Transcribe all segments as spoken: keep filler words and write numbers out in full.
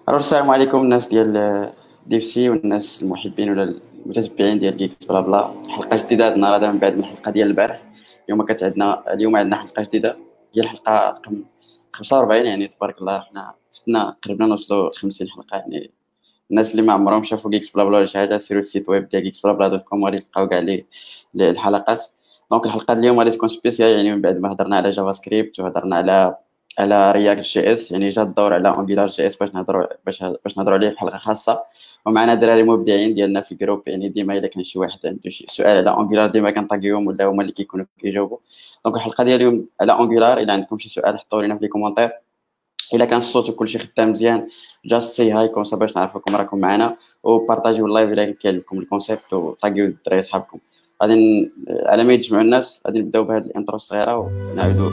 الو السلام عليكم الناس ديال ديفسي والناس المحبين ولا المتتبعين ديال جيكس بلا بلا. حلقه جديده هاد النهار هذا من بعد من الحلقه ديال البارح. اليوم كانت عندنا اليوم عندنا حلقه جديده، هي الحلقه رقم خمسة وأربعين. يعني تبارك الله رحنا فتنا قربنا نوصلوا ل خمسين حلقه. يعني الناس اللي ما عمرهم شافوا جيكس بلا بلا ولا شي حاجه سيروا السيت ويب ديال جيكس بلا بلا دوت كوم وغادي تلقاو كاع لي لي الحلقات. دونك الحلقه ديال اليوم غادي تكون سبيسيال، يعني من بعد ما هضرنا على جافا سكريبت وهضرنا على على رياكت جي اس، يعني جا الدور على انجولار جي اس باش نهضروا باش باش نهضروا عليه في حلقه خاصه. ومعنا دراري مبدعين ديالنا في الجروب، يعني ديما الا كان شي واحد عنده شي سؤال على انجولار ديما كنطاقيهم ولا هما اللي كيكونوا كيجاوبوا. دونك الحلقه ديال اليوم على انجولار. الا عندكم شي سؤال حطوا لينا في لي كومونتير. الا كان الصوت وكلشي خدام مزيان جاست سي هاي كونسا باش نعرفكم راكم معنا، وبارطاجيو اللايف الا كان لكم الكونسيبت وطاقيو الدراري صحابكم. غادي ن- على ما يتجمعوا الناس غادي نبداو بهذه الانترو الصغيره ونعاودوا.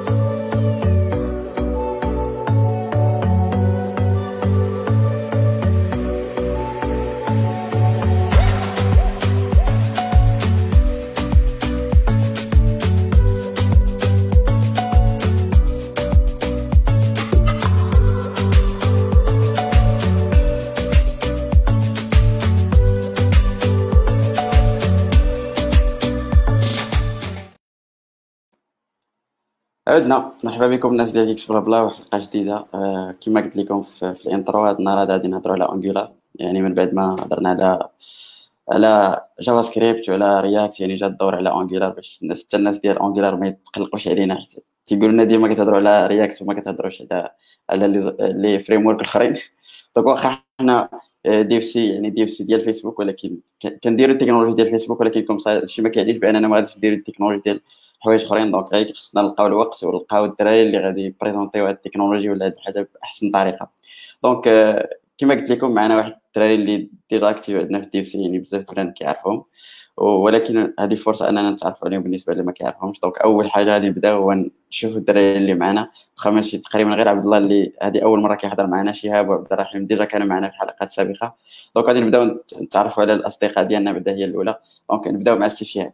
عدنا مرحبا بكم الناس ديال اكس بلا بلا وحلقه جديده. آه كما قلت لكم في, في الانترو، هذا النهار هذا غادي نهضروا على انجولار. يعني من بعد ما هضرنا على على جافا سكريبت وعلى رياكت، يعني جا الدور على انجولار باش الناس حتى الناس ديال انجولار ما يتقلقوش علينا، حيت تيقولوا لنا ديما كتهضروا على رياكت وما كتهضروش على على لي لي فريم ورك الاخرين. دونك واخا حنا دي اف سي، يعني دي اف سي ديال فيسبوك، ولكن ك- كنديروا التكنولوجيا ديال فيسبوك، ولكن كم هادشي ما كيعنيش باننا ما غاديش نديروا التكنولوجيا ديال حوايج اخرين. دونك غير خصنا نلقاو الوقت ونلقاو الدراري اللي غادي يبريزونطيو هاد التكنولوجيا ولا هاد الحاجه باحسن طريقه. دونك آه، كما قلت لكم معنا واحد الدراري اللي ديجا اكتيف عندنا في الدي سي، يعني بزاف البنات كيعرفهم، ولكن هذه فرصه اننا نتعرفوا عليهم بالنسبه اللي ما كيعرفهمش. دونك اول حاجه غادي نبداو هو نشوفوا الدراري اللي معنا، واخا ماشي تقريبا غير عبد الله اللي هذه اول مره كيحضر معنا. شهاب وعبد الرحيم ديجا كانوا معنا في حلقات سابقه. دونك غادي نبداو نتعرفوا على الاصدقاء ديالنا بعدا هي الاولى. دونك نبداو مع السي شهاب.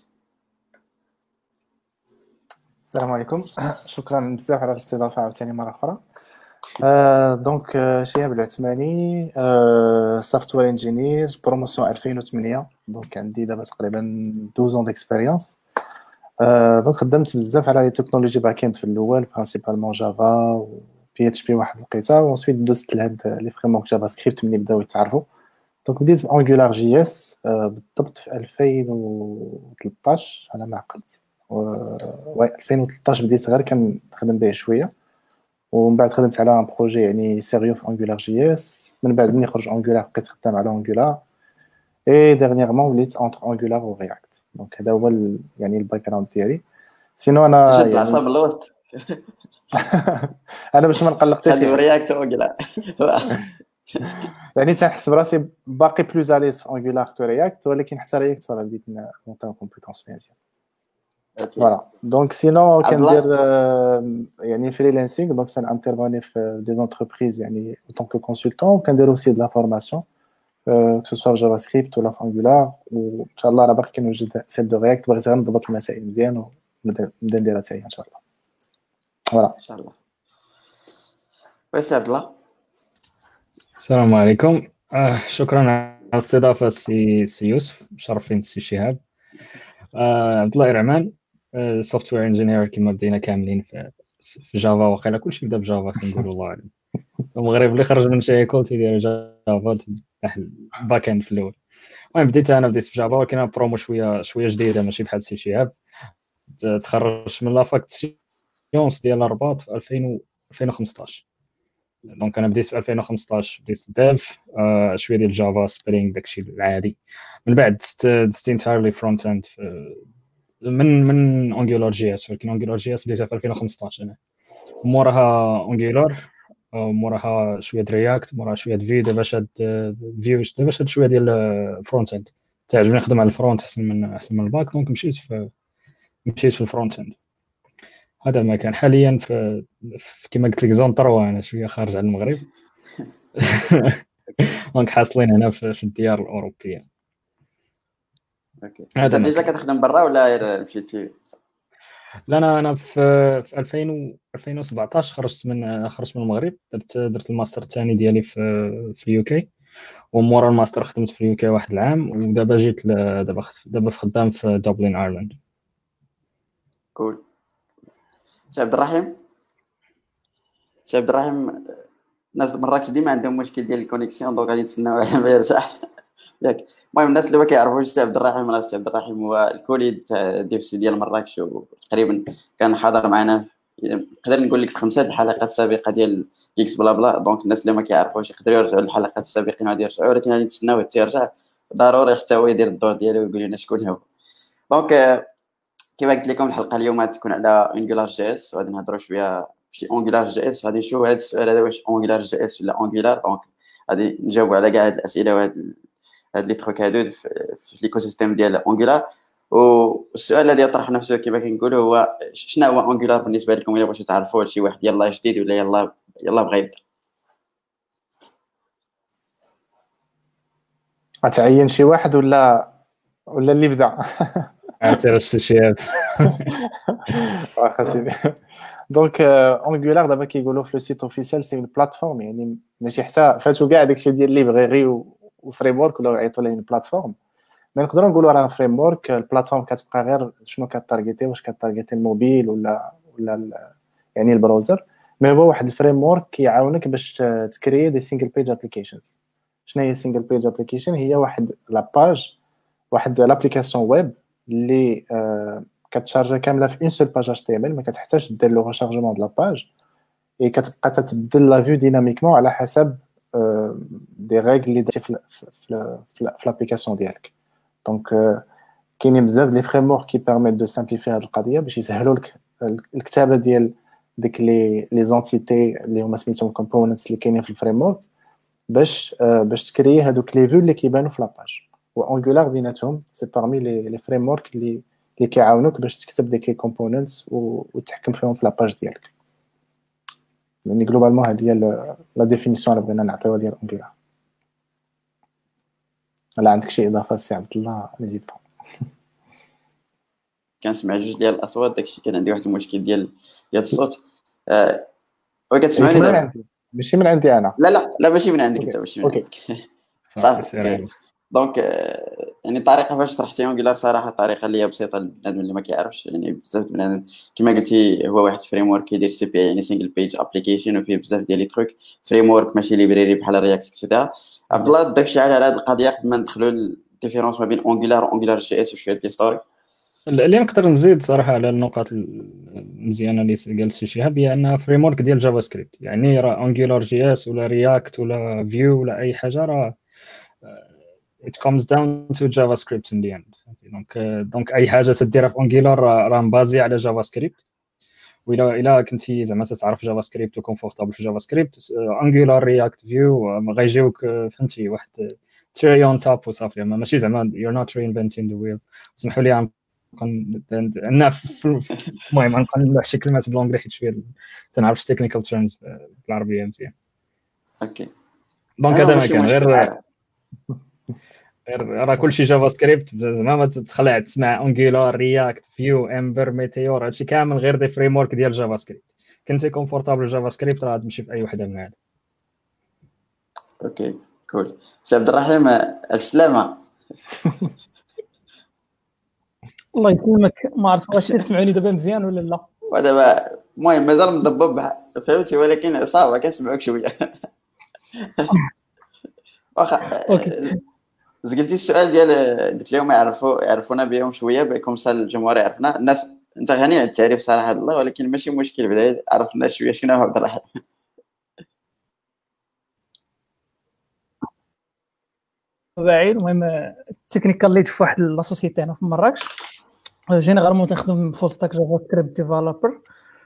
السلام عليكم. شكرا بزاف على الاستضافه عاوتاني مره اخرى. آه دونك آه، شهاب العثماني، آه سوفتوير انجينير، بروموسيون ألفين وثمانية. دونك عندي دابا تقريبا اثنا عشر ديكسبيريونس. آه دونك خدمت بزاف على لي تكنولوجي باكيند في الاول، برينسيبالمون جافا و بي اتش بي واحد الوقيته، وانسويت دوزت لهاد لي فريمورك جافا سكريبت ملي بداو يتعرفوا. دونك بديت بانجولار جي اس آه بالضبط في ألفين وثلاثطاش على ما عقلت. و ألفين وثلاثطاش بديت غير كنخدم به شويه، ومن بعد خدمت على ان بروجي يعني سيريو في انجولار جي اس. من بعد ملي خرج انجولار بقيت خدام على انجولار، اي ديرنييرمون وليت انتر انجولار و رياكت. دونك هذا هو ال- يعني الباك جراوند ديالي. سينو انا تشد يعني العصا من الوسط. انا باش ما نقلق حتى شي خدم حد، رياكت وقلا. يعني تنحس براسي باقي بلوز اليز في انجولار كو رياكت، ولكن حتى رياكت صافي بديت نونطي كومبيتونس فيها مزيان. اوكي. فوالا دونك سينو عبد كندير الله. آه، يعني فريلانسينغ. دونك سان انترفوني في دي زونتربريز يعني en tant que consultant، وكندير اوسي de la formation euh, que ce soit في جافا سكريبت ولا في انجولار. وان شاء الله راه باقي كنوجد سيل دو رياكت، بغيت غير نضبط المسائل مزيان ونبدا نبدا نديرها حتى هي ان شاء الله. فوالا. ان شاء الله. بس عبد الله. السلام عليكم. آه شكرا على الاستضافة سي, سي يوسف، مشرفين سي شهاب. آه عبد الله إرعمان، آه سوفتوير انجينير كما بدينا كاملين في, في جافا. وقيلا كلشي بدا بجافا تنقولوا الله أعلم. المغرب اللي خرج من شي كول تيدير جافا تفتح الباك اند في الأول. المهم بديت أنا بديت في جافا، ولكن أنا برومو شوية شوية جديدة ماشي بحال سي شهاب. تخرجت من لافاك سيونس ديال الرباط في ألفين وخمسطاش. دونك انا بديت في ألفين وخمسطاش بديت ديف، آه شويه ديال جافا سبرينغ داكشي العادي. من بعد دزت دزت انتايرلي فرونت اند من من انجولار جي اس، ولكن انجولار جي اس بديتها في ألفين وخمسطاش انا. موراها انجولار، موراها شويه رياكت، موراها شويه في. دابا شاد فيو، دابا شاد شويه ديال فرونت اند. تعجبني نخدم على الفرونت احسن من احسن من الباك، دونك مشيت في مشيت في الفرونت اند. هذا ما كان حاليا في, في كما قلت لك زون تروا. انا شويه خارج على المغرب. دونك حاصلين هنا في, في الديار الاوروبيه. اوكي. انت هذا ما ديجا كان. كتخدم برا ولا غير مشيتي؟ لا انا انا في في ألفين و ألفين وسبعطاش خرجت من خرجت من المغرب، درت درت الماستر الثاني ديالي في في اليو كي، ومورا الماستر خدمت في اليو كي واحد العام، ودابا جيت ل- دابا خ- دابا في خدام في دوبلين ايرلاند. كول. سي عبد الرحيم سي عبد الرحيم الناس مراكش ديما عندهم مشكل ديال الكونيكسيون، دونك غادي نتسناو على ما يرجع. ياك المهم الناس اللي ما كيعرفوش سي عبد الرحيم، راه سي عبد الرحيم هو الكوليد تاع دي اف سي ديال مراكش، وتقريبا كان حاضر معنا نقدر نقول لك في خمسه الحلقات السابقه ديال اكس بلا بلا. دونك الناس اللي ما كيعرفوش يقدروا يرجعوا للحلقات السابقين غادي يرجعوا، ولكن غادي نتسناو حتى يرجع ضروري حتى هو يدير الدور ديالو ويقول لنا شكون هو. دونك آه، كما قلت لكم الحلقه اليوم غتكون على انجولار جي اس، وغادي نهضروا شويه شي انجولار جي اس. غادي نشوفوا هذا السؤال هذا واش انجولار جي اس ولا انجولار. دونك غادي نجاوبوا على كاع هاد الاسئله وهاد هاد لي تروك هادو في, في ليكو سيستيم ديال انجولار. والسؤال الذي يطرح نفسه كما كنقولوا هو شنو هو انجولار بالنسبه لكم، الا بغيتوا تعرفوا شي واحد يلاه جديد ولا يلاه يلاه بغا يبدا. غتعين شي واحد ولا ولا اللي بدا؟ عرفتي الشيء واخا سيدي. دونك انجولار دابا كيقولوا في لو سيت اوفيسيال سي اون بلاتفورم، يعني ماشي حتى فاتو كاع داكشي ديال ليبريري وفريم ورك ولا يعيطوا ليه بلاتفورم. ما نقدروا نقولوا راه فريم ورك. البلاتفورم كتبقى غير شنو كتارجيتي، واش كتارجيتي الموبيل ولا ولا ال- يعني البراوزر. مي هو واحد الفريم ورك كيعاونك باش تكري دي سينجل بيج ابليكيشنز. شنو هي سينجل بيج ابليكيشن؟ هي واحد لا باج، واحد لابليكاسيون ويب اللي آه كتشارجي كامله في اون سول باج اتش تي ام ال، ما كتحتاجش دير لو ريشارجمون د لا باج، اي كتبقى تتبدل لا فيو ديناميكمون على حسب آه دي ريغل اللي درتي في في في لابليكاسيون ديالك. دونك آه كاينين بزاف لي فريم ورك كي بيرميت دو سامبليفي هاد القضيه باش يسهلوا لك الكتابه ديال ديك لي لي زونتيتي اللي هما سميتهم كومبوننتس اللي كاينين في الفريم ورك، باش آه باش تكري هادوك لي فيو اللي كيبانوا في لاباج. وانجولار بيناتهم سي بارمي لي لي فريم ورك اللي اللي كيعاونوك باش تكتب ديك لي كومبوننتس وتحكم فيهم في لاباج ديالك. يعني جلوبالمون هذه هي لا ديفينيسيون اللي بغينا نعطيوها ديال انجولار. لا عندك شي اضافه سي عبد الله نزيد با؟ كنسمع جوج ديال الاصوات، داكشي كان عندي واحد المشكل ديال ديال الصوت. آه وكتسمعني من دابا؟ عندي ماشي من عندي انا. لا لا لا ماشي من عندك انت، اوكي ماشي من اوكي عندك. صافي صافي. سير. دونك آه، يعني الطريقه فاش شرحتي انجولار صراحه طريقه اللي هي بسيطه للبنادم اللي ما كيعرفش. يعني بزاف بنادم كما قلتي هو واحد فريم ورك كيدير سي بي، يعني سينجل بيج ابليكيشن، وفيه بزاف ديال لي تروك. فريم ورك ماشي ليبراري بحال رياكت اكسيتيرا. عبد الله داكشي على هذه القضيه قبل ما ندخلوا الديفيرونس ما بين انجولار وانجولار جي اس وشويه ديال ستوري. اللي نقدر نزيد صراحه على النقاط المزيانه اللي قال سي شهاب هي انها فريم ورك ديال جافا سكريبت. يعني راه انجولار جي اس ولا رياكت ولا فيو ولا اي حاجه راه it comes down to JavaScript in the end. دونك دونك اي حاجه تديرها في انجولار راه مبازي على جافا سكريبت. وإلا إلا كنتي زعما تعرف جافا سكريبت وكونفورتابل في جافا سكريبت، انجولار رياكت فيو غيجيوك فهمتي واحد تري اون توب وصافي. ماشي زعما you're not reinventing the wheel. اسمحوا لي عندنا المهم غنقول نلوح شي كلمات بالانجلي حيت شويه تنعرفش تكنيكال تيرمز بالعربيه مزيان. اوكي دونك انا هذا ما ماشي كان مشكل غير عارف. غير راه كلشي جافا سكريبت زعما ما تتخلع تسمع انجولار رياكت فيو امبر ميتيور هادشي كامل غير دي فريم ورك ديال جافا سكريبت. كنتي كونفورتابل جافا سكريبت راه تمشي في اي وحده من هاد. اوكي كول. سي عبد الرحيم السلامه. الله يسلمك. ما عرفت واش تسمعوني دابا مزيان ولا لا. ودابا المهم مازال مضبب فهمتي، ولكن صافا كنسمعوك شويه. واخا اوكي زقلتي السؤال ديال قلت لهم يعرفوا يعرفونا بهم شويه بكم سال الجمهور يعرفنا الناس. انت غني عن التعريف صراحه الله، ولكن ماشي مشكل بعدا عرفنا شويه شنو هو عبد الرحيم. بعيد. المهم التكنيكال ليد في واحد لاسوسيتي هنا في مراكش. جينيرالمون تنخدم فول ستاك جافا سكريبت ديفلوبر.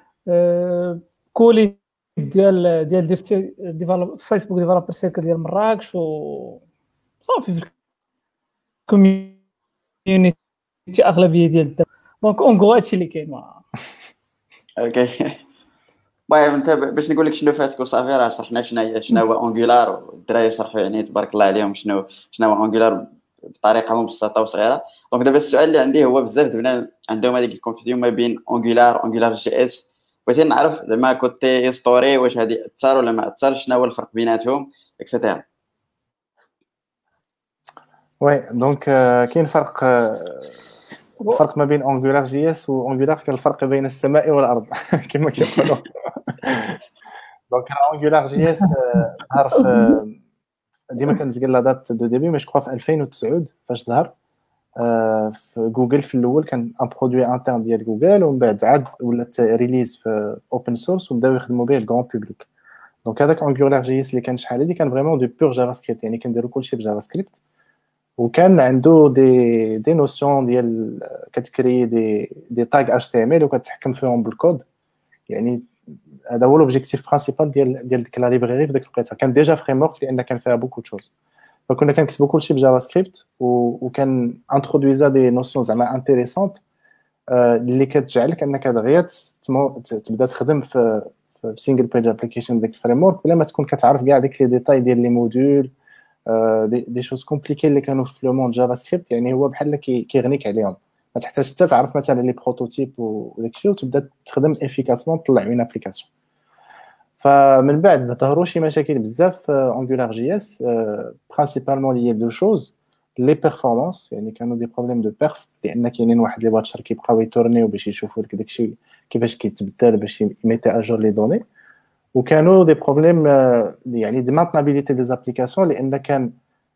كولي ديال ديال ديفلوب فيسبوك ديفلوبر سيركل ديال مراكش و صافي في الكوميونيتي اغلبيه ديال الدراري. دونك اونغو هادشي اللي كاين. اوكي المهم انت باش نقول لك شنو فاتك وصافي راه شرحنا شنو هي شنو هو انجولار، والدراري شرحوا يعني تبارك الله عليهم شنو شنو هو انجولار بطريقه مبسطه وصغيره. دونك دابا السؤال اللي عندي هو بزاف بنادم عندهم هذيك الكونفيزيون ما بين انجولار انجولار جي اس، بغيت نعرف زعما كوتي ستوري واش هذه اثر ولا ما اثرش، شنو هو الفرق بيناتهم اكسيتيرا. وي دونك كاين فرق الفرق ما بين انجولار جي اس وانجولار، كاين الفرق بين السماء والارض كما كيقولوا. دونك انجولار جي اس ظهر في ديما كنزقل لا دات دو ديبي، مي جو كخوا في ألفين وتسعة فاش ظهر في جوجل. في الاول كان ان برودوي انترن ديال جوجل، ومن بعد عاد ولات ريليز في اوبن سورس وبداو يخدموا به الكرون بوبليك. دونك هذاك انجولار جي اس اللي كان شحال هادي كان فريمون دو بور جافا سكريبت، يعني كنديروا كلشي بجافا سكريبت، وكان عنده دي دي نوسيون ديال كتكري دي دي تاغ اتش تي ام ال وكتحكم فيهم بالكود. يعني هذا هو لوبجيكتيف برينسيبال ديال ديال ديك لا ليبراري في ديك الوقيته. كان ديجا فريم ورك لان كان فيها بوكو تشوز، فكنا كنكتبوا كلشي بجافا سكريبت، وكان انترودويزا دي نوسيون زعما انتريسونت اللي كتجعلك انك دغيا تبدا تخدم في في سينجل بيج ابليكيشن ديك الفريم ورك بلا ما تكون كتعرف كاع ديك لي ديتاي ديال لي موديول دي دي شوز كومبليكي اللي كانوا في لو موند جافا سكريبت. يعني هو بحال كيغنيك عليهم، ما تحتاج حتى تعرف مثلا لي بروتوتيب وداك الشيء وتبدا تخدم افيكاسمون تطلع من ابليكاسيون. فمن بعد ظهروا شي مشاكل بزاف في انجولار جي اس، برينسيبالمون لي دو شوز لي بيرفورمانس، يعني كانوا دي بروبليم دو بيرف، لان كاينين واحد لي باتشر كيبقاو يتورنيو باش يشوفوا لك داكشي كيفاش كيتبدل باش يميتي اجور لي دوني. وكانوا دي بروبليم يعني دي مانتنابيليتي دي زابليكاسيون، لان كان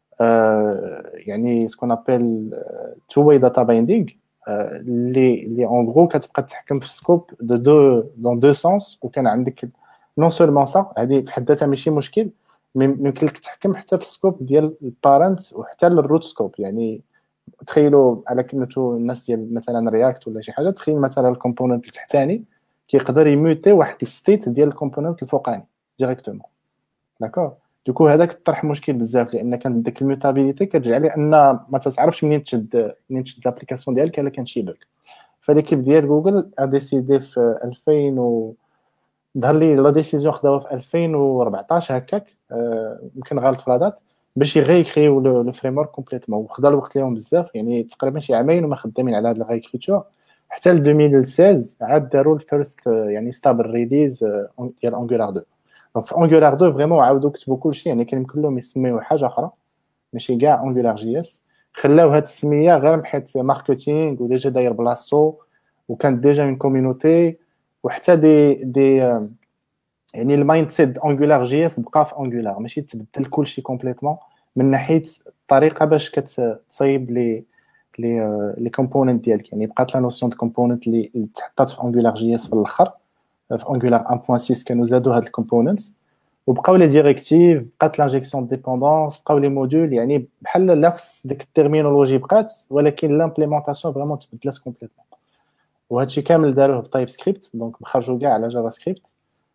يعني سكون ابل تو واي داتا بايندينغ اللي اللي اون غرو كتبقى تحكم في السكوب دو دو دون دو سونس. وكان عندك نون سولمون صا هذه في حد ذاتها ماشي مشكل، ممكن لك تحكم حتى في السكوب ديال البارنت وحتى الروت سكوب. يعني تخيلوا على كلمه الناس ديال مثلا رياكت ولا شي حاجه، تخيل مثلا الكومبوننت التحتاني كيقدر يموتي واحد الستيت ديال الكومبوننت الفوقاني ديريكتومون، داكور. دوكو هذاك طرح مشكل بزاف، لان كان ديك الميوتابيليتي كتجعل ان ما تتعرفش منين تشد منين تشد لابليكاسيون ديالك الا كان شي بوك. فليكيب ديال جوجل ا ديسيدي في ألفين و ظهر لي لا ديسيزيون خداوها في ألفين وأربعطاش هكاك، يمكن غلط في الادات، باش يغيكريو لو فريم ورك كومبليتوم. وخدا الوقت ليهم بزاف، يعني تقريبا شي عامين وما خدامين على هاد الغايكريتور، حتى ل ألفين وستة عشر عاد داروا الفيرست يعني ستابل ريليز ديال انجولار اثنين. دونك في انجولار اثنين فريمون عاودوا كتبوا كلشي، يعني كان يمكن لهم يسميو حاجه اخرى ماشي كاع انجولار جي اس. خلاو هاد السميه غير حيت ماركتينغ وديجا داير بلاصتو، وكان ديجا من كوميونيتي، وحتى دي دي يعني المايند سيت انجولار جي اس بقى في انجولار، ماشي تبدل كلشي كومبليتوم من ناحيه الطريقه باش كتصايب لي لي لي كومبوننت ديالك. يعني بقات لا نوسيون دو كومبوننت اللي تحطات في انجولار جي اس في الاخر في انجولار واحد نقطة ستة كانوا زادوا هاد الكومبوننتس، وبقاو لي ديريكتيف، بقات لانجيكسيون ديبوندونس، بقاو لي موديول، يعني بحال نفس ديك التيرمينولوجي بقات، ولكن لامبليمونطاسيون فريمون تبدلات كومبليتوم. وهادشي كامل داروه بتايب سكريبت، دونك خرجوا كاع على جافا سكريبت.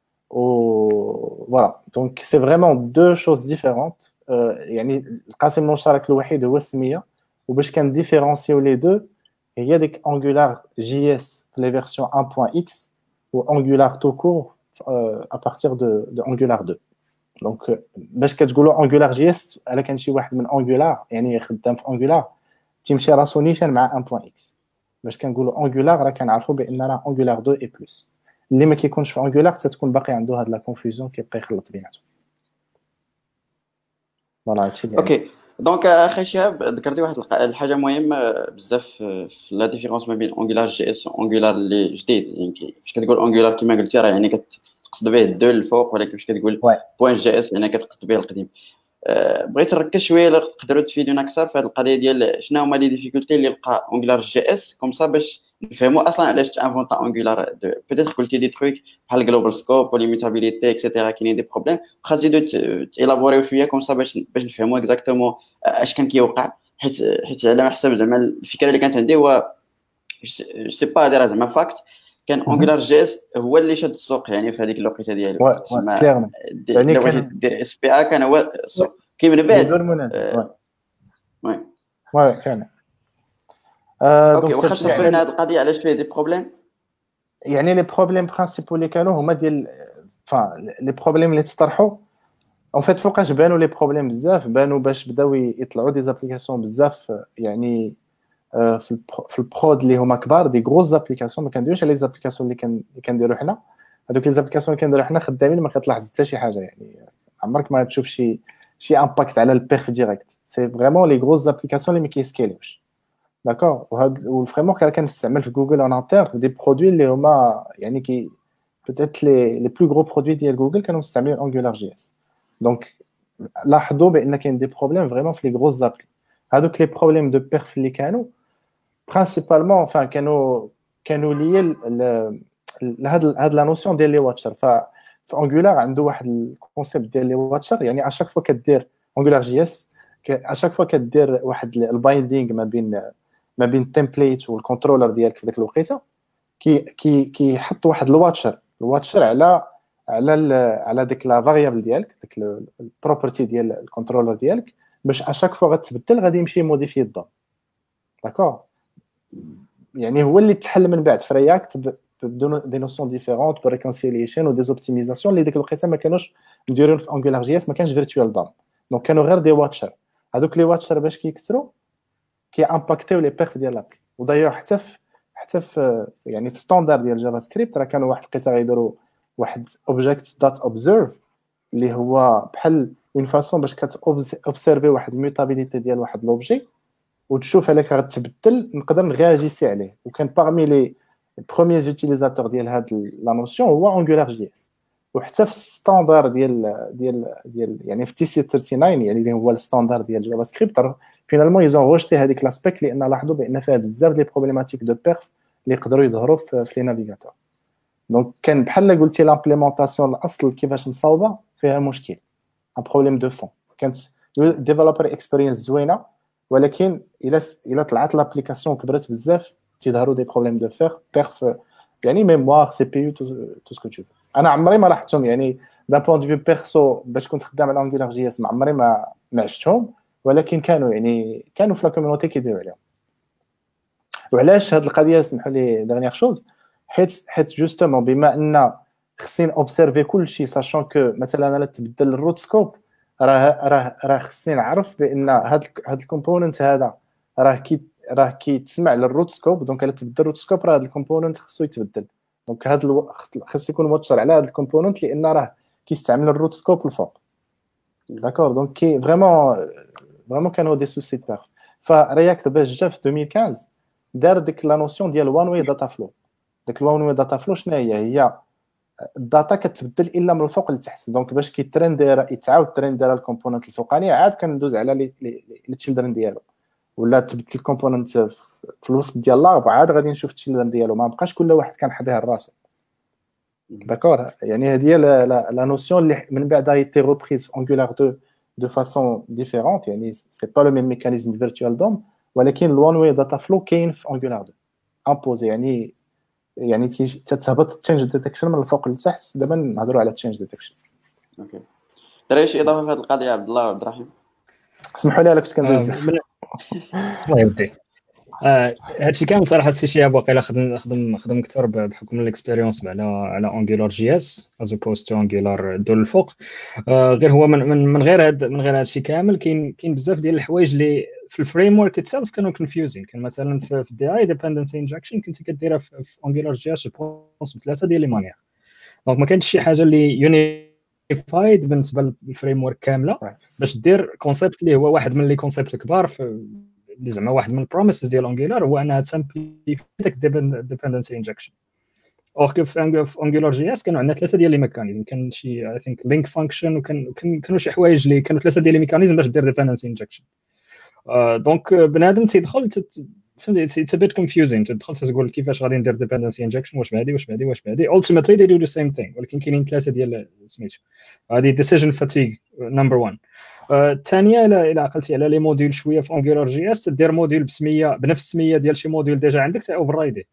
و فوالا دونك سي فريمون دو شوز ديفيرونت. يعني القاسم المشترك الوحيد هو السميه، وباش كان ديفيرونسيو لي دو هي ديك انجولار جي اس في لي فيرسيون واحد نقطة اكس و انجولار تو كور ا بارتير دو دو انجولار اثنين. دونك باش كتقولوا انجولار جي اس الا كان شي واحد من انجولار يعني خدام في انجولار تيمشي راسو نيشان مع واحد نقطة اكس. باش كنقولوا انجولار راه كنعرفوا بان راه انجولار اثنين اي بلس. اللي ما كيكونش في انجولار تتكون باقي عنده هاد لا كونفوزيون كيبقى يخلط بيناتهم. فوالا هادشي اللي اوكي. دونك اخي شهاب ذكرتي واحد الحاجه مهمه بزاف في لا ديفيرونس ما بين انجولار جي اس وانجولار اللي جديد. يعني فاش كتقول انجولار كما قلتي راه يعني كتقصد به الدو الفوق، ولكن فاش كتقول بوين جي اس يعني كتقصد به القديم. أه بغيت نركز شويه الا تقدروا تفيدونا اكثر في هذه القضيه ديال شنو هما لي ديفيكولتي اللي لقى انجولار جي اس كوم صا باش نفهموا اصلا علاش تانفونتا انجولار اثنين. بيتيت قلتي دي تروك بحال جلوبال سكوب وليميتابيليتي اكسيتيرا، كاينين دي بروبليم، واخا تزيدوا تيلابوريو شويه كوم صا باش باش نفهموا اكزاكتومون اش كان كيوقع. حيت حيت على ما حسب زعما الفكره اللي كانت عندي هو جو سي با دير زعما فاكت كان انجولار جي اس هو اللي شاد السوق يعني في هذيك الوقيته ديالو. تسمى يعني كان دير اس بي ا كان هو السوق كي من بعد المناسب. وي وي كان اوكي. واخا شرحوا لنا هذه القضيه علاش فيه دي بروبليم. يعني لي بروبليم برينسيبال اللي كانوا هما ديال فا لي بروبليم اللي تطرحوا اون فيت فوقاش بانوا لي بروبليم بزاف بانوا باش بداو يطلعوا دي زابليكاسيون بزاف يعني في البرو في البرود اللي هما كبار دي غروز زابليكاسيون ما كنديروش على لي زابليكاسيون اللي كان اللي كنديروا حنا هذوك لي زابليكاسيون اللي كنديروا حنا خدامين ما كتلاحظ حتى شي حاجه يعني عمرك ما تشوف شي شي امباكت على البيرف ديريكت سي فريمون لي غروز زابليكاسيون اللي ما كيسكيلوش داكور وهاد والفريمورك راه كنستعمل في جوجل اون انتر دي برودوي اللي هما يعني كي peut-être les les plus gros produits ديال جوجل كانوا مستعملين انجولار جي اس دونك لاحظوا بان كاين دي بروبليم فريمون في لي غروز زابلي هذوك لي بروبليم دو بيرف اللي كانوا برينسيبالمون enfin كانوا كانوا لي لهاد هاد لا نوسيون ديال لي واتشر ف في انجولار عنده واحد الكونسيبت ديال لي واتشر يعني اشاك فوا كدير انجولار جي اس اشاك فوا كدير واحد البايندينغ ما بين ما بين التمبليت والكونترولر ديالك في ديك الوقيته كي كي كيحط واحد الواتشر الواتشر على على على ديك لا فاريابل ديالك ديك البروبرتي ديال الكونترولر ديالك باش اشاك فوا غتبدل غادي يمشي موديفي الدون داكور يعني هو اللي تحل من بعد في رياكت دي نوسيون ديفيرونت بريكونسيليشن ودي اوبتيميزاسيون اللي ديك الوقيته ما كانوش مديرين في انجولار جي اس ما كانش فيرتوال دام دونك كانوا غير دي واتشر هذوك لي واتشر باش كيكثروا كي امباكتيو لي بيرف ديال لابلي ودايوغ حتى في حتى في يعني في ستاندرد ديال جافا سكريبت راه كانوا واحد القصه غيديروا واحد اوبجيكت دات اوبزيرف اللي هو بحال اون فاسون باش كتوبسيرفي واحد الميوتابيليتي ديال واحد لوبجي وتشوف عليك غتبدل نقدر نغاجيسي عليه وكان باغمي لي بروميير يوتيليزاتور ديال هاد لا نوسيون هو انجولار جي اس وحتى في الستاندرد ديال ديال ديال يعني في تي سي تسعة وثلاثين يعني اللي هو الستاندرد ديال جافا سكريبت فينالمون يزون روجتي هذيك لاسبيكت لان لاحظوا بان فيها بزاف ديال بروبليماتيك دو بيرف اللي يقدروا يظهروا في لي نافيغاتور دونك كان بحال قلتي لامبليمونطاسيون الاصل كيفاش مصاوبه فيها مشكل ان بروبليم دو فون كانت ديفلوبر اكسبيرينس زوينه ولكن الا الا طلعت لابليكاسيون كبرت بزاف تيظهروا دي بروبليم دو فير بيرف يعني ميموار سي بي يو تو سكو تو انا عمري ما لاحظتهم يعني دان بوين دو فيو بيرسو باش كنت خدام على انجولار جي اس ما عمري ما ما عشتهم ولكن كانوا يعني كانوا في لا كوميونيتي كيديروا عليهم وعلاش هاد القضيه سمحوا لي ديرنيير شوز حيت حيت جوستومون بما ان خصني اوبسيرفي كلشي ساشون كو مثلا انا تبدل الروت سكوب راه راه راه خصني نعرف بان هاد هاد الكومبوننت هذا راه كي راه كيتسمع للروت سكوب دونك الا تبدل الروت سكوب راه هاد الكومبوننت خصو يتبدل دونك هاد الو... خص يكون موتشر على هاد الكومبوننت لان راه كيستعمل الروت سكوب الفوق داكور دونك كي فريمون فريمون كانوا دي سوسي بيرف فرياكت باش جا في ألفين وخمسطاش دار ديك لا نوسيون ديال وان واي داتا فلو ديك الوان واي داتا فلو شنو هي هي الداتا كتبدل الا من الفوق لتحت دونك باش كيترندير يتعاود ترندير الكومبوننت الفوقانيه عاد كندوز على لي لي تشيلدرن ديالو ولا تبدل الكومبوننت في الوسط ديال لارب عاد غادي نشوف التشيلدرن ديالو ما بقاش كل واحد كان حداه راسو داكور يعني هذه هي لا نوسيون اللي من بعد ايتي ريبريز في انجولار تو de façon différente يعني c'est pas le même mécanisme virtual D O M ولكن الوان واي داتا فلو كاين في انجولار تو امبوزي يعني يعني تتهبط تشينج ديتكشن من الفوق لتحت دابا نهضروا على تشينج ديتكشن اوكي دري شي اضافه في هذه القضيه عبد الله عبد الرحيم اسمحوا لي انا كنت كندوي بزاف الله يوديك هادشي كامل صراحه السي شياب واقيلا خدم خدم خدم اكثر بحكم الاكسبيريونس على على انجولار جي اس از اوبوست تو انجولار دول الفوق غير هو من من, من غير هاد من غير هادشي كامل كاين كاين بزاف ديال الحوايج اللي في الفريم ورك اتسلف كانوا كونفيوزين كان مثلا في الدي اي ديبندنسي انجكشن كنت كديرها في انجولار جي اس بونس بثلاثه ديال لي مانيير دونك ما كانش شي حاجه اللي يونيفايد بالنسبه للفريم ورك كامله باش دير كونسيبت اللي هو واحد من لي كونسيبت الكبار في اللي زعما واحد من البروميسز ديال انجولار هو انها تسامبليفي داك ديبندنسي انجكشن اور كو في انجولار جي اس كانوا عندنا ثلاثه ديال لي ميكانيزم كان شي اي ثينك لينك فانكشن وكان كانوا شي حوايج اللي كانوا ثلاثه ديال لي ميكانيزم باش دير ديبندنسي انجكشن دونك بنادم تيدخل فهمتي اتس ا بيت كونفيوزين تدخل تقول كيفاش غادي ندير ديبندنسي انجكشن واش بهادي واش بهادي واش بهادي ultimately they do the same thing ولكن كاينين ثلاثه ديال سميتو هذه decision fatigue number one الثانيه الى الى عقلتي على لي موديل شويه في انجولار جي اس دير موديل بسميه بنفس السميه ديال شي موديل ديجا عندك سي اوفر رايدي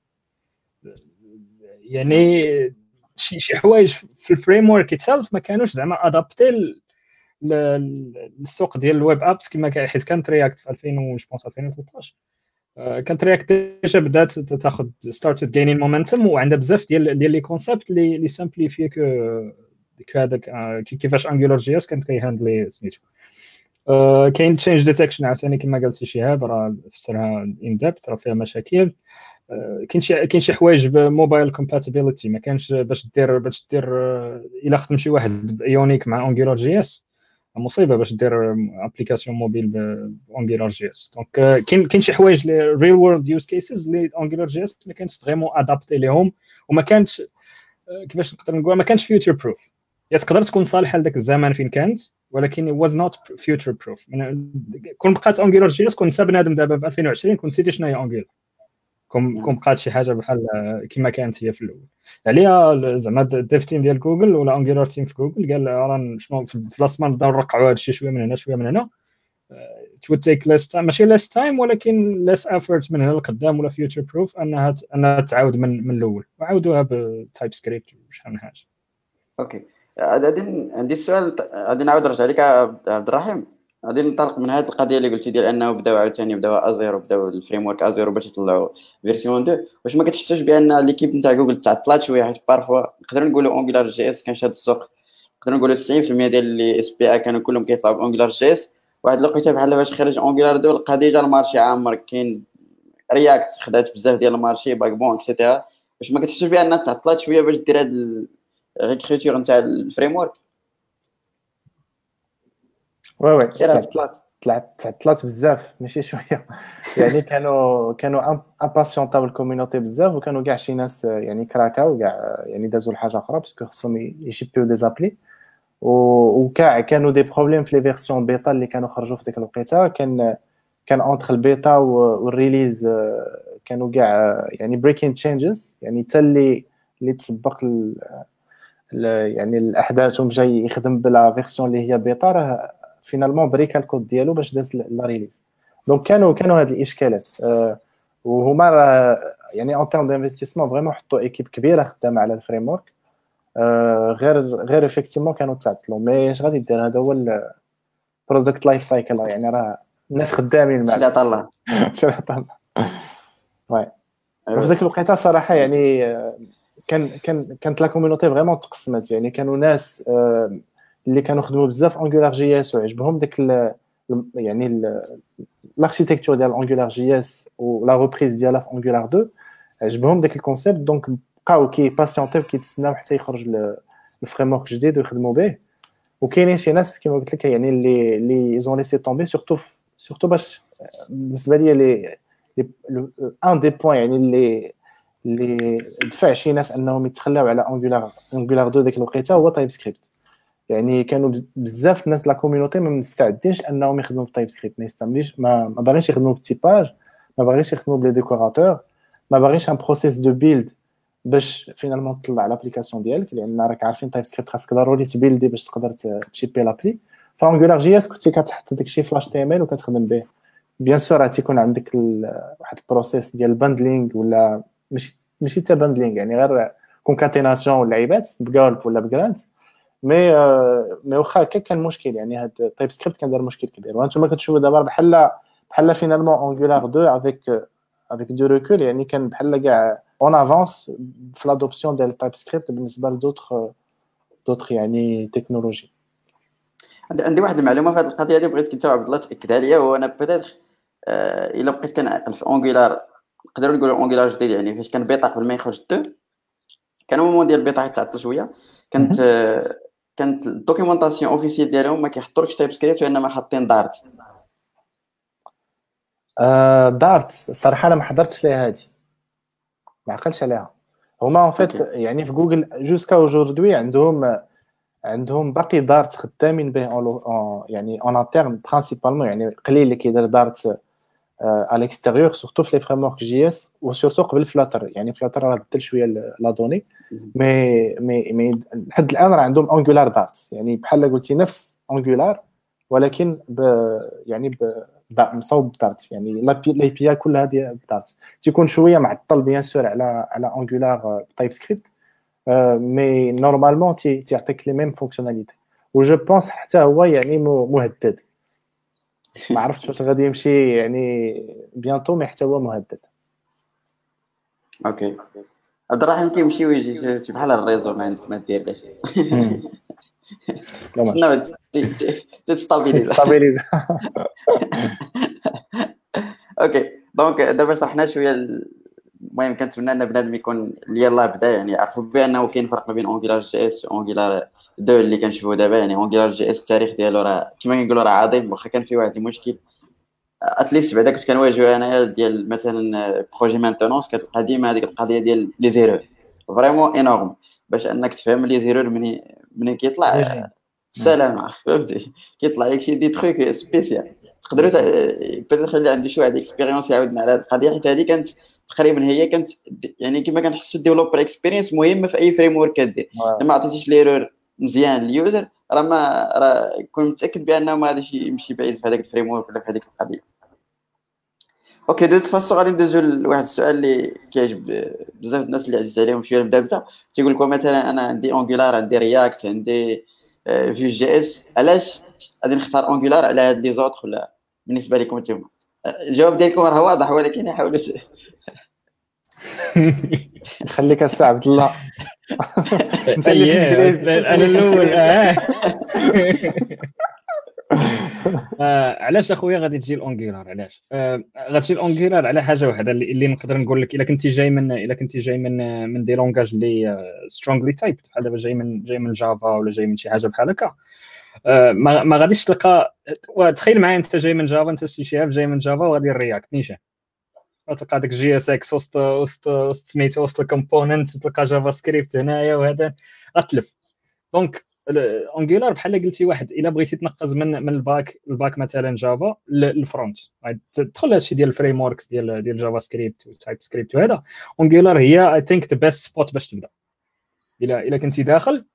يعني شي شي حوايج في الفريم ورك اتسلف ما كانوش زعما ادابتي للسوق ديال الويب ابس كما كان حيت كانت رياكت في ألفين وجوبونس ألفين وثلاثطاش كانت رياكت ديجا بدات تاخذ ستارتد جينين مومنتوم وعندها بزاف ديال ديال لي كونسيبت اللي اللي سامبليفيك هذاك كيفاش انجولار جي اس كانت كيهاندلي سميتو. آه كاين تشينج ديتكشن عاوتاني كما قال سي شهاب راه فسرها ان ديبت راه فيها مشاكل. آه كاين شي كاين شي حوايج بموبايل كومباتيبيليتي ما كانش باش دير باش دير الا خدم شي واحد بايونيك مع انجولار جي اس مصيبه باش دير ابليكاسيون موبيل بانجولار جي اس. دونك كاين كاين شي حوايج لي ريل وورلد يوز كيسز لي انجولار جي اس ما كانتش فريمون ادابتي ليهم وما كانتش كيفاش نقدر نقول ما كانش فيوتشر بروف. هي تقدر تكون صالحه لذاك الزمان فين كانت ولكن it was not future proof. كون بقات انجولار جي اس كون انت بنادم دابا في ألفين وعشرين كنت نسيتي شنو هي انجولار كون كون بقات شي حاجه بحال كما كانت هي في الاول. عليها زعما الديف تيم ديال جوجل ولا انجولار تيم في جوجل قال راه شنو في البلاصه نبداو نرقعوا هذا الشيء شويه من هنا شويه من هنا it would take less time ماشي less time ولكن less effort من هنا لقدام ولا future proof انها انها تعاود من من الاول وعاودوها بتايب سكريبت وشحال من حاجه. اوكي غادي عندي السؤال غادي نعاود نرجع لك عبد الرحيم. غادي ننطلق من هذه القضيه اللي قلتي ديال انه بداو عاوتاني بداو ازيرو بداو الفريم ورك ازيرو باش يطلعوا فيرسيون اثنين. واش ما كتحسوش بان ليكيب نتاع جوجل تعطلات شويه حيت بارفوا نقدروا نقولوا انجولار جي اس كان شاد السوق نقدروا نقولوا تسعين بالمية ديال لي اس بي اي كانوا كلهم كيطلعوا بانجولار جي اس واحد الوقيته بحال باش خرج انجولار اثنين لقى ديجا المارشي عامر كاين رياكت خدات بزاف ديال المارشي باك بون اكسيتيرا. واش ما كتحسوش بان تعطلات شويه باش دير هاد ريكريتور نتاع الفريم ورك؟ وي وي تعطلات تعطلات بزاف ماشي شويه يعني كانوا كانوا امباسيونطاو الكوميونيتي بزاف وكانوا كاع شي ناس يعني كراكاو كاع يعني دازوا لحاجه اخرى باسكو خصهم يشيبيو دي زابلي وكاع كانوا دي بروبليم في لي فيرسيون بيتا اللي كانوا خرجوا في ديك الوقيته. كان كان اونتر البيتا والريليز كانوا كاع يعني بريكين تشينجز يعني حتى اللي اللي تسبق يعني الاحداث وجاي يخدم بلا فيرسيون اللي هي بيتا راه فينالمون بريكا الكود ديالو باش داز لا ريليز. دونك كانوا كانوا هاد الاشكالات أه وهما يعني اون تيرم دانفستيسمون فريمون حطوا ايكيب كبيره خدامه على الفريم ورك أه غير غير افكتيفمون كانوا تعطلوا. مي اش غادي دير هذا هو البرودكت لايف سايكل يعني راه الناس خدامين مع شي طلع شي طلع وي. وفي ذاك الوقيته صراحه يعني كان كان كانت لا كوميونيتي فريمون تقسمت يعني كانوا ناس أه اللي كانوا خدموا بزاف انجولار جي اس وعجبهم داك يعني الاركتيكتور ديال انجولار جي اس ولا ريبريز ديالها في انجولار اثنين عجبهم داك الكونسيبت. دونك بقاو كي باسيونتيو كيتسناو حتى يخرج الفريم ورك جديد ويخدموا به. وكاينين شي ناس كما قلت لك يعني اللي اللي ايزون ليسي طومبي سورتو سورتو باش بالنسبه لي لي ان دي بوين يعني اللي اللي دفع شي ناس انهم يتخلاو على انجولار انجولار اثنين ديك الوقيته هو تايب سكريبت. يعني كانوا بزاف الناس لا كوميونيتي ما مستعدينش انهم يخدموا بتايب سكريبت ما يستعملوش ما ما باغيش يخدموا بالتيباج ما باغيش يخدموا بلي ديكوراتور ما باغيش ان بروسيس دو بيلد باش فينالمون تطلع لابليكاسيون ديالك لان راك عارفين تايب سكريبت خاصك ضروري تبيلدي باش تقدر تشيبي لابلي. فانجولار جي اس كنتي كتحط داكشي فلاش تي ام ال وكتخدم به بيان سور راه تيكون عندك واحد البروسيس ديال باندلينغ ولا ماشي ماشي حتى باندلينغ يعني غير كونكاتيناسيون واللعيبات بقالب ولا بجرانت. مي مي واخا هكا كان مشكل يعني هاد تايب سكريبت كان دار مشكل كبير. وانتم كتشوفوا دابا بحال بحال فينالمون انجولار اثنين افيك افيك دو ريكول يعني كان بحال كاع اون افونس في لادوبسيون ديال تايب سكريبت بالنسبه لدوطخ دوطخ يعني تكنولوجي. عندي واحد المعلومه في هذه القضيه اللي بغيت كنت عبد الله تاكدها ليا هو انا بيتيتر آه الا بقيت كنعقل في انجولار نقدروا نقولوا انجولار جديد يعني فاش كان بيتا قبل ما يخرج اثنين كان مومون ديال بيتا تعطل شويه كانت آه كانت الدوكيومونطاسيون اوفيسيال ديالهم ما كيحطولكش تايب سكريبت وانما حاطين دارت. آه دارت الصراحه انا ما حضرتش ليها هذه ما عقلتش عليها. هما ان فيت يعني في جوجل جوسكا اوجوردي عندهم عندهم باقي دارت خدامين به يعني اون انترن برينسيبالمون يعني قليل اللي كيدير دارت ا ليكستيريور سورتو في لي فريم ورك جي اس وسورتو قبل فلاتر يعني فلاتر راه بدل شويه لا دوني مي مي مي لحد الان راه عندهم انجولار دارت يعني بحال قلتي نفس انجولار ولكن ب يعني ب مصوب دارت يعني لا بي اي كلها ديال دارت تيكون شويه معطل بيان سور على على انجولار تايب سكريبت مي نورمالمون تي تيعطيك لي ميم فونكسيوناليتي و جو بونس حتى هو يعني مهدد ما عرفتش واش غادي يمشي يعني بيانتو مي حتى هو مهدد. اوكي عبد الرحيم كيمشي ويجي بحال الريزو ما عندك ما دير ليه لا تستابيليز. ستابيليز. اوكي دونك دابا شرحنا شويه. المهم كنتمنى ان بنادم يكون اللي يلاه بدا يعني يعرفوا بانه كاين فرق ما بين اونجولار جي اس واونجولار دو اللي كنشوفوا دابا. يعني اونجولار جي اس التاريخ ديالو راه كما كنقولوا راه عظيم، واخا كان فيه واحد المشكل اتليست بعدا كنت كنواجهو انايا ديال مثلا بروجي مانتونونس، كتبقى ديما هذيك القضيه ديال لي زيرور فريمون انورم باش انك تفهم لي زيرور منين منين كيطلع السلام فهمتي. كيطلع لك شي دي تروك سبيسيال تقدروا بيتيت اللي عنده شي واحد اكسبيريونس يعاودنا على هذه القضيه، حيت هذه كانت تقريبا هي كانت يعني كما كنحسوا ديفلوبر اكسبيرينس مهمه في اي فريم ورك كدير. لما عطيتيش ليرور مزيان لليوزر راه ما راه كون متاكد بانه ما غاديش يمشي بعيد في هذاك الفريم ورك ولا في هذيك القضيه. اوكي دو تفاصيل غادي ندوزو لواحد السؤال اللي كيعجب بزاف الناس اللي عزيز عليهم شويه المدابزه. تيقول لكم مثلا انا عندي اونجولار، عندي رياكت، عندي فيو جي اس، علاش غادي نختار اونجولار على هاد لي زوطخ؟ ولا بالنسبه لكم نتوما الجواب ديالكم راه واضح، ولكن حاولوا نخليك السي عبد الله. انت اللي في الانجليزي انا الاول. آه علاش اخويا غادي تجي الاونجولار؟ علاش آه غتجي الاونجولار؟ على حاجه واحده اللي, اللي نقدر نقول لك. الا كنتي جاي من الا كنتي جاي من من دي لونغاج اللي سترونغلي تايب بحال دابا جاي من جاي من جافا ولا جاي من شي حاجه بحال هكا، آه ما, ما غاديش تلقى. تخيل معايا انت جاي من جافا، انت سي شهاب جاي من جافا وغادي الرياكت نيشان، غتلقى داك جي اس اكس وسط وسط وسط سميتو وسط الكومبوننت، تلقى جافا سكريبت هنايا وهذا غتلف. دونك اونجولار بحال قلتي واحد الا بغيتي تنقز من من الباك الباك مثلا جافا للفرونت، تدخل هادشي ديال الفريم وركس ديال ديال جافا سكريبت وتايب سكريبت وهذا. اونجولار هي اي ثينك ذا بيست سبوت باش تبدا الا الا كنتي داخل.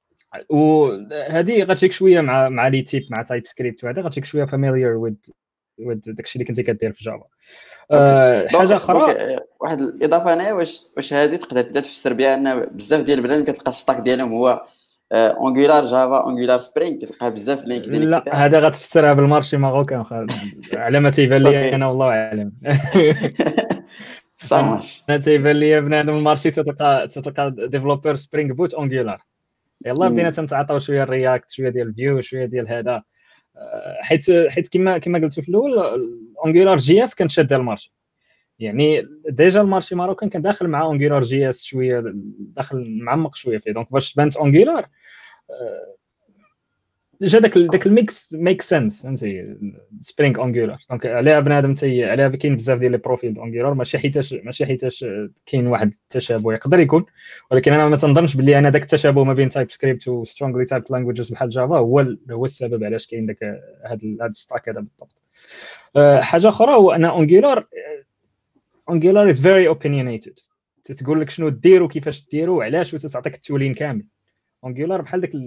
وهذه غتجيك شويه مع مع لي تيب مع تايب سكريبت وهذا غتجيك شويه فاميليير وذ وذ داكشي اللي كنتي كدير في جافا. أه حاجه اخرى واحد الاضافه هنا، واش واش هذه تقدر تبدا تفسر بها ان بزاف ديال البنات كتلقى الستاك ديالهم هو اونجولار جافا اونجولار سبرينغ، كتلقى بزاف لينكدين لا اكسيتيرا؟ هذا غتفسرها بالمارشي ماروكان على ما تيبان لي انا والله اعلم. صافي انا تيبان لي بنادم المارشي تلقى تلقى ديفلوبر سبرينغ بوت اونجولار. يلا بدينا تنتعاطاو شويه الرياكت شويه ديال الفيو شويه ديال هذا، حيت حيت كما كما قلت في الاول اونجولار جي اس كانت شاده المارشي. يعني ديجا المارشي ماروكان كان داخل مع اونجولار جي اس شويه داخل معمق شويه فيه. دونك باش بانت اونجولار جا داك داك الميكس ميك سنس فهمتي سبرينغ اونجولار. دونك عليها بنادم تي عليها كاين بزاف ديال لي بروفيل اونجولار، ماشي حيتاش ماشي حيتاش كاين واحد التشابه يقدر يكون، ولكن انا ما تنظنش باللي انا داك التشابه ما بين تايب سكريبت و سترونغلي تايب لانجويجز بحال جافا هو هو السبب علاش كاين داك هذا هذا الستاك هذا بالضبط. أه حاجه اخرى هو ان اونجولار اونجولار از فيري اوبينيونيتد، تتقول لك شنو دير وكيفاش ديروا وعلاش وتعطيك التولين كامل. اونجولار بحال داك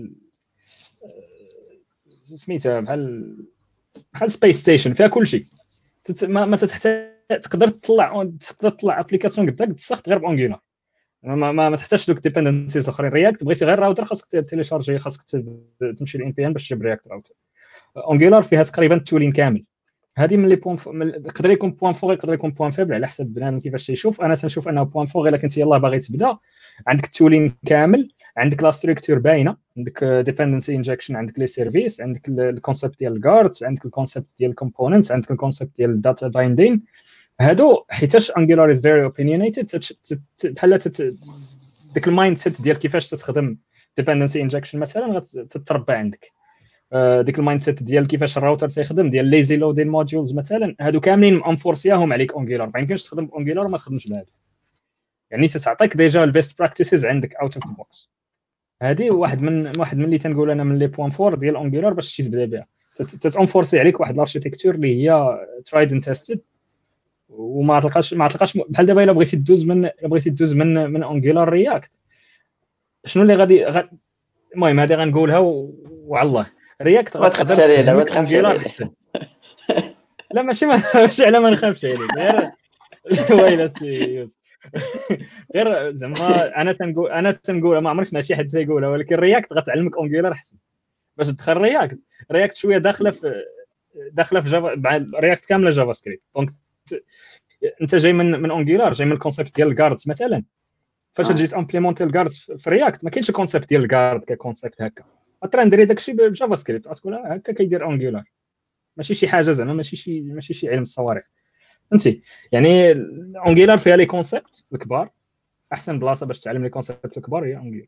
سميتها بحال بحال سبيس ستيشن فيها كلشي. ما, ما تحتاج تقدر تطلع تقدر تطلع ابليكاسيون قداك تسخط غير بانجولار، ما ما, ما تحتاجش دوك ديبندنسيز اخرين. رياكت بغيتي غير راوتر خاصك تيليشارجي، خاصك تمشي للان بي ان باش تجيب رياكت راوتر. اونجولار فيها تقريبا التولين كامل. هذه من لي بوين يقدر يكون بوين فور يقدر يكون بوين فيبل على حسب بنادم كيفاش تيشوف. انا تنشوف انه بوين فور الا كنتي يلاه باغي تبدا عندك التولين كامل، عندك لا ستركتور باينه، عندك ديبندنسي انجكشن، عندك لي سيرفيس، عندك الكونسيبت ديال الجاردز، عندك الكونسيبت ديال الكومبوننتس، عندك الكونسيبت ديال الداتا بايندين. هادو حيتاش انجولار از فيري اوبينيونيتد بحال ديك المايند سيت ديال كيفاش تستخدم ديبندنسي انجكشن مثلا غتتربى عندك. ديك المايند سيت ديال كيفاش الراوتر تيخدم ديال ليزي لودين موديولز مثلا، هادو كاملين انفورسياهم عليك اونجولار. ما يمكنش تخدم اونجولار وما تخدمش بهذا. يعني تعطيك ديجا البيست براكتيسز عندك اوت اوف ذا بوكس. هذه واحد من واحد من اللي تنقول انا من لي بوين فور ديال اونجولار باش شي تبدا بها. تتانفورسي عليك واحد الاركيتكتور اللي هي ترايد اند تيستد، وما تلقاش ما تلقاش بحال دابا الا بغيتي تدوز من بغيتي تدوز من من اونجولار رياكت شنو اللي غادي غ... المهم هذه غنقولها وعلى الله. رياكت غتقدر تخليها ما تخافش عليها. لا ماشي ماشي على ما نخافش عليك غير ويلي يوسف غير زعما انا تنقول انا تنقول ما عمرك سمعت شي حد تيقولها، ولكن رياكت غتعلمك اونجولار احسن باش تدخل رياكت. رياكت شويه داخله في داخله في جافا مع رياكت كامله جافا سكريبت. دونك انت جاي من من اونجولار جاي من الكونسيبت ديال الجاردز مثلا، فاش جيت امبليمونتي الجاردز في رياكت ما كاينش الكونسيبت ديال الجارد ككونسيبت هكا. غترى ندير داكشي بجافا سكريبت، غتقول هكا كيدير اونجولار، ماشي شي حاجه زعما ماشي شي ماشي شي علم الصواريخ، فهمتي؟ يعني اونجولار فيها لي كونسيبت الكبار، احسن بلاصه باش تعلم لي كونسيبت الكبار هي اونجولار.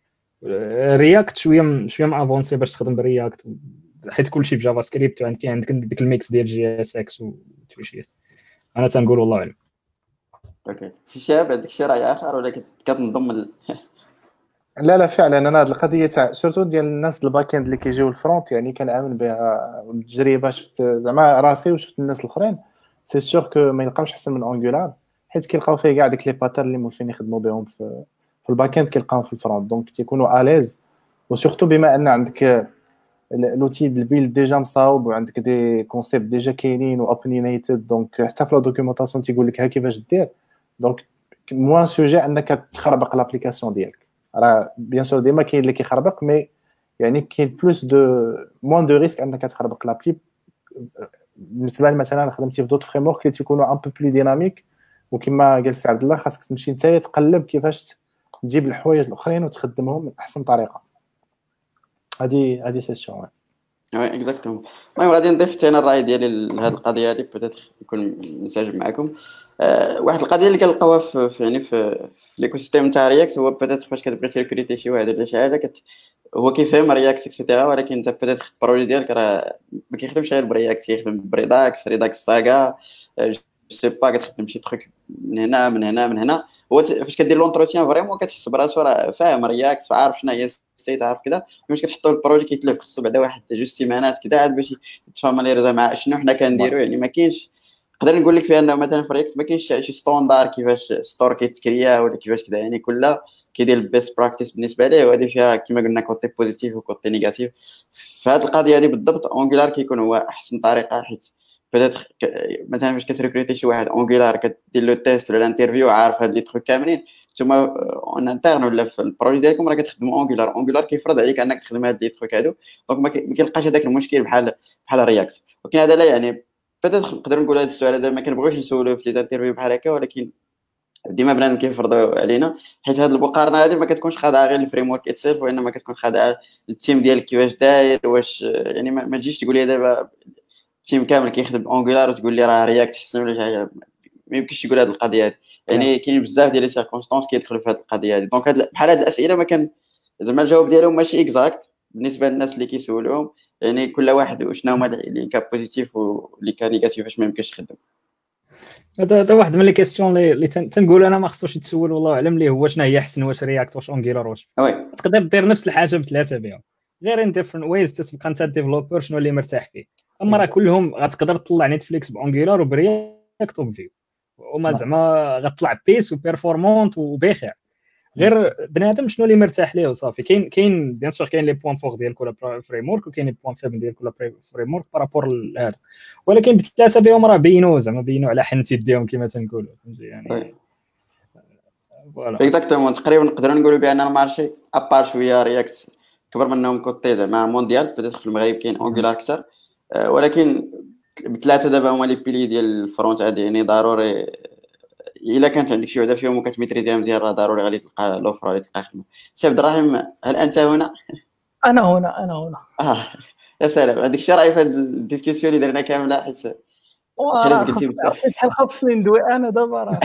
رياكت شويه شويه ما افونسي باش تخدم برياكت، حيت كلشي بجافا سكريبت، وعندك عندك ديك الميكس ديال جي اس اكس وتويشيات. انا تنقول والله اعلم. اوكي سي شاب، عندك شي راي اخر ولا كت- كتنضم ل... لا لا فعلا انا هاد القضيه تاع سورتو ديال الناس الباك اند اللي كيجيو الفرونت يعني كنامن بها، والتجربه شفت زعما راسي وشفت الناس الاخرين سي سور كو ما يلقاوش احسن من اونجولار، حيت كيلقاو فيه كاع ديك لي باترن اللي مولفين يخدموا بهم في في الباك اند كيلقاوهم في الفرونت، دونك تيكونوا اليز. وسورتو بما ان عندك لوتي ديال البيلد ديجا مصاوب وعندك دي كونسيبت ديجا كاينين واوبينيتد، دونك حتى في لا دوكيومونطاسيون تيقول لك ها كيفاش دير، دونك موان سوجي انك تخربق لابليكاسيون ديالك. راه بيان سور ديما كاين اللي كيخربق، مي يعني كاين بلوس دو موان دو ريسك انك تخربق لابلي. بالنسبه لي مثلا خدمتي في دوت فريم ورك اللي تيكونوا ان بو بلو ديناميك، وكما قال سي عبد الله خاصك تمشي نتايا تقلب كيفاش تجيب الحوايج الاخرين وتخدمهم من احسن طريقه. هذه هذه سيسيون. وي اكزاكتومون. المهم غادي نضيف حتى انا الراي ديالي لهاد القضيه هذه، بوتيتر يكون منسجم معكم. أه واحد القضيه اللي كنلقاوها في في- يعني في, في ليكو سيستيم تاع رياكت هو بوتيتر فاش كتبغي تريكريتي شي واحد ولا شي حاجه كت... هو كيفهم رياكت اكسيتيرا، ولكن انت بوتيتر البروجي ديالك راه ما كيخدمش غير برياكت، كيخدم بريداكس ريداكس ساغا جو سي با، كتخدم شي تروك من هنا من هنا من هنا. هو ت- فاش كدير لونتروتيان فريمون كتحس براسو راه فاهم رياكت، عارف شنو هي ستيت، عارف كذا. مش كتحطوا البروجي كيتلف، خصو بعدا واحد جوج سيمانات كذا عاد باش تفاميليريزا مع شنو حنا كنديروا. يعني ما كاينش، نقدر نقول لك بانه مثلا في رياكت ما كاينش شي ستوندار كيفاش ستور كيتكريا ولا كيفاش كذا، يعني كل كيدير البيست براكتيس بالنسبه ليه، وهذه فيها كما قلنا كوتي بوزيتيف وكوتي نيجاتيف. في هذه القضيه هذه بالضبط اونجولار كيكون هو احسن طريقه، حيت بيتيتر مثلا فاش كتريكريتي شي واحد اونجولار كدير له تيست ولا الانترفيو عارف هاد لي تروك كاملين، نتوما اون انترن ولا في البروجي ديالكم راه كتخدموا اونجولار. اونجولار كيفرض عليك انك تخدم هاد لي تروك هادو، دونك ما كيلقاش هذاك المشكل بحال بحال رياكت. ولكن هذا لا يعني بيتيتر نقدر نقول هذا السؤال هذا ما كنبغيوش نسولوه في لي انترفيو بحال هكا، ولكن ديما بنادم كيفرضوا علينا، حيت هذه المقارنه هذه ما كتكونش خاضعه غير الفريم ورك اتسيلف، وانما كتكون خاضعه التيم ديالك كيفاش داير. واش يعني ما تجيش تقول لي دابا التيم كامل كيخدم اونجولار وتقول لي راه رياكت حسن ولا شي حاجه، ما يمكنش تقول هذه القضيه هذه. يعني كاين بزاف ديال لي سيركونستانس كيدخلوا في هذه القضيه هذه. دونك هاد بحال هاد الاسئله ما كان زعما الجواب ديالهم ماشي اكزاكت بالنسبه للناس اللي كيسولوهم، يعني كل واحد وشنو هما اللي كان بوزيتيف واللي كان نيجاتيف باش ما يمكنش يخدم. هذا هذا واحد من لي كيسيون اللي اللي تن- تنقول انا ما خصوش يتسول والله اعلم ليه هو شنو هي احسن، واش رياكت واش اونجولار واش وي تقدر دير نفس الحاجه بثلاثه بهم، غير ان ديفرنت ويز تتبقى انت الديفلوبر شنو اللي مرتاح فيه. اما راه كلهم غتقدر تطلع نتفليكس باونجولار وبرياكت وبفيو، وما زعما غتطلع بيس وبيرفورمونت وبخير، غير بنادم شنو اللي مرتاح ليه وصافي. كاين كاين بيان سور كاين لي بوين فور ديال كل فريم ورك، وكاين لي بوين فيبل ديال كل فريم ورك بارابور لهذا، ولكن بثلاثه بهم راه بينوا زعما بينوا على حنت يديهم كما تنقولوا، فهمتي يعني. فوالا اكزاكتومون. تقريبا نقدروا نقولوا بان المارشي ابار شويه رياكت كبر منهم كوتي زعما مونديال، بدات في المغرب كاين اونجولار اكثر، أه ولكن بثلاثه دابا هما لي بيلي ديال الفرونت هادي. يعني ضروري الا كانت عندك شي وحده فيهم وكتميتريزيها مزيان راه ضروري غادي تلقى لوفر غادي تلقى خدمه. سي عبد الرحيم هل انت هنا؟ انا هنا انا هنا اه يا سلام، عندك شي راي في هاد الديسكسيون اللي درنا كامله؟ حيت وراه خلاص قلتي خاص بزاف. بحال خاصني ندوي انا دابا راه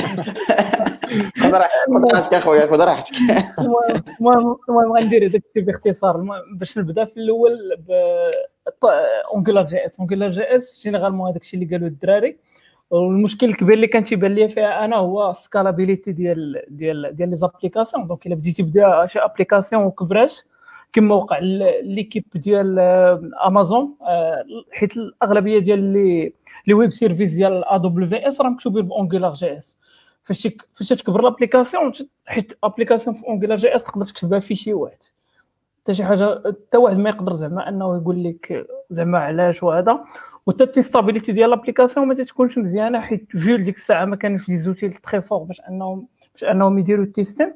خذ راحتك خذ راحتك اخويا خذ راحتك. المهم المهم المهم غندير هذاك الشيء باختصار. المهم باش نبدا في الاول ب اونجولار جي اس. اونجولار جي اس جينيرالمون هذاك الشيء اللي قالوا الدراري، والمشكل الكبير اللي كان تيبان ليا فيها انا هو السكالابيليتي ديال ديال ديال لي زابليكاسيون. دونك الا بديتي تبدا شي ابليكاسيون وكبراش كما وقع ليكيب ديال امازون، حيت الاغلبيه ديال لي لي ويب سيرفيس ديال ا دبليو اس راه مكتوبين بأونجولار جي اس. فاش فاش تكبر لابليكاسيون، حيت ابليكاسيون في اونجولار جي اس تقدر تكتبها في شي واحد، حتى شي حاجه حتى واحد ما يقدر زعما انه يقول لك زعما علاش وهذا. وحتى التيستابيليتي ديال لابليكاسيون ما تكونش مزيانه، حيت فيو ديك الساعه ما كانوش لي زوتيل تري فور باش انهم باش انهم يديروا التيستين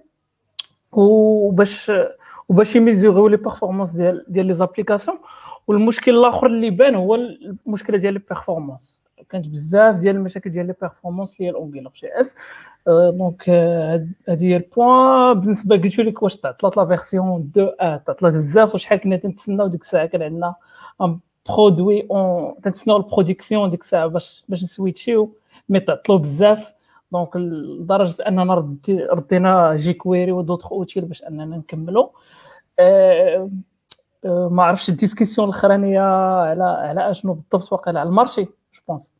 وباش وباش يميزيغيو لي بيرفورمانس ديال ديال لي زابليكاسيون. والمشكل الاخر اللي بان هو المشكله ديال لي بيرفورمانس. كانت بزاف ديال المشاكل ديال لي بيرفورمانس ديال اونجولار جي اس. دونك هذه هي البوان. بالنسبه قلت لك واش تعطلات لا فيرسيون اثنين اه تعطلات بزاف، وشحال كنا تنتسناو ديك الساعه كان عندنا ان برودوي اون تنتسناو البرودكسيون ديك الساعه باش باش نسويتشيو، مي تعطلوا بزاف. دونك لدرجه اننا ردي ردينا جي كويري ودوطخ اوتيل باش اننا نكملوا. أه أه ما عرفتش الديسكسيون الاخرانيه على على اشنو بالضبط، واقيلا على المارشي جو بونس.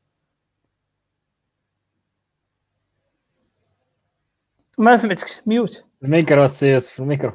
ما سمعتكش، ميوت. الميكرو السيوس في الميكرو.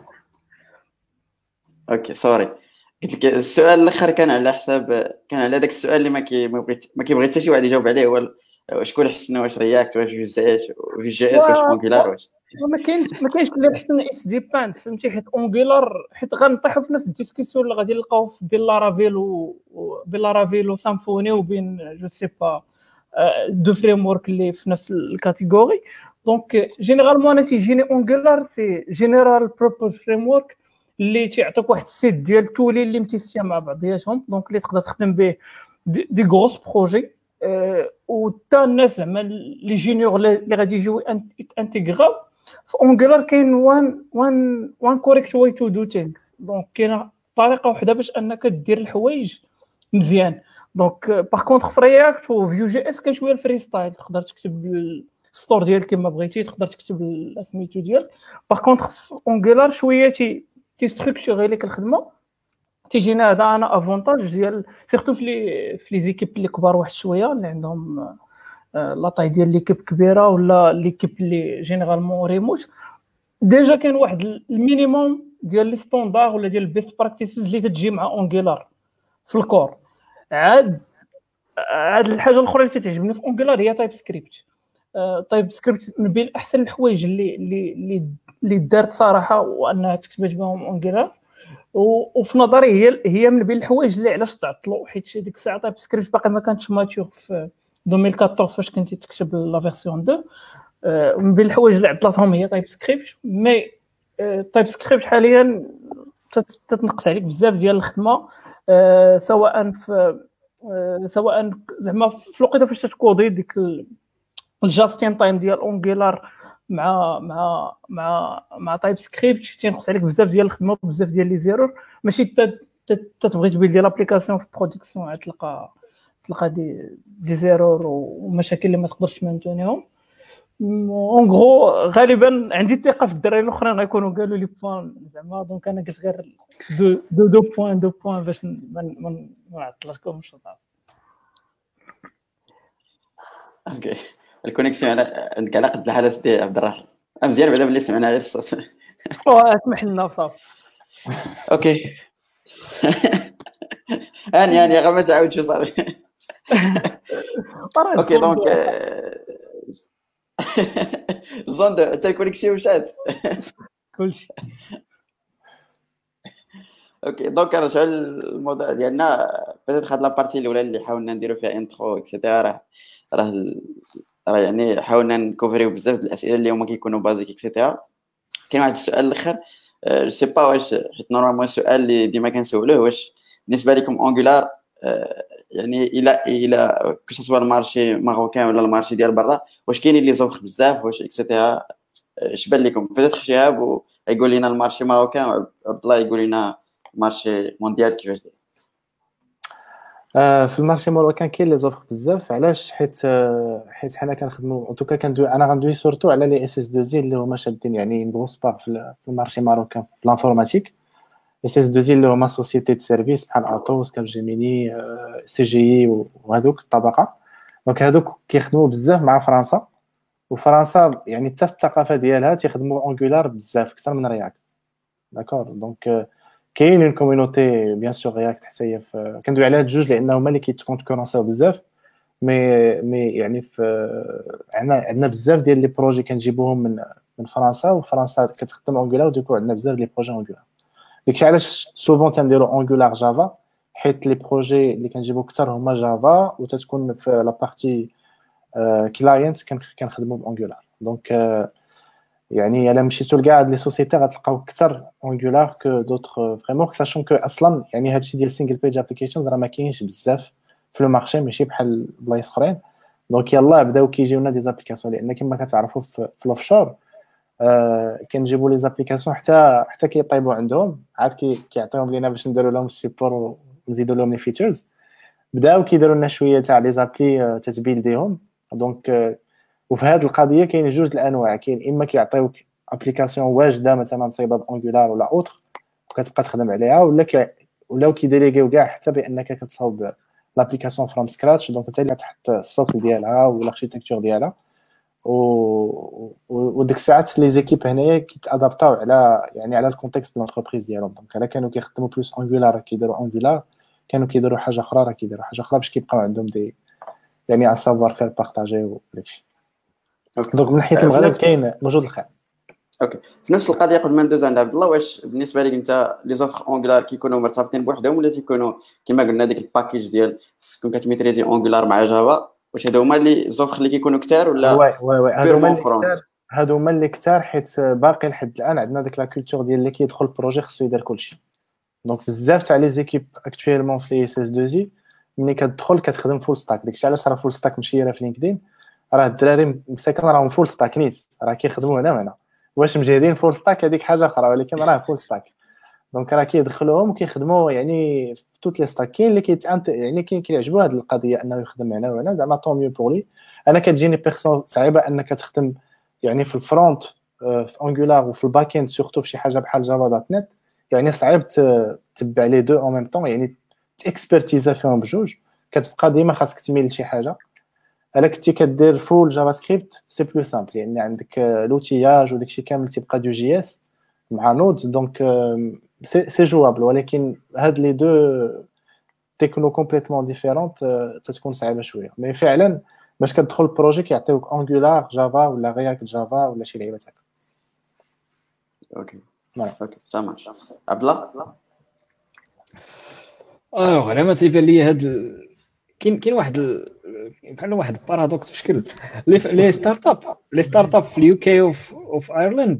اوكي سوري، قلت لك السؤال الاخر كان على حساب كان على داك السؤال اللي ما كي ما بغيت ما كيبغي حتى شي واحد يجاوب عليه، هو شكون احسن، واش رياكت واش في جي اس في جي اس واش اونجولار واش ما كاينش ما كاينش اللي احسن اس دي بان، فهمتي؟ حيت اونجولار حيت غنطيحوا في نفس الديسكسيون اللي غادي نلقاو بين لارافيل و بين لارافيل وسامفوني وبين جو سي با دو فريم ورك اللي في نفس الكاتيجوري. دونك جينيرالمون انا تيجيني اونجولار سي جينيرال بروبوز فريم ورك اللي تيعطيك واحد السيت ديال التولي اللي متيسيه مع بعضياتهم، دونك اللي تقدر تخدم به دي غروس بروجي. أه وتا الناس زعما لي جونيور اللي غادي يجيو انتيغراو في اونجولار كاين وان وان وان كوريكت واي تو دو ثينكس. دونك كاينه طريقه وحده باش انك دير الحوايج مزيان. دونك باغ كونطخ في رياكت وفيو جي اس كاين شويه الفري ستايل، تقدر تكتب الستور ديالك كما بغيتي، تقدر تكتب سميتو ديالك. باغ كونطخ في اونجولار شويه تي تي ستركتوري لك الخدمه، تيجينا هذا انا افونتاج ديال سيرتو في لي في لي زيكيب اللي كبار واحد شويه اللي عندهم لا طاي ديال ليكيب كبيره ولا ليكيب اللي جينيرالمون ريموت. ديجا كاين واحد المينيموم ديال لي ستاندار ولا ديال البيست براكتيسز اللي كتجي مع اونجولار في الكور. عاد عاد الحاجه الاخرى اللي تعجبني في اونجولار هي تايب سكريبت. تايب سكريبت من بين احسن الحوايج اللي اللي اللي دارت صراحه وانها تكتبت بهم اونجولار، وفي نظري هي هي من بين الحوايج اللي علاش تعطلوا، حيت ديك الساعه تايب سكريبت باقي ما كانتش ماتور في ألفين وأربعطاش فاش كنتي تكتب لا فيرسيون اثنين. من بين الحوايج اللي عطلتهم هي تايب سكريبت، مي تايب سكريبت حاليا تتنقص عليك بزاف ديال الخدمه، سواء في سواء زعما في الوقيته فاش تكودي ديك الجاستين تايم ديال اونجولار مع مع مع مع تايب سكريبت تينقص عليك بزاف ديال الخدمه بزاف ديال لي زيرور. ماشي تتبغي تبيلدي لابليكاسيون في برودكسيون عاد تلقى تلقى دي دي زيرور ومشاكل اللي ما تقدرش تمانتونيهم. اون غرو غالبا عندي الثقه في الدراري الاخرين غيكونوا قالوا لي بوان زعما، دونك انا قلت غير دو دو دو بوان دو بوان باش ما نعطلكمش. اوكي الكونيكسيون عندك على قد الحاله ديال عبد الرحيم مزيان بعدا باللي سمعنا غير الصوت. اسمح لنا صافي. اوكي هاني هاني غير ما تعاودش صافي. اوكي دونك زوند حتى الكونيكسيون مشات كلشي. اوكي دونك نرجعوا للموضوع ديالنا. بدات هاد لابارتي الاولى اللي حاولنا نديرو فيها انترو اكسيتيرا، راه راه راه يعني حاولنا نكوفريو بزاف د الاسئله اللي هما كيكونوا بازيك اكسيتيرا. كاين واحد السؤال الاخر جو سي با واش حيت نورمالمون السؤال اللي ديما كنسولوه واش بالنسبه لكم اونجولار يعني الى الى كو سوا المارشي ماروكان ولا المارشي ديال برا واش كاينين لي زوفر بزاف واش اكسيتيرا اش بان لكم؟ بدات شهاب ويقول لنا المارشي ماروكان وعبد الله يقول لنا مارشي مونديال كيفاش داير. في المارشي ماروكان كاين لي زوفر بزاف. علاش؟ حيت حيت حنا كنخدموا ان توكا كندوي انا غندوي سورتو على لي اس اس دو زي اللي هما شادين يعني غروس بار في المارشي ماروكان في لانفورماتيك. اس اس دو زي اللي هما سوسيتي دو سيرفيس بحال اطوس كابجيميني سي جي اي وهذوك الطبقه. دونك هذوك كيخدموا بزاف مع فرنسا، وفرنسا يعني حتى الثقافه ديالها تيخدموا اونجولار بزاف اكثر من رياكت. داكور دونك كاين اون كوميونيتي بيان سور رياكت حتى هي كندوي على هاد الجوج لان هما اللي كيتكونكورونساو بزاف. مي مي يعني في عندنا عندنا بزاف ديال لي بروجي كنجيبوهم من من فرنسا، وفرنسا كتخدم اونجولار وديكو عندنا بزاف لي بروجي اونجولار. داكشي علاش سوفون تنديرو اونجولار جافا، حيت لي بروجي اللي كنجيبو اكثر هما جافا وتتكون في لا بارتي كلاينت كنخدمو باونجولار. دونك يعني الا مشيتو لكاع هاد لي سوسيتي غتلقاو اكثر اونجولار كو دوطخ فريمون، ساشون كو اصلا يعني هادشي ديال سينجل بيج ابليكيشنز راه ما كاينش بزاف في لو مارشي، ماشي بحال بلايص اخرين. دونك يلاه بداو كيجيونا دي زابليكاسيون، لان كما كتعرفوا في الاوفشور آه كنجيبوا لي زابليكاسيون حتى حتى كيطيبوا عندهم، عاد كي كيعطيهم لينا باش نديروا لهم السيبور ونزيدوا لهم لي فيتشرز. بداو كيديروا لنا شويه تاع لي زابلي تتبيل ديهم. دونك آه وفي هذه القضيه كاين جوج الانواع، كاين اما كيعطيوك ابليكاسيون واجده مثلا مصيبه بانجولار ولا اوتر وكتبقى تخدم عليها، ولا كي ولاو كيديريغيو كاع حتى بانك كتصاوب لابليكاسيون فروم سكراتش. دونك انت اللي تحط السوك ديالها والاركتيكتور ديالها و وديك الساعات لي زيكيب هنايا كيتادابطاو على يعني على الكونتكست ديال لونتربريز ديالهم. دونك الا كانوا كيخدموا بلوس انجولار كيديروا انجولار، كانوا كيديروا حاجه اخرى راه كيديروا حاجه اخرى باش كيبقاو عندهم دي يعني ان سافوار فير بارطاجي وداكشي. دونك من ناحيه المغرب كاين موجود الخير. اوكي، في نفس القضيه قبل ما ندوز عند عبد الله، واش بالنسبه لك انت لي زوفر اونغولار كيكونوا مرتبطين بوحدهم ولا تيكونوا كما قلنا ديك الباكيج ديال تكون كتميتريزي اونغولار مع جافا؟ واش هادو هما لي زوفر اللي كيكونوا كثار ولا وي وي وي هادو هما اللي كثار، هادو هما اللي كثار حيت باقي لحد الان عندنا ديك لا كولتور ديال اللي كيدخل البروجي خصو يدير كلشي. دونك بزاف تاع لي زيكيب اكطويلمون في لي اس اس دو زي ملي كتدخل كتخدم فول ستاك. داكشي علاش راه فول ستاك مشيره في لينكدين، راه الدراري مساكن راهم فول ستاك نيت، راه كيخدموا هنا وهنا. واش مجهدين فول ستاك هذيك حاجه اخرى، ولكن راه فول ستاك. دونك راه كيدخلوهم وكيخدموا يعني في توت لي ستاك. كاين اللي كيتانت يعني كاين كيعجبوا هذه القضيه انه يخدم هنا وهنا، زعما طون ميو بور لي. انا كتجيني بيرسون صعيبه انك تخدم يعني في الفرونت في انجولار وفي الباك اند سورتو في شي حاجه بحال جافا دوت نت، يعني صعيب تتبع لي دو اون ميم طون، يعني تاكسبرتيزا فيهم بجوج. كتبقى ديما خاصك تميل لشي حاجه. الا كنتي كدير فول جافا سكريبت سي بلو سامبل، يعني عندك لوتياج وداكشي كامل تيبقى دو جي اس مع نود. دونك سي سي جوابل، ولكن هاد لي دو تكنو كومبليتمون ديفيرونت تتكون صعيبه شويه. مي فعلا باش كتدخل البروجي كيعطيوك انجولار جافا ولا رياكت جافا ولا شي لعيبه هكا. اوكي فوالا اوكي سامع. عبد الله اه انا ما تيبان لي هاد كاين كاين واحد ال... بحال واحد البارادوكس في شكل لي لي ستارت اب لي ستارت اب في اليو كي وفي وفي ايرلند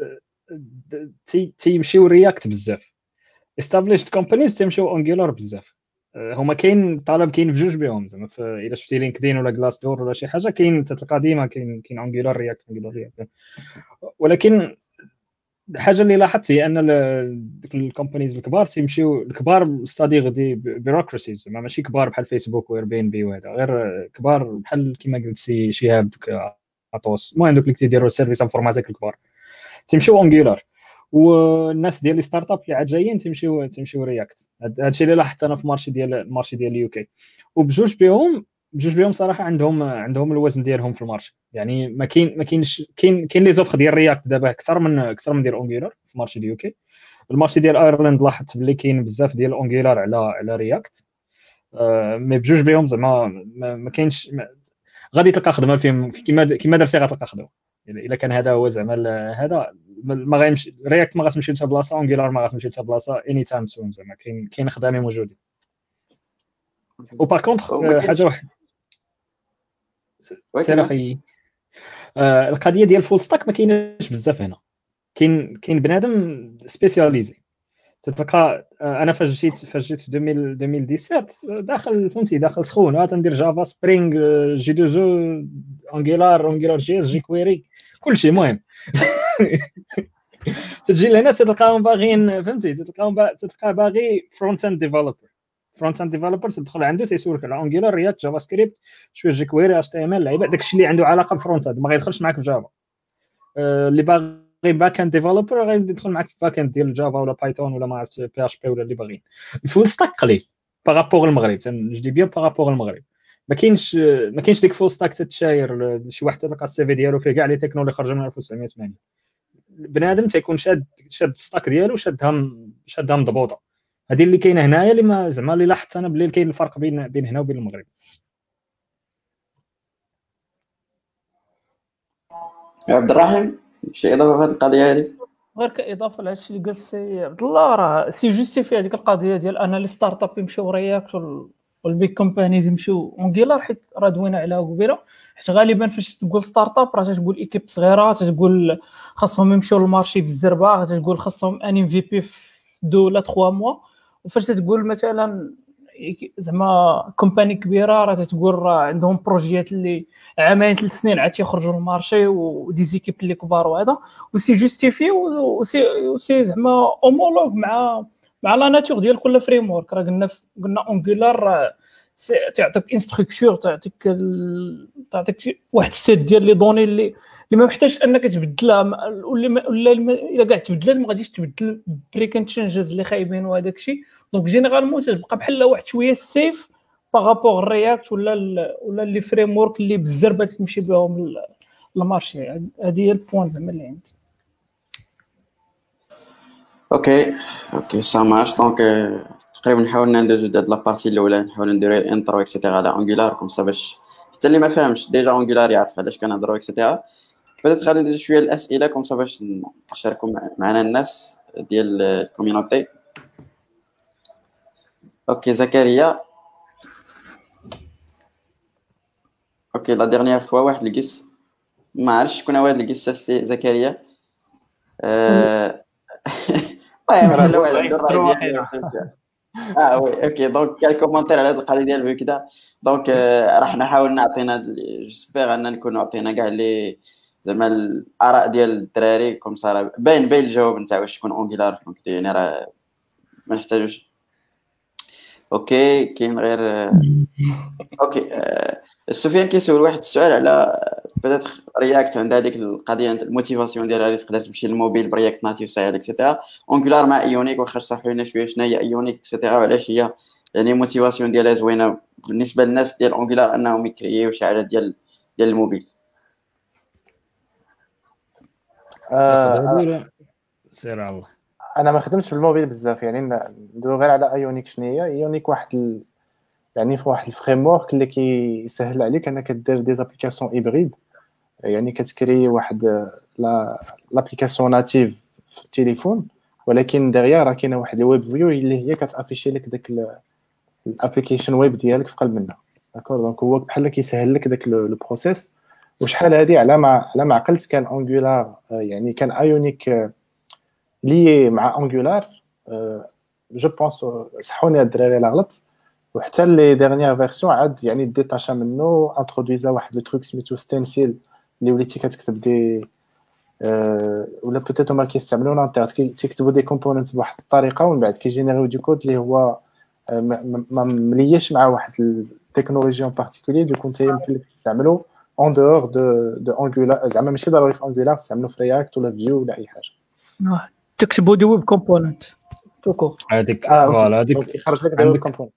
تي تيمشيو رياكت بزاف. established companies تيمشيو انجولار بزاف. هما كاين طلب كاين بجوج بهم زعما الا شفتي لينكدين ولا كلاس دور ولا شي حاجه كاين تتلقى ديما كاين كاين انجولار رياكت انجولار رياكت. ولكن الحاجه اللي لاحظت هي ان ديك الكومبانيز الكبار تيمشيو الكبار ستادي دي بيروكراسيز، زعما ماشي كبار بحال فيسبوك واير بي ان بي وهذا، غير كبار بحال كما قلت سي شهاب دوك اطوس. المهم دوك اللي تيديروا سيرفيس انفورماتيك الكبار تيمشيو انجولار، والناس ديال لي ستارت اب اللي عاد جايين تيمشيو تيمشيو رياكت. هادشي اللي لاحظت انا في المارشي ديال المارشي ديال اليو كي. وبجوج بهم بجوج بهم صراحه عندهم عندهم الوزن ديالهم في المارشي. يعني ما كاين ما كاينش كاين كاين لي زوفر ديال رياكت دابا اكثر من اكثر من ديال انجولار في المارشي ديال اليو كي. المارشي ديال ايرلند لاحظت بلي كاين بزاف ديال انجولار على على رياكت. آه مي بجوج بهم زعما ما, ما كاينش ما غادي تلقى خدمه فيهم كيما كيما درتي غتلقى خدمه. الا كان هذا هو زعما هذا ما غيمشي رياكت ما غاتمشي لتا بلاصه، انجولار ما غاتمشي لتا بلاصه اني تايم سون. زعما كاين كاين خدامين موجودين. وبار كونطخ حاجه واحد سير اخي، آه القضيه ديال فول ستاك ما كايناش بزاف هنا. كاين كاين بنادم سبيسياليزي تتلقى. آه انا فاش جيت فاش جيت في ألفين وسبعطاش داخل فهمتي داخل سخونه تندير جافا سبرينغ جي دو جو انجولار انجولار جي اس جي كويري كلشي. المهم تجي لهنا تلقاهم باغيين فهمتي تلقاهم با... تلقى باغي فرونت اند ديفلوبر. فرونت اند ديفلوبر تدخل عنده تيسولك على انجولار رياكت جافا سكريبت شويه جي كويري اتش تي ام ال لعيبه داكشي اللي عنده علاقه بالفرونت اند ما غيدخلش معاك في جافا. أه اللي باغي باك اند ديفلوبر غادي يدخل معاك في باك اند ديال جافا ولا بايثون ولا ما عرفت بي اش بي ولا اللي باغيين. الفول ستاك قليل بارابور المغرب، تنجدي بيان بارابور المغرب ما كاينش ما كاينش ديك فول ستاك تتشاير شي واحد تلقى السي في ديالو فيه كاع لي تكنو اللي خرجوا من ألف وتسعمية وثمانين. بنادم تيكون شاد شاد الستاك ديالو شادها شادها مضبوطه. هذه اللي كاينه هنايا اللي ما زعما اللي لاحظت انا بلي كاين الفرق بين بين هنا وبين المغرب. عبد الرحيم شي اضافه في هذه القضيه هذه؟ غير كاضافه لهذا الشيء اللي قال السي عبد الله، راه سي جوستيفي هذيك القضيه ديال انا لي ستارت اب يمشيو رياكت والبيك كومبانيز يمشيو اونجولار، حيت راه دوينا عليها قبيله. حيت غالبا فاش تقول ستارت اب راه تقول ايكيب صغيره، تقول خاصهم يمشيو للمارشي بالزربه، تقول خاصهم ان ام في بي في دو ولا ثلاثة موا. وفاش تقول مثلا زعما كومباني كبيره راه تتقول راه عندهم بروجيات اللي عامين ثلاث سنين عاد تيخرجوا للمارشي ودي زيكيب اللي كبار وهذا وسي جوستيفي وسي وسي زعما اومولوج مع مع لا ناتور ديال كل فريم ورك. راه قلنا قلنا اونغولار تعطيك انستركتور تعطيك ال... تعطيك واحد السيت ديال لي دوني اللي اللي ما محتاجش انك تبدلها ولا ولا الا كاع تبدلها ما غاديش تبدل بريكن تشينجز اللي خايبين وهذاك الشيء. دونك جينيرالمون تبقى بحال واحد شويه سيف بارابور الرياكت ولا ال... ولا لي فريم ورك اللي بالزربه تمشي بهم المارشي. هذه هي البوين زعما اللي عندي. اوكي اوكي سا مارش. دونك تقريبا نحاول ندوزو هاد لابارتي الاولى نحاول نديرو الانترو اكسيتيرا على انجولار كوم سا باش حتى اللي ما فاهمش ديجا انجولار يعرف علاش كنهضروا اكسيتيرا. بدات غادي ندوزو شويه الاسئله كوم سا باش نشاركوا معنا الناس ديال الكوميونيتي. اوكي زكريا. اوكي لا ديرنيير فوا واحد لقيس ما عرفتش شكون هو هذا القيس سي زكريا. اه المهم راه لو عنده الراي ديالو. اه وي اوكي دونك كاين كومونتير على هذه القضيه ديال الفيو كذا. دونك راح نحاول نعطينا جيسبيغ ان نكون عطينا كاع لي زعما الاراء ديال الدراري كوم صار باين باين الجواب نتاع واش شكون اونغولار دونك يعني راه ما نحتاجوش. اوكي كاين غير اوكي آه. سفيان كيسول واحد السؤال على بدات رياكت عند هذيك القضيه الموتيفاسيون ديالها اللي تقدر تمشي للموبيل برياكت ناتيف سايد اكسيتيرا. اونغولار مع ايونيك واخا شرحوا لنا شويه شنو هي ايونيك اكسيتيرا وعلاش هي يعني موتيفاسيون ديالها زوينه بالنسبه للناس ديال اونغولار انهم يكرييو شي حاجه ديال ديال الموبيل. آه سير على الله. انا ما خدمتش بالموبيل بزاف يعني ندوي غير على ايونيك. شنو هي ايونيك؟ واحد ال... يعني في واحد الفريم ورك اللي كيسهل عليك انك دير دي زابليكاسيون هيبريد. يعني كتكري واحد لا لابليكاسيون ناتيف في التليفون ولكن دغيا راه كاينه واحد الويب فيو اللي هي كتافيشي لك داك الابليكيشن ويب ديالك في قلب منها. داكور دونك هو بحال كيسهل لك داك لو بروسيس. وشحال هادي على ما على ما عقلت كان انجولار يعني كان ايونيك لي مع انجولار جو بونس صحوني الدراري لا غلط. وحتى لي ديرنيير فيرسيون عاد يعني ديتاشا منه انترودويزا واحد لو تروك سميتو ستنسيل اللي وليتي كتكتب دي أه ولا بوتيتو ما كيستعملوا لانترنت كيكتبوا دي كومبوننت بواحد الطريقه ومن بعد كيجينيريو دي كود اللي هو ما مليش مع واحد التكنولوجيا ان بارتيكولير دو كنت يمكن لك تستعملو اون دور دو دو انجولار. زعما ماشي ضروري في انجولار تستعملو في رياكت ولا فيو ولا اي حاجه. تكتبوا دي ويب كومبوننت توكو هذيك فوالا هذيك يخرج لك دي ويب كومبوننت.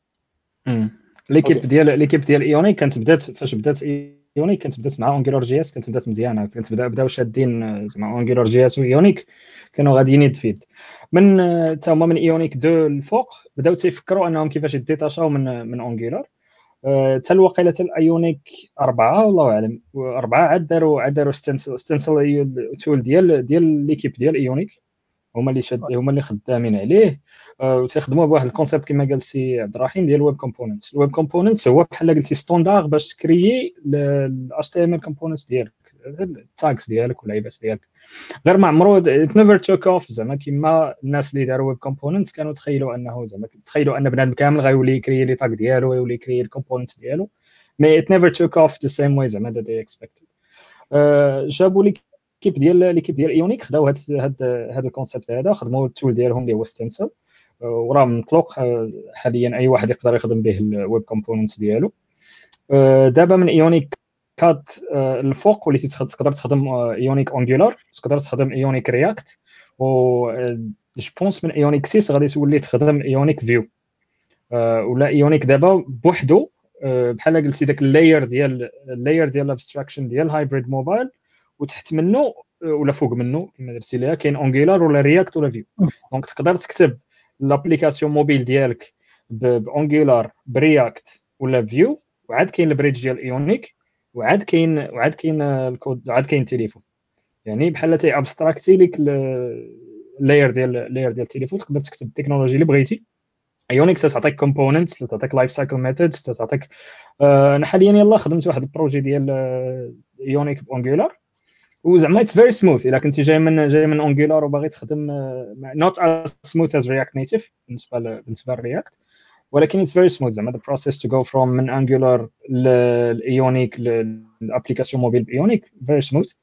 ليكيب ديال ليكيب ديال ايونيك كانت بدات فاش بدات ايونيك كانت بدات مع انجولار جي اس كانت بدات مزيانه. كانت بدا بداو شادين زعما انجولار جي اس وايونيك كانوا غاديين يدفيد من حتى هما من ايونيك دو الفوق بداو تيفكروا انهم كيفاش يديتاشاو من من انجولار حتى الوقيله حتى الايونيك أربعة والله اعلم أربعة عاد داروا عاد داروا ستنسل ستنسل تول ديال ديال ليكيب ديال ايونيك هما اللي شاد هما اللي خدامين عليه وتخدموا بواحد الكونسيبت كما قال سي عبد الرحيم ديال الويب كومبوننتس. الويب كومبوننتس هو بحال قلتي ستاندار باش تكريي الاش تي ام ال كومبوننتس ديالك التاكس ديالك والعيبات ديالك غير ما عمرو نيفر توك اوف زعما كيما الناس اللي داروا ويب كومبوننتس كانوا تخيلوا انه زعما تخيلوا ان بنادم كامل غيولي يكري لي تاك ديالو ويولي يكري الكومبوننتس ديالو مي ات نيفر توك اوف ذا سيم واي زعما ذات اكسبكتد. جابوا لي كيب ديال ليكيب ديال ايونيك خداو هاد هاد هاد الكونسيبت هذا خدموا التول ديالهم اللي هو ستنسل وراه مطلق حاليا اي واحد يقدر يخدم به الويب كومبوننتس ديالو. دابا من ايونيك كات الفوق وليتي تقدر تخدم ايونيك انجولار تقدر تخدم ايونيك رياكت و جو بونس من ايونيك ستة غادي تولي تخدم ايونيك فيو ولا ايونيك دابا بوحدو بحال قلتي داك اللاير ديال اللاير ديال الابستراكشن ديال هايبريد موبايل وتحت منه ولا فوق منه كما درتي ليها كاين انجولار ولا رياكت ولا فيو. دونك تقدر تكتب لابليكاسيون موبيل ديالك بانجولار برياكت ولا فيو وعاد كاين البريدج ديال ايونيك وعاد كاين وعاد كاين الكود وعاد كاين التليفون يعني بحال تي ابستراكتي لك اللاير ديال اللاير ديال التليفون تقدر تكتب التكنولوجي اللي بغيتي. ايونيك تعطيك كومبوننتس تعطيك لايف سايكل ميثودز تعطيك آه انا حاليا يلاه خدمت واحد البروجي ديال ايونيك بانجولار وزعما اتس فيري سموث الا كنتي جاي من جاي من انجولار وباغي تخدم نوت از سموث از رياكت نيتيف بالنسبه بالنسبه للرياكت ولكن اتس فيري سموث زعما the process to go from من انجولار للايونيك للابليكاسيون موبيل بايونيك فيري سموث.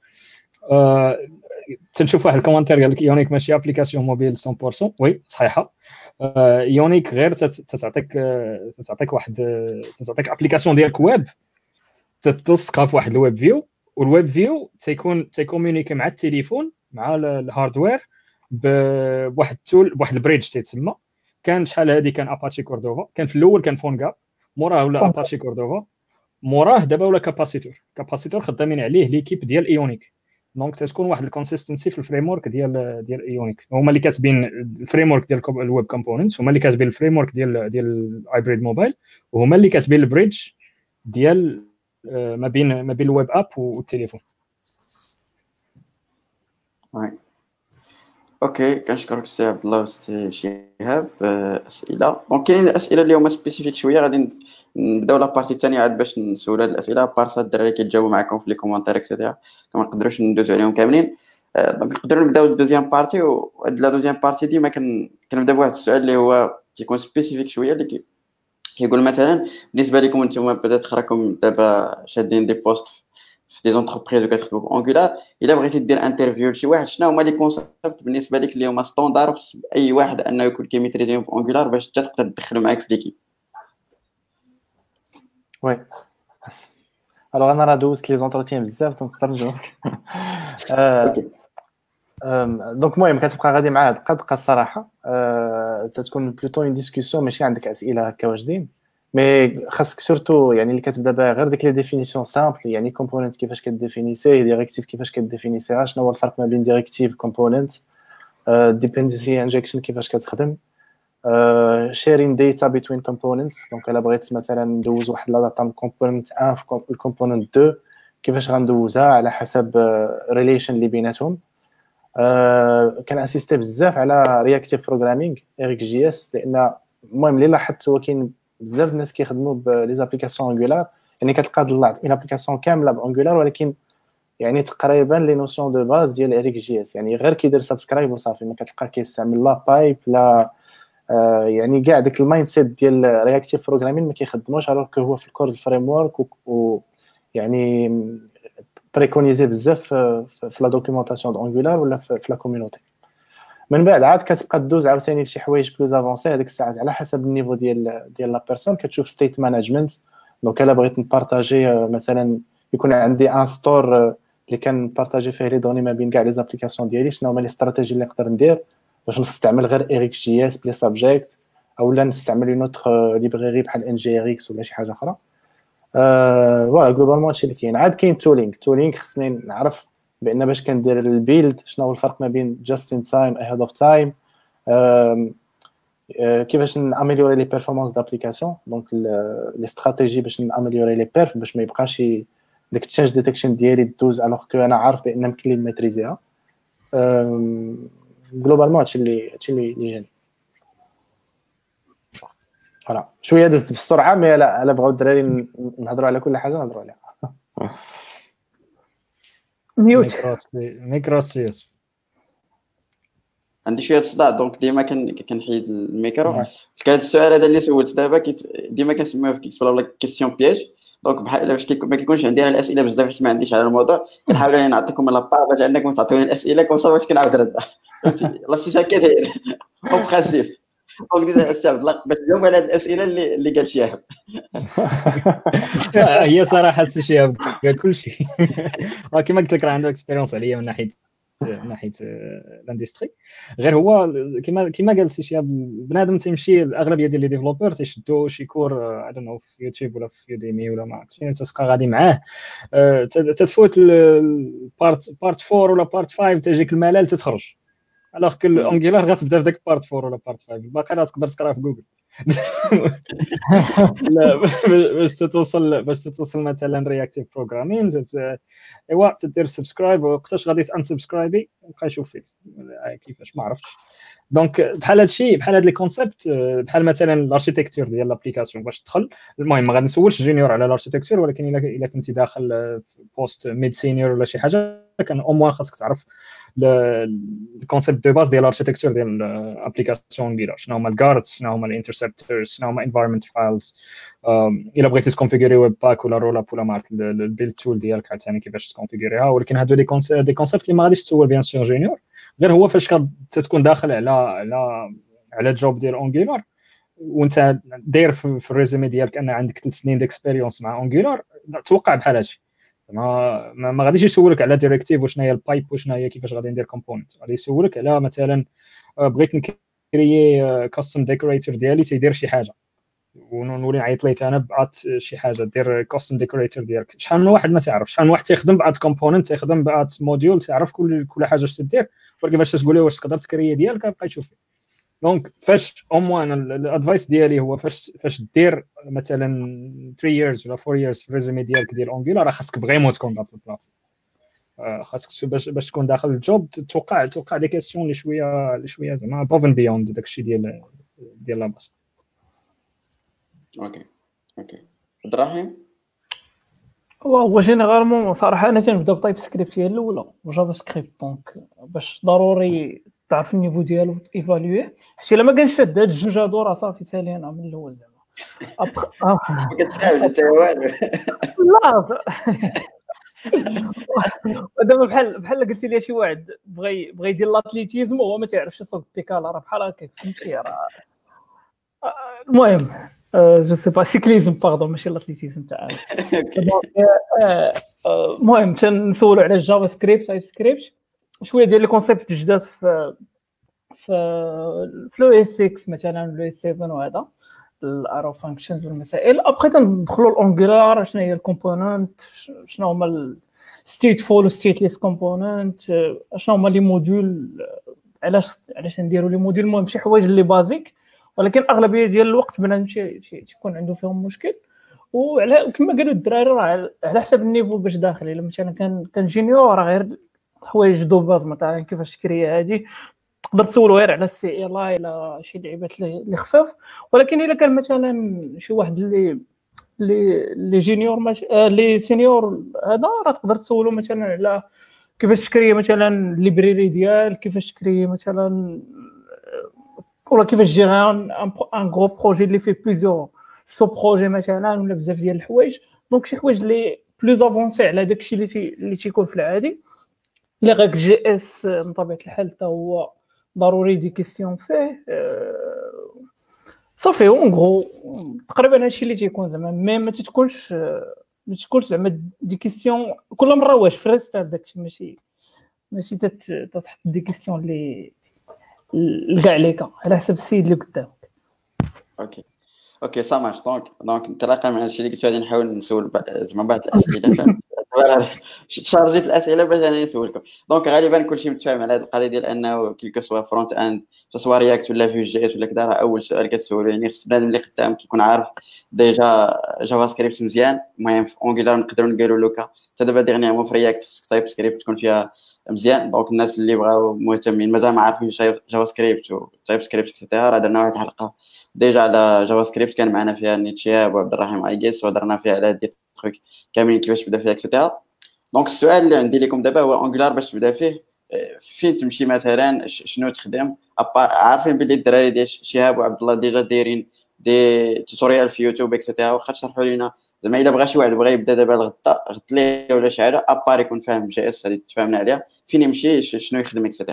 تنشوف واحد الكومنتير قال لك ايونيك ماشي ابليكاسيون موبيل مية بالمية. وي صحيحه. ايونيك غير تعطيك تعطيك واحد تعطيك ابليكاسيون ديالك ويب تتلصقها في واحد الويب فيو، والويب فيو تيكون تيكومونيكي مع التليفون مع الهاردوير بواحد التول بواحد البريدج تيتسمى. كان شحال هذه كان اباتشي كوردوفا، كان في الاول كان فونغا، موراه ولا اباتشي كوردوفا، موراه دابا ولا كاباسيتور. كاباسيتور خدامين عليه ليكيب ديال ايونيك. دونك تتكون واحد الكونسيستنسي في الفريم ورك ديال ديال ايونيك. هما اللي كاتبين الفريم ورك ديال الويب كومبوننتس، هما اللي كاتبين الفريم ورك ديال ديال الهايبريد موبايل، وهما اللي كاتبين البريدج ديال ما بين ما بين الويب اب والتليفون. وي اوكي، كنشكرك السي عبد الله والسي شهاب. اسئله دونك كاينين الاسئله اللي هما سبيسيفيك شويه، غادي نبداو لا بارتي الثانيه عاد باش نسولوا هاد الاسئله بارسا الدراري كيتجاوبوا معكم في لي كومونتير اكسيتيرا، ما نقدروش ندوزو عليهم كاملين. دونك نقدروا نبداو الدوزيام بارتي، وهاد لا دوزيام بارتي ديما كنبدا بواحد السؤال اللي هو تيكون سبيسيفيك شويه، اللي كيقول مثلا بالنسبه لكم نتوما بدات راكم دابا شادين دي بوست في دي زونتربريز وكتخدموا بانجولار، الا بغيتي دير انترفيو لشي واحد شنو هما لي كونسيبت بالنسبه لك اللي هما ستاندار وخص اي واحد انه يكون كيميتريزيهم بانجولار باش حتى تقدر تدخلو معاك في ليكيب؟ وي الوغ انا راه دوزت لي زونتروتيان بزاف دونك نقدر نجاوب. دونك المهم كتبقى غادي مع هاد القد الصراحه. تتكون بلوتو اون ديسكوسيون، ماشي عندك اسئله هكا واجدين، مي خاصك سورتو يعني اللي كتبدا بها غير ديك لي ديفينيسيون سامبل، يعني كومبوننت كيفاش كديفينيسيه، ديريكتيف كيفاش كديفينيسيها، شنو هو الفرق ما بين ديريكتيف كومبوننت، ديبندنسي انجكشن كيفاش كتخدم، شيرين داتا بين كومبوننتس. دونك الا بغيت مثلا ندوز واحد لا داتا من كومبوننت واحد في الكومبوننت اثنين كيفاش غندوزها على حسب ريليشن اللي بيناتهم. كان اسيستي بزاف على رياكتيف بروغرامينغ اريك جي اس، لان المهم اللي لاحظت هو كاين بزاف الناس كيخدموا بلي زابليكاسيون انجولار، يعني كتلقى طلعت اون ابليكاسيون كامله بانجولار ولكن يعني تقريبا لي نوسيون دو باز ديال اريك جي اس، يعني غير كيدير سبسكرايب وصافي، ما كتلقى كيستعمل لا بايب لا آه يعني كاع داك المايند سيت ديال رياكتيف بروغرامين ما كيخدموش، الوغ كو هو في الكور الفريم ورك و يعني بريكونيزي بزاف في لا دوكيومونطاسيون دانجولار ولا في لا كوميونيتي. من بعد عاد كتبقى دوز عاوتاني لشي حوايج بلوز افونسي، هذيك الساعات على حسب النيفو ديال ديال لا بيرسون كتشوف ستيت مانجمنت. دونك الا بغيت نبارطاجي مثلا يكون عندي ان ستور اللي كنبارطاجي فيه لي دوني ما بين كاع لي زابليكاسيون ديالي، شنو هما لي استراتيجي اللي نقدر ندير باش نستعمل غير اريك جي اس بلي سابجيكت، اولا نستعمل اون اوتر ليبراري بحال ان جي ار اكس ولا شي حاجه اخرى. أه فوالا جلوبالمون هادشي اللي كاين. عاد كاين تولينغ تولينغ خصني نعرف بان باش كندير البيلد شنو هو الفرق ما بين جاست ان تايم اهيد اوف تايم، كيفاش ناميليوري لي بيرفورمانس دابليكاسيون، دونك لي استراتيجي باش ناميليوري لي بيرف باش ما يبقاش داك التشانج ديتكشن ديالي دوز الوغ كو انا عارف بان يمكن لي نميتريزيها. جلوبالمون هادشي اللي هادشي اللي جاني. فوالا شويه دزت بسرعه، مي لا الا بغاو الدراري نهضروا على كل حاجه نهضروا عليها. ميوت ميكروسيس عندي شويه صداع دونك ديما كنحيد الميكرو. هذا السؤال هذا اللي سولت دابا ديما كنسميوه في كيكس بلا كيسيون بياج، دونك بحال باش كيكون ما كيكونش عندي انا الاسئله بزاف حيت ما عنديش على الموضوع، كنحاول اني نعطيكم لا با باش انكم تعطيوني الاسئله كون صافي باش كنعاود ردها. لا سي هكا داير اون برانسيب. دونك السي عبد الله باش تجاوب على هذه الاسئله اللي اللي قال شهاب. هي صراحه السي شهاب قال كل شيء. كما قلت لك راه عنده اكسبيريونس عليا من ناحيه من ناحيه الاندستري. غير هو كما كما قال السي شهاب بنادم تيمشي الاغلبيه ديال لي ديفلوبر تيشدوا شي كور اي دون نو في يوتيوب ولا في يوديمي ولا ما عرفتش فين، تتبقى غادي معاه تتفوت البارت بارت أربعة ولا بارت خمسة تجيك الملل تتخرج. الوغ كو الانجلار غتبدا في داك بارت أربعة ولا بارت خمسة، الباقي راه تقدر تقرا في جوجل. لا باش توصل باش توصل مثلا رياكتيف بروغرامين ايوا تدير سبسكرايب، وقتاش غادي تانسبسكرايبي بقى يشوف فيك كيفاش ما عرفتش. دونك بحال هادشي بحال هاد لي كونسيبت بحال مثلا الاركيتكتور ديال لابليكاسيون باش تدخل. المهم ما غنسولش جونيور على الاركيتكتور، ولكن الا الا كنتي داخل في بوست ميد سينيور ولا شي حاجه كان او موان خاصك تعرف الكونسيبت دو باز ديال الاركتيكتور ديال الابليكاسيون كبيره، شنو هما الجاردز، شنو هما الانترسبتورز، شنو هما انفايرمنت فايلز. الا بغيتي تكونفيغوري ويب باك ولا رول اب ولا ما عرفت البيلد تول ديالك عاوتاني كيفاش تكونفيغوريها. ولكن هادو دي كونسيبت دي كونسيبت اللي ما غاديش تسول بيان سور جونيور، غير هو فاش كتكون داخل على على على جوب ديال اونجولار وانت داير في الريزومي ديالك ان عندك ثلاث سنين ديكسبيريونس مع اونجولار، توقع بحال هادشي. ما ما غاديش يسولك على ديريكتيف وشنو هي البايب وشنو هي كيفاش غادي ندير كومبوننت، غادي يسولك على مثلا بغيت نكريي كاستم ديكوريتور ديالي تيدير شي حاجه ونولي نعيط ليه انا بعات شي حاجه دير كاستم ديكوريتور ديالك. شحال من واحد ما تعرف، شحال من واحد تيخدم بعات كومبوننت، تيخدم بعات موديول، تعرف كل كل حاجه اش تدير، ولكن باش تقول له واش تقدر تكري ديالك بقى يشوف فيه. دونك فاش او موان الادفايس ديالي هو فاش فاش دير مثلا ثلاثة years ولا أربعة years في الريزومي ديالك ديال اونجولار، راه خاصك فريمون تكون داخل البلاصه، خاصك باش باش تكون داخل الجوب توقع توقع دي كيسيون اللي شويه اللي شويه زعما بوفن بيوند داكشي ديال ديال لاباس. اوكي اوكي عبد الرحيم. هو جينيرالمون صراحه انا تنبدا بتايب سكريبت هي الاولى وجافا سكريبت، دونك باش ضروري تعرف النيفو ديالو ايفالويه، حيت الا ما كانش هاد الجوج هادو راه صافي سالينا من الاول زعما. ما كتفهمش حتى والو. لا دابا بحال بحال قلتي لي شي واحد بغى بغى يدير لاتليتيزم وهو ما تعرفش يسوق بيكالا، راه بحال هكاك فهمتي. راه المهم جو سي با سيكليزم باردون ماشي لاتليتيزم تاع المهم تنسولوا على الجافا سكريبت تايب سكريبت شويه ديال لي كونسيبت جداد في في فلو اس ستة مثلا لو اس سبعة وهذا الارو فانكشنز والمسائل. ابخي تندخلوا الاونجولار شنو هي الكومبوننت، شنو هما الستيتفول وستيتليس كومبوننت، شنو هما لي موديول، علاش علاش نديروا لي موديول. المهم شي حوايج اللي بازيك، ولكن اغلبيه ديال الوقت بنادم تيكون عنده فيهم مشكل. وعلى كما قالوا الدراري راه على حسب النيفو باش داخل. الا مثلا كان كان جينيور راه غير حوايج دو باز مثلا كيفاش تكري هذه تقدر تسولو غير على السي ال اي لا شي لعيبات اللي خفاف. ولكن الا كان مثلا شي واحد اللي اللي اللي جينيور ماش... اللي سينيور هذا راه تقدر تسولو مثلا على كيفاش تكري مثلا ليبريري ديال، كيفاش تكري مثلا ولا كيفاش جيري ان ان غرو بروجي اللي فيه بليزيور سو بروجي مثلا ولا بزاف ديال الحوايج. دونك شي حوايج اللي بلوز افونسي على داكشي اللي تي... اللي تيكون في العادي. اللي غاك جي اس من طبيعه الحال حتى هو ضروري دي كيستيون فيه صافي. اون غرو تقريبا هادشي اللي تيكون زعما مي ما تتكونش ما تكونش زعما دي كيستيون كل مره واش فريستال داكشي، ماشي ماشي تتحط دي كيستيون اللي لكاع عليك على حسب السيد اللي قدامك. اوكي اوكي سامح. دونك دونك انطلاقا من الشيء اللي قلت غادي نحاول نسول زعما بعض الاسئله، فهمت شارجيت الاسئله باش انا نسولكم. دونك غالبا كلشي متفاهم على هذه القضيه ديال انه كيلكو سوا فرونت اند سوا رياكت ولا فيو جي اس ولا كذا، راه اول سؤال كتسولو يعني خص بنادم اللي قدام كيكون عارف ديجا جافا سكريبت مزيان. المهم في اونجولار نقدروا نديروا لوكا حتى دابا ديغنيغمون في رياكت خصك تايب سكريبت تكون فيها مزيان. دونك الناس اللي بغاو مهتمين مازال ما عارفين جافا سكريبت وتايب سكريبت اكسيتيرا، راه درنا واحد الحلقه ديجا على جافا سكريبت كان معنا فيها نيتشياب وعبد الرحيم ايجيس وهضرنا فيها على دي تروك كاملين كيفاش تبدا فيها اكسيتيرا. دونك السؤال اللي عندي لكم دابا هو اونجولار باش تبدا فيه فين تمشي مثلا، شنو تخدم؟ عارفين بلي الدراري ديال شهاب وعبد الله ديجا دايرين دي توتوريال في يوتيوب اكسيتيرا، واخا تشرحوا لينا زعما الا بغى شي واحد بغى يبدا دابا الغدا غد ليه ولا شي حاجه ابار يكون فاهم جي اس اللي تفاهمنا عليها، فين يمشي شنو يخدم اكسيتيرا.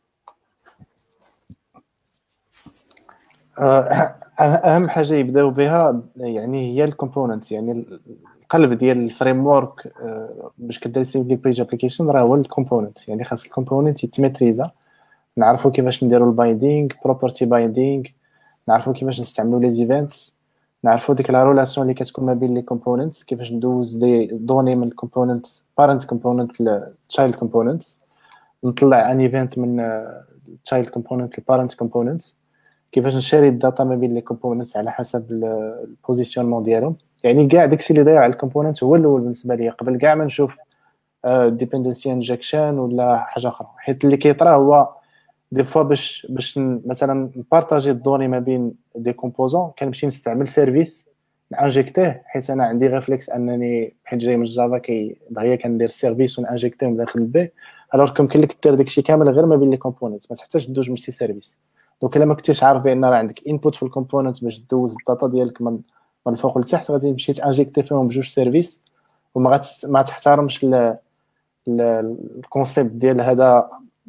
اهم حاجه يبداو بها يعني هي الكومبوننتس، يعني القلب ديال الفريم ورك باش كدير لي بيج ابليكيشن راه هو الكومبوننت. يعني خاص الكومبوننت يتميتريزا، نعرفوا كيفاش نديروا البايندينغ بروبرتي بايندينغ، نعرفوا كيفاش نستعملوا لي ايفنتس، نعرفوا ديك لا ريلاسيون اللي كتكون ما بين لي كومبوننتس، كيفاش ندوز دي دوني من الكومبوننت بارنت كومبوننت لتشايلد كومبوننت، نطلع ان ايفنت من تشايلد كومبوننت لبارنت كومبوننت، كيفاش نشاري الداتا ما بين لي كومبوننتس على حسب البوزيشنمون ديالهم. يعني كاع داكشي اللي داير على الكومبوننت هو الاول بالنسبه لي قبل كاع ما نشوف ديبندنسي انجكشن ولا حاجه اخرى. حيت اللي كيطرا هو دي فوا باش باش مثلا نبارطاجي الدوني ما بين دي كومبوزون كنمشي نستعمل سيرفيس نانجيكتيه، حيت انا عندي ريفلكس انني حيت جاي من جافا كي دغيا كندير سيرفيس ونانجيكتيه من داخل البي، الوغ كم كاين لك دير داكشي كامل غير ما بين لي كومبوننتس، ما تحتاجش تدوز ملتي سيرفيس. دونك الا ما كنتيش عارف بان راه عندك انبوت في الكومبوننت باش دوز الداتا ديالك من من الفوق لتحت، غادي تمشي تانجيكتي فيهم بجوج سيرفيس وما غاتس ما تحترمش الكونسيبت ديال هذا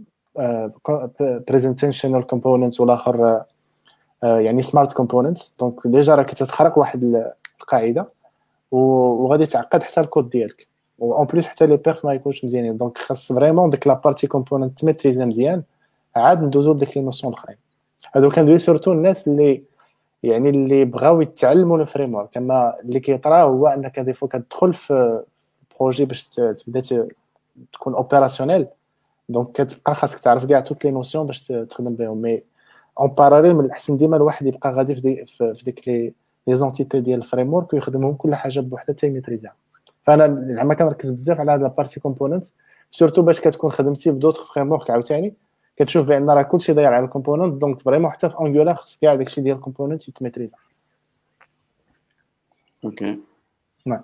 بريزنتيشنال كومبوننت والاخر يعني سمارت كومبوننتس. دونك ديجا راك تتخرق واحد القاعده وغادي تعقد حتى الكود ديالك، و اون بليس حتى لي بيرف ما يكونش مزيانين. دونك خاص فريمون ديك لا بارتي كومبوننت تميتريزي مزيان، عاد ندوزو لديك لي نوسيون الاخرين. هادو كندوي سورتو الناس اللي يعني اللي بغاو يتعلموا الفريم ورك. كما اللي كيطرا هو انك دي فوا كتدخل في بروجي باش تبدا تكون اوبيراسيونيل، دونك كتبقى خاصك تعرف كاع توت لي نوسيون باش تخدم بهم. مي اون باراليل من الاحسن ديما الواحد يبقى غادي في دي في ديك لي لي زونتيتي ديال الفريم ورك ويخدمهم كل حاجه بوحدها حتى يميتريزها. فانا زعما كنركز بزاف على هاد لابارتي كومبوننت سورتو باش كتكون خدمتي بدوطخ فريم ورك عاوتاني كتشوف بان راه كلشي داير على الكومبوننت. دونك فريمون حتى في انجولار خصك كاع داكشي ديال الكومبوننت يتميتريزا. اوكي نعم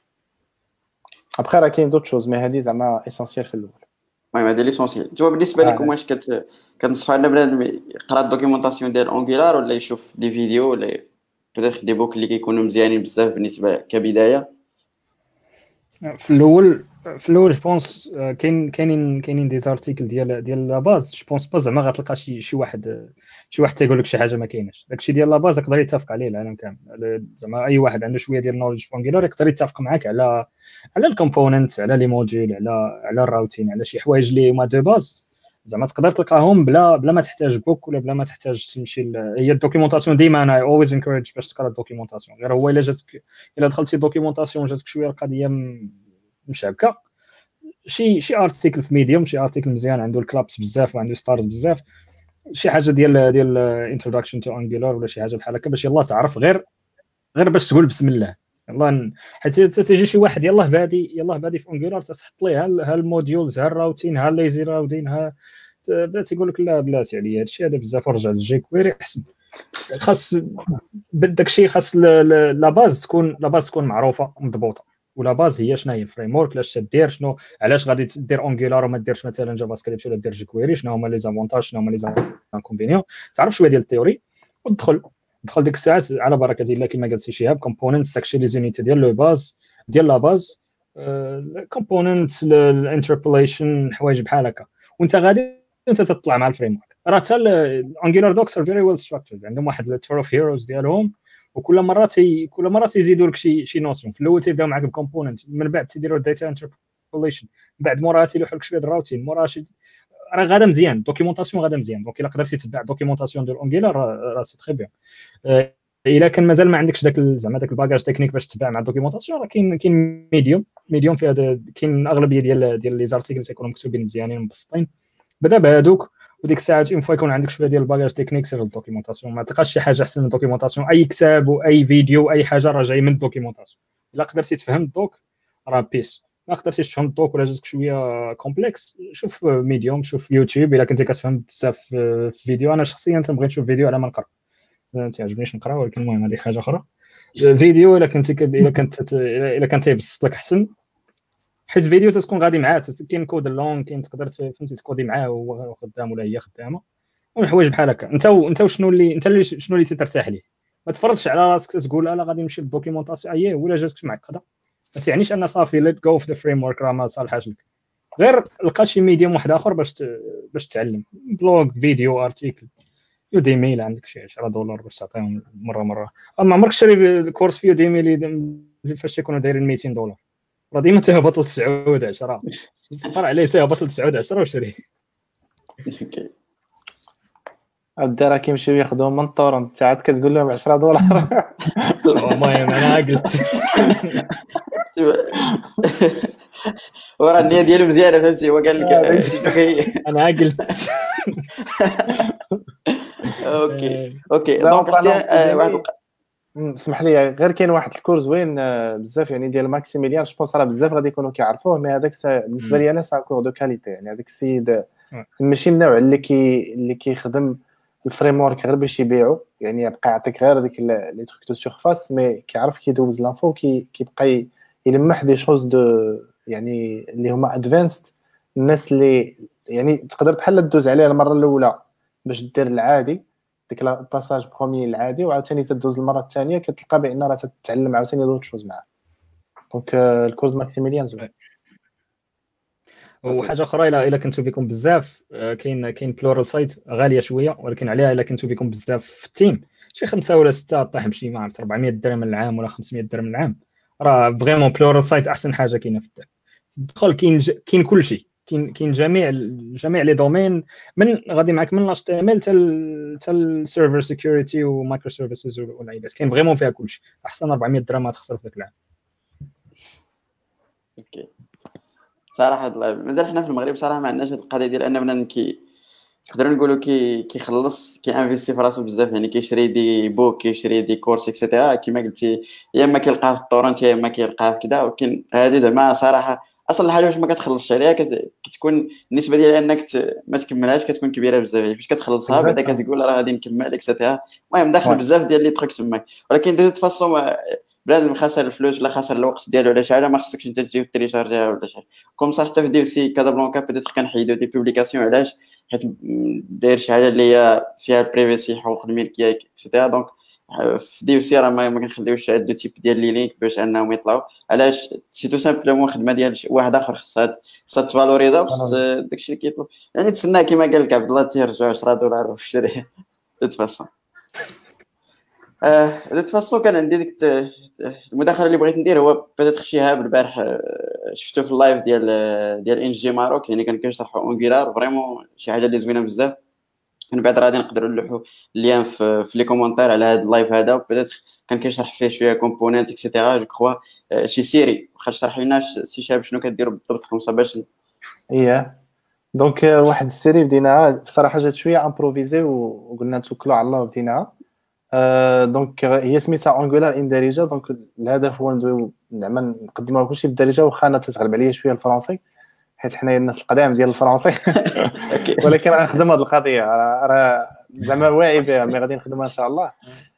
ابخي راه كاين دوت شوز مي هادي زعما اسونسيال في الاول. المهم هذا ليسونسيال. تو بالنسبه لكم واش كت كنصحوا على بنادم يقرا الدوكيومونطاسيون ديال انجولار ولا يشوف دي فيديو ولا بيتيت دي بوك اللي كيكونوا مزيانين بزاف بالنسبه كبدايه؟ في الاول في الاول جو بونس كاين كاينين كاينين دي زارتيكل ديال ديال لا باز. جو بونس با زعما غتلقى شي شي واحد شي واحد تيقول لك شي حاجه ما كايناش. داكشي ديال لا باز يقدر يتفق عليه العالم كامل. زعما اي واحد عنده شويه ديال نولج في انجولار يقدر يتفق معاك على على الكومبوننت، على لي موديول، على على الراوتين، على شي حوايج اللي هما دو باز زعما تقدر تلقاهم بلا بلا ما تحتاج بوك ولا بلا ما تحتاج تمشي ل... هي الدوكيومونطاسيون ديما انا اولويز انكوريج باش تقرا الدوكيومونطاسيون. غير هو الا جاتك الا دخلتي الدوكيومونطاسيون جاتك شويه القضيه مشابكه، شي شي ارتيكل في ميديوم، شي ارتيكل مزيان عنده الكلابس بزاف وعنده ستارز بزاف، شي حاجه ديال ديال انتروداكشن تو انجولار ولا شي حاجه بحال هكا باش يلاه تعرف غير غير باش تقول بسم الله يلاه. حيت تيجي شي واحد يلاه بادي يلاه بادي في انجولار تحط ليه ها الموديولز ها الراوتين ها الليزي راوتين ها بدا تيقول لك لا بلاتي عليا هادشي هذا بزاف ورجع للجي كويري احسن. خاص بداك الشيء خاص لا باز تكون لا باز تكون معروفه مضبوطه. ولا باز هي شنو هي الفريم ورك، علاش تدير شنو، علاش غادي دير انجولار وما ديرش مثلا جافا سكريبت ولا دير جيكويري، شنو هما لي زافونتاج شنو هما لي انكونفينيون. تعرف شويه ديال التيوري ودخل دخل ديك الساعات على بركه الله كما قال سي شهاب. كومبوننتس داكشي لي زونيتي ديال لو باز ديال لا باز كومبوننتس الانتربوليشن حوايج بحال هكا، وانت غادي انت تطلع مع الفريم ورك. راه حتى الانجولار دوكس ار فيري ويل ستراكتشرد، عندهم واحد التور اوف هيروز ديالهم، وكل مره تي كل مره تيزيدوا لك شي شي نوسيون. في الاول تيبداو معاك بكومبوننت، من بعد تيديروا الداتا انتربوليشن، بعد موراها تيلوحوا لك شويه الراوتين، موراها شي راه غادا مزيان الدوكيومونطاسيون غادا مزيان. دونك الا قدرتي تتبع الدوكيومونطاسيون ديال انجولار راه سي تري بيان. الا كان مازال ما عندكش داك زعما داك الباكاج تكنيك باش تتبع مع الدوكيومونطاسيون، راه كاين كاين ميديوم ميديوم في هذا، كاين اغلبيه ديال ديال لي زارتيكل تيكونوا مكتوبين مزيانين مبسطين. بدا بهذوك وديك الساعات اون فوا يكون عندك شويه ديال الباكاج تكنيك سير الدوكيومونطاسيون. ما تلقاش شي حاجه احسن من الدوكيومونطاسيون. اي كتاب واي فيديو اي حاجه راه جاي من الدوكيومونطاسيون. الا قدرتي تفهم الدوك راه بيس، ما قدرتيش تفهم الدوك ولا جاتك شويه كومبلكس شوف ميديوم شوف يوتيوب. الا كنتي كتفهم بزاف في فيديو، انا شخصيا تنبغي نشوف فيديو على ما نقرا، ما تعجبنيش نقرا، ولكن المهم هذه حاجه اخرى. فيديو الا كنتي الا كنت الا كنت يبسط لك احسن، حيت فيديو تكون غادي معاه، كاين كود لونغ كاين تقدر فهمتي تكودي معاه وهو خدام ولا هي خدامه والحوايج بحال هكا. انت انت شنو اللي انت اللي شنو اللي ترتاح ليه. ما تفرضش على راسك تقول لا غادي نمشي للدوكيومونطاسيون اييه ولا جاتك معقده. ما تعنيش ان صافي ليت جو في ذا فريم ورك راه ما صالحاش لك. غير لقى شي ميديوم واحد اخر باش ت... باش تعلم، بلوغ فيديو ارتيكل يوديمي الا عندك شي عشرة دولار باش تعطيهم مره مره. اما عمرك شري كورس في يوديمي اللي فاش يكونوا دايرين مئتين دولار، راه ديما تهبط ل تسعة عشرة، صبر عليه تهبط ل تسعة عشرة وشري. اوكي عاد راه كيمشيو ياخذوهم من الطور، انت عاد كتقول لهم عشرة دولار. المهم انا قلت ورا النيه ديالو مزيانه فهمتي. هو قال لك شنو هي. انا قلت اوكي اوكي دونك واحد اسمح لي غير كاين واحد الكورس زوين بزاف يعني ديال ماكسيميليان، جو بونس راه بزاف غادي يكونوا كيعرفوه، مي هذاك بالنسبه لي انا سا كور دو كاليتي. يعني هذاك السيد ماشي النوع اللي كي اللي كيخدم الفريم ورك غير باش يبيعو، يعني يبقى يعطيك غير ديك لي تروك دو سيرفاس، مي كيعرف كيدوز لانفو كي كيبقى يلمح دي شوز دو يعني اللي هما ادفانسد الناس اللي يعني تقدر بحال دوز عليها المره الاولى باش دير العادي ديك الباساج بروميي العادي وعاوتاني تدوز المره الثانيه كتلقى بان راه تتعلم عاوتاني دوت شوز معاه. دونك الكورس ماكسيميليان زوين. وحاجه اخرى الا الا كنتو بكم بزاف كاين كاين بلورال سايت غاليه شويه ولكن عليها الا كنتو بكم بزاف في التيم شي خمسة ولا ستة طيح بشي ما عرفت أربعمية درهم العام ولا خمسمية درهم العام راه فريمون بلورال سايت احسن حاجه كاينه في الدار. تدخل كاين ج... كاين كلشي كاين كاين جميع جميع لي دومين من غادي معاك من اتش تي ام ال حتى حتى السيرفر سيكيورتي ومايكرو سيرفيسز والعيبات كاين فريمون فيها كلشي احسن أربعمية درهم ما تخسر في ذاك العام. اوكي صراحه مازال حنا في المغرب صراحه ما عندناش هاد القضيه ديال ان بنادم كي نقدروا نقولوا كي كيخلص كيانفيستي في راسو بزاف يعني كيشري دي بوك كيشري دي كورس اكسيتيرا كما قلتي يا اما كيلقاه في الطورنت يا اما كيلقاه في كذا. ولكن هذه زعما صراحه اصلا الحاجه باش ما كتخلصش عليها كت... كتكون النسبه ديال انك ت... ما تكملهاش كتكون كبيره بزاف يعني فاش كتخلصها بعدا كتقول راه غادي نكمل اكسيتيرا. المهم داخل بزاف ديال لي تروك تماك. ولكن دو فاصون بلاد خاسر الفلوس ولا خاسر الوقت ديالو ولا شي حاجه ما خصكش انت تجي تريشارجيها ولا شي حاجه كوم صح. حتى في دي سي كازابلانكا بيتيت كنحيدو دي بوبليكاسيون علاش حيت داير شي حاجه اللي هي فيها البريفيسي حقوق الملكيه اكسيتيرا. دونك في دي سي راه ما كنخليوش هاد لو تيب ديال لي لينك باش انهم يطلعوا علاش سي تو سامبلومون خدمه ديال واحد اخر خصها خصها تفالوريزا وخص داكشي اللي كيطلب يعني تسنى كما قال لك عبد الله تيرجعوا عشرة دولار وشري تتفصل. اه دو فاسون كان عندي ديك المداخله اللي بغيت ندير هو بيتيت شهاب البارح شفتو في اللايف ديال ديال ان جي ماروك يعني كان كيشرحوا اونغولار فريمون شي حاجه اللي زوينه بزاف. من بعد غادي نقدروا نلوحوا اللين في في لي كومونتير على هذا اللايف هذا بيتيت كان كيشرح فيه شويه كومبوننت اكسيتيرا جو كخوا شي سيري واخا شرح لنا سي شهاب شنو كديروا بالضبط كوم باش اييه. دونك واحد السيري بديناها بصراحه جات شويه امبروفيزي وقلنا نتوكلوا على الله وبديناها. أه دونك هي سميتها اونغولار ان دارجه. دونك الهدف هو ندويو زعما نقدموها كلشي بالدارجه واخا انا تتغلب عليا شويه الفرنسي حيت حنايا الناس القدام ديال الفرنسي ولكن غنخدم هذه القضيه راه زعما واعي بها مي غادي نخدمها ان شاء الله.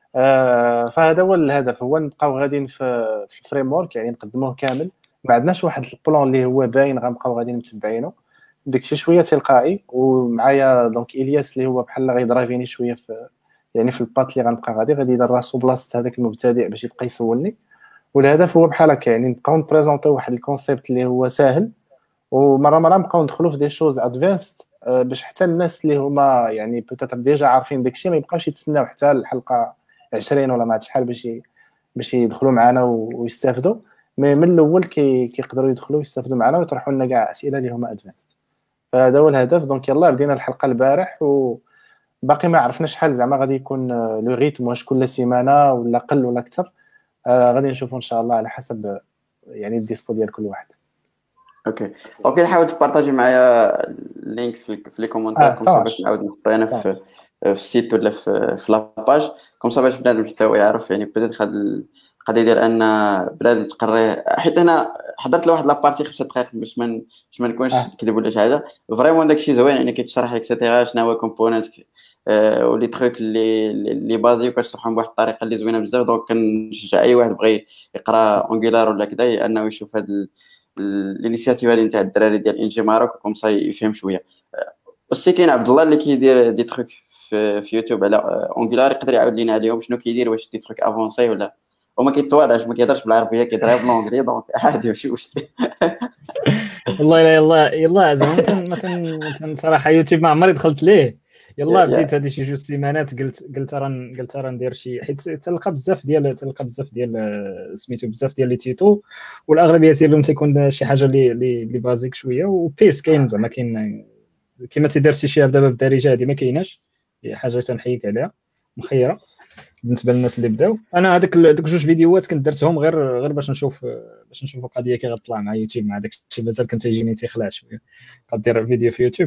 أه فهذا هو الهدف هو نبقاو غاديين في في الفريم ورك يعني نقدموه كامل. ما عندناش واحد البلان اللي هو باين غنبقاو غاديين متبعينه داكشي شويه تلقائي. ومعايا دونك الياس اللي هو بحال غيدرافيني شويه في يعني في الباط اللي غنبقى غادي غادي يدير راسو بلاصه هذاك المبتدئ باش يبقى يسولني. والهدف هو بحال هكا يعني نبقاو نبريزونطيو واحد الكونسيبت اللي هو ساهل ومره مره نبقاو ندخلوا في دي شوز ادفانسد باش حتى الناس اللي هما يعني بوتيتر ديجا عارفين داكشي ما يبقاوش يتسناو حتى الحلقه عشرين ولا ما عرفت شحال باش باش يدخلوا معنا ويستافدوا. مي من الاول كي كيقدروا يدخلوا يستافدوا معنا ويطرحوا لنا كاع اسئله اللي هما ادفانسد. فهذا هو الهدف. دونك يلاه بدينا الحلقه البارح و باقي ما عرفنا شحال زعما غادي يكون لو ريتم واش كل سيمانه ولا قل ولا اكثر. آه غادي نشوفوا ان شاء الله على حسب يعني الديسبو ديال كل واحد. اوكي اوكي نحاول تبارطاجي معايا اللينك في في لي كومونتير كوم صا باش نعاود نحطو انا في في السيت ولا في في لاباج كوم صا باش بنادم حتى هو يعرف يعني بيتيت هاد القضيه ديال ان بنادم تقري. حيت انا حضرت لواحد لابارتي خمسة دقائق باش ما باش ما نكونش كذب ولا شي حاجه فريمون داكشي زوين يعني كيتشرح اكسيتيرا شنو هو كومبوننت أه ولي تروك اللي اللي بازي وكتشرحهم بواحد الطريقه اللي زوينه بزاف. دونك كنشجع اي واحد بغى يقرا اونغولار ولا كذا انه يشوف هاد الانيشياتيف هذه نتاع الدراري ديال انجي ماروك كوم صا يفهم شويه. وسي كاين عبد الله اللي كيدير دي تروك في, في يوتيوب على اونغولار يقدر يعاود لينا عليهم شنو كيدير واش دي تروك افونسي ولا وما كيتواضعش ما كيهضرش بالعربيه كيهضر بالانجلي دونك عادي ماشي مشكل. والله يلا يلا زعما مثلا مثلا صراحه يوتيوب ما عمري دخلت ليه يلا بديت هذه شي جوج سيمانات قلت قلت راه قلت راه ندير شي حيت تلقى بزاف ديال تلقى بزاف ديال سميتو بزاف ديال لي تيتو والاغلبيه ديالهم تيكون شي حاجه اللي اللي بازيك شويه وبيس كاين زعما كاين كما تيدير سي شهاب دابا بالدارجه هذه ما كايناش هي حاجه تنحيك عليها مخيره بالنسبه للناس اللي بداو. انا هذاك دوك جوج فيديوهات كنت درتهم غير غير باش نشوف باش نشوف القضيه كي غتطلع مع يوتيوب مع داك الشيء مازال كنت يجيني تيخلع شويه غدير فيديو في يوتيوب.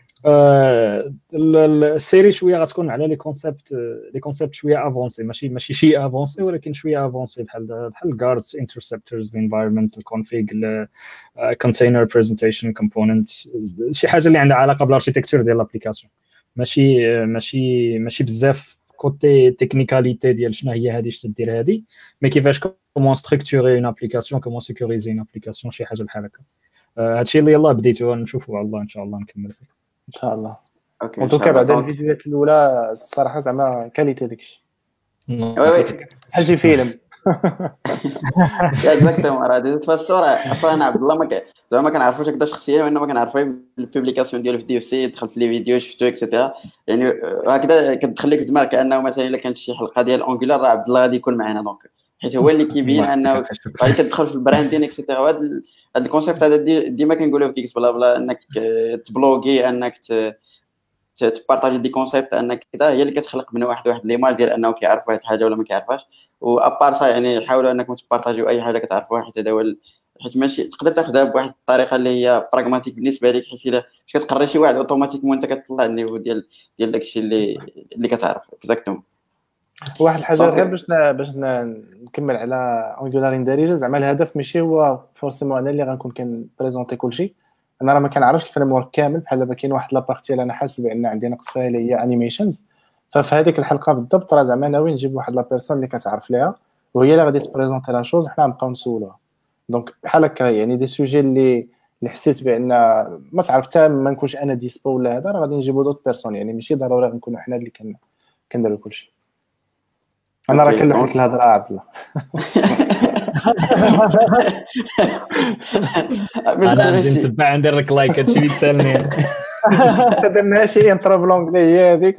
آه السيري شويه غتكون على لي كونسيبت لي كونسيبت شويه افونسي ماشي ماشي شي افونسي ولكن شويه افونسي بحال بحال جاردز انترسبتورز انفايرمنتال كونفيغ كونتينر بريزنتيشن كومبوننت شي حاجه اللي عندها علاقه بالاركيتكتور ديال لابليكاسيون ماشي ماشي ماشي بزاف كوتي تكنيكاليتي ديال شنو هي هذه اش تدير هذه مي كيفاش كومون ستركتوري اون ابليكاسيون كومون سيكوريزي اون ابليكاسيون شي حاجه بحال هكا. هادشي اللي يلاه بديتو نشوفوا على الله ان شاء الله نكمل فيه ان شاء الله. اوكي ان ان شاء توكا الله. بعد دونك الفيديوهات الاولى الصراحه زعما كاليتي داكشي وي وي بحال شي فيلم. اكزاكتومون. راه دي الصوره اصلا انا عبد الله ما ك... زعما ما كنعرفوش هكذا شخصيا، وانما كنعرفو بالبوبليكاسيون ديالو في دي اف سي، دخلت لي فيديو شفتو اكسيتيرا، يعني هكذا كتدخل لك في دماغك كانه مثلا الا كانت شي حلقه ديال اونغولار راه عبد الله غادي يكون معنا، دونك حيت هو اللي كيبين انه غادي كتدخل في البراندين اكسيتيرا. وهذا هذا الكونسيبت هذا دي ديما كنقولوه في كيكس بلا بلا، انك تبلوغي، انك ت... تبارطاجي دي كونسيبت، انك كذا هي اللي كتخلق من واحد واحد ليماج ديال انه كيعرف واحد الحاجه ولا ما كيعرفهاش. وابار سا يعني حاولوا انكم تبارطاجيو اي حاجه كتعرفوها، حيت هذا هو ال... حيت ماشي تقدر تاخذها بواحد الطريقه اللي هي براغماتيك بالنسبه لك، حيت الا باش كتقري شي واحد اوتوماتيكمون انت كتطلع النيفو ديال ديال داكشي اللي اللي كتعرف اكزاكتومون. واحد الحاجه غير باش ن... باش ن... نكمل على اونغولار اندارجه، زعما الهدف ماشي هو فورسيمون انا اللي غنكون كنبريزونتي كلشي، انا راه ما كنعرفش الفريم ورك كامل. بحال دابا كاين واحد لابارتي اللي انا حاسس بان عندي نقص فيها اللي هي انيميشنز، ففي هذيك الحلقه بالضبط راه زعما ناوي نجيب واحد لا بيرسون اللي كتعرف ليها وهي اللي غادي تبريزونتي لا شوز، حنا نبقاو نسولوها. دونك بحال هكا يعني دي سوجي اللي اللي حسيت بان ما تعرف حتى ما نكونش انا ديسبو ولا هذا، راه غادي نجيبو دوت بيرسون، يعني ماشي ضروري نكونوا حنا اللي كن كنديروا كلشي. انا راه كنلوح لك الهضره عبد الله. انا نجي نتبع ندير لك لايك هادشي اللي تسالني. درنا شي انترو بلونغلي هي هذيك.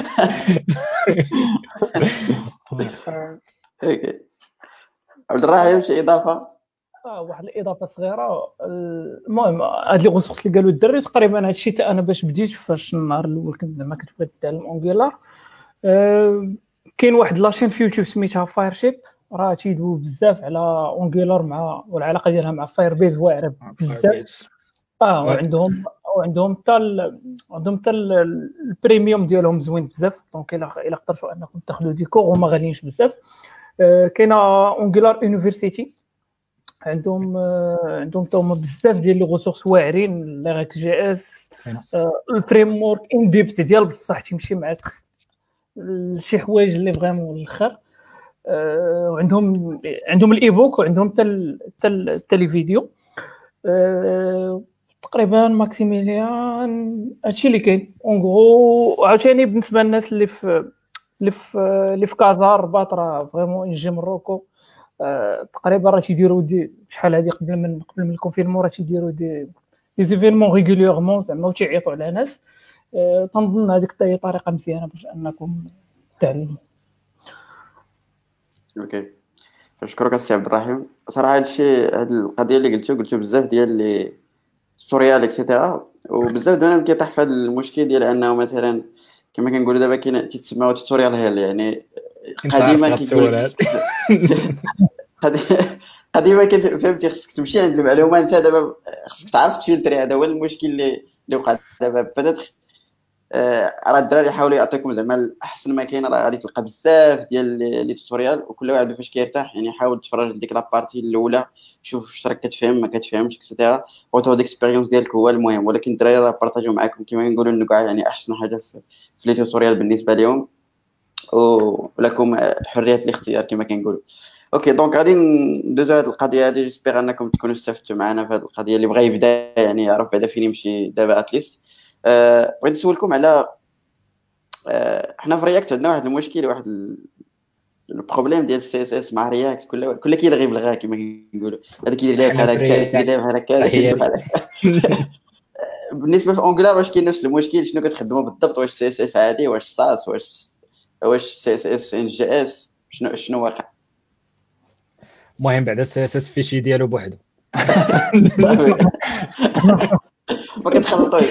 اوكي عبد الرحيم شي اضافه؟ اه واحد الاضافه صغيره. المهم هاد لي غوسورس اللي قالوا الدري تقريبا هادشي حتى انا باش بديت فاش النهار الاول كنت زعما كنت بغيت نتعلم اونغولار. أه كاين واحد لاشين في يوتيوب سميتها فاير شيب، راه تيدويو بزاف على اونغولار مع والعلاقه ديالها مع فاير بيز واعره بزاف. اه وعندهم وعندهم حتى عندهم حتى البريميوم ديالهم زوين بزاف، دونك الا الا قدرتوا انكم تاخذوا دي كور وما غاليينش بزاف. أه كاينه اونغولار يونيفرسيتي، عندهم عندهم توما بزاف ديال لي غوسورس واعرين، لاغيك جي اس، الفريم ورك ان ديبت ديال بصح تيمشي معاك شي حوايج اللي فريمون الاخر. وعندهم عندهم الايبوك وعندهم حتى حتى لي فيديو. تقريبا ماكسيميليان هادشي اللي كاين اون غرو. عاوتاني بالنسبه للناس اللي في اللي في اللي في كازا الرباط راه فريمون يجي مروكو تقريبا راه تيديروا دي شحال هادي قبل من قبل من الكونفينمون راه تيديروا دي دي زيفينمون ريغوليرمون زعما وتيعيطوا على ناس. أه تنظن هذيك حتى هي طريقه مزيانه باش انكم تعلموا. اوكي نشكرك السي عبد الرحيم. صراحه هادشي هاد القضيه اللي قلتو قلتو بزاف ديال لي ستوريال اكسيتيرا، وبزاف دابا كيطيح في هذا المشكل ديال انه مثلا كما كنقولوا دابا كاين تيتسموا توتوريال هيل، يعني قديما كيقول لك قديما كنت فهمتي خصك تمشي عند المعلومه، انت دابا خصك تعرف تفلتري. هذا هو المشكل اللي اللي وقع دابا. بدات راه الدراري يحاولوا يعطيكم زعما احسن ما كاين، راه غادي تلقى بزاف ديال لي توتوريال وكل واحد فاش كيرتاح يعني حاول تفرج ديك لابارتي الاولى، شوف واش راك كتفهم ما كتفهمش اكسيتيرا، وتاخذ اكسبيريونس ديالك هو المهم. ولكن الدراري راه بارطاجيو معكم كما كنقولوا النقاع يعني احسن حاجه في, في لي توتوريال بالنسبه لهم، ولكم حريه الاختيار كما كنقولوا. اوكي دونك غادي ندوزو هذه القضيه هذه. جيسبيغ انكم تكونوا استفدتوا معنا في هذه القضيه. اللي بغى يبدا يعني يعرف بعدا فين يمشي دابا اتليست. أه بغيت نسولكم على أه حنا في رياكت عندنا واحد المشكل، واحد البروبليم ديال السي اس اس مع رياكت، كل كل كيلغي بالغا كما كنقولوا، هذا كيدير ليه بحال هكا هذا كيدير ليه بحال هكا هذا كيدير بحال هكا. بالنسبه في اونغولار واش كاين نفس المشكل؟ شنو كتخدموا بالضبط؟ واش سي اس اس عادي، واش ساس، واش واش سي اس اس ان جي اس، شنو شنو واقع؟ المهم بعدا السي اس اس فيشي ديالو بوحدو ما كتخلطوش.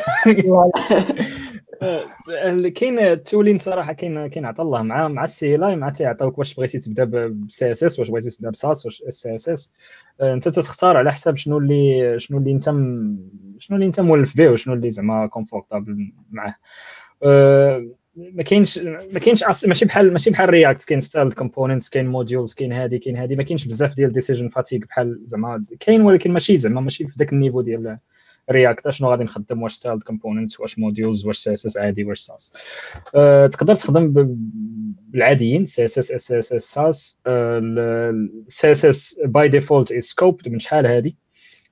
كاين التولين صراحه كاين كاين عطا الله مع مع السي لاي مع تيعطيوك واش بغيتي تبدا بسي اس اس، واش بغيتي تبدا بساس، واش سي اس اس. انت تختار على حساب شنو اللي شنو اللي انت شنو اللي انت مولف به وشنو اللي زعما كومفورطابل معاه. ما كاينش ما كاينش ماشي بحال ماشي بحال رياكت، كاين ستايل كومبوننتس، كاين موديولز، كاين هادي كاين هادي، ما كاينش بزاف ديال ديسيجن فاتيك بحال زعما كاين، ولكن ماشي زعما ماشي في داك النيفو ديال رياكت. شنو غادي نخدم؟ واش ستايل كومبوننتس، واش موديولز، واش سي اس اس عادي، واش ساس. أه تقدر تخدم بالعاديين سي اس اس اس اس اس ساس. السي اس اس باي ديفولت از سكوبد من شحال هادي،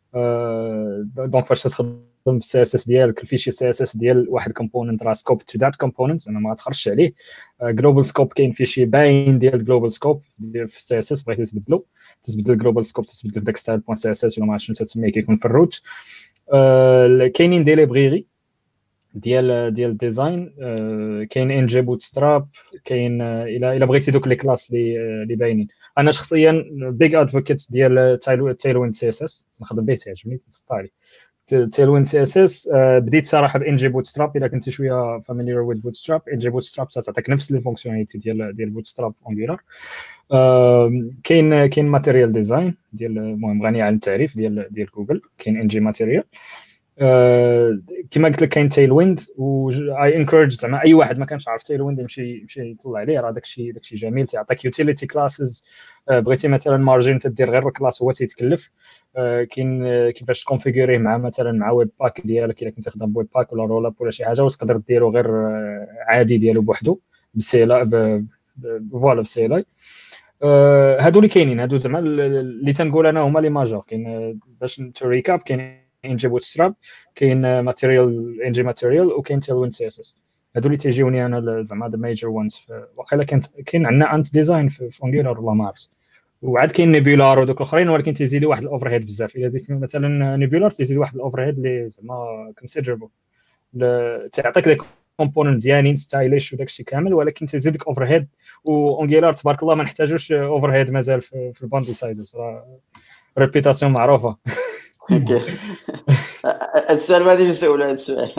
دونك فاش تخدم بالسي اس اس ديالك الفيشي سي اس اس ديال واحد كومبوننت راه سكوب تو ذات كومبوننت انا ما تخرجش عليه. جلوبال سكوب كاين فيشي باين ديال جلوبال سكوب في السي اس اس بغيتي تبدلو تبدل الجلوبال سكوب تبدل في داك ستايل بوين سي اس اس ولا ما عرفتش شنو تسميه كيكون في الروت. كاينين دي ليبريري ديال ديال الديزاين كاين ان جي بوت ستراب كاين الى الى بغيتي دوك لي كلاس اللي اللي باينين. انا شخصيا بيج ادفوكيت ديال تايلوين سي اس اس نخدم به تعجبني تنسطالي تايلوين سي اس اس. بديت صراحه بان جي بوت ستراب الا كنتي شويه فاميليير ويز بوت ستراب. ان جي بوت ستراب تعطيك نفس لي فونكسيوناليتي ديال ديال بوت ستراب في انجولار. كاين كاين ماتيريال ديزاين ديال المهم غني عن التعريف ديال ديال جوجل. كاين ان جي ماتيريال كما قلت لك كاين تايل ويند و اي انكورج زعما اي واحد ما كانش عارف تايل ويند يمشي يمشي يطلع عليه راه داكشي داكشي جميل تيعطيك يوتيليتي كلاسز. بغيتي مثلا مارجين تدير غير الكلاس هو تيتكلف. كاين كيفاش تكونفيغوريه مع مثلا مع ويب باك ديالك الا كنتي خدام بويب باك ولا رول اب ولا شي حاجه وتقدر ديرو غير عادي ديالو بوحدو بسيلا فوالا بسيلا. هادو اللي كاينين هادو زعما اللي تنقول انا هما لي ماجور. كاين باش تريكاب كاين ان جي بوت ستراب كاين ماتيريال ان جي ماتيريال وكاين تايلوين سي اس اس. هادو اللي تيجيوني انا زعما ذا ميجر وانز. واقيلا كاين كاين عندنا انت ديزاين في انجولار والله ما عرفت. وعاد كاين نيبولار ودوك الاخرين ولكن تيزيدوا واحد الاوفر هيد بزاف. الا زدت مثلا نيبولار تيزيد واحد الاوفر هيد اللي زعما كونسيدربل تعطيك لي كومبوننت زيانين ستايليش وداكشي كامل ولكن تزيدك اوفر هيد. وانجولار تبارك الله ما نحتاجوش اوفر هيد مازال في, في الباندل سايزز راه ريبيتاسيون معروفه. اوكي السؤال ما غاديش نسولو هذا السؤال.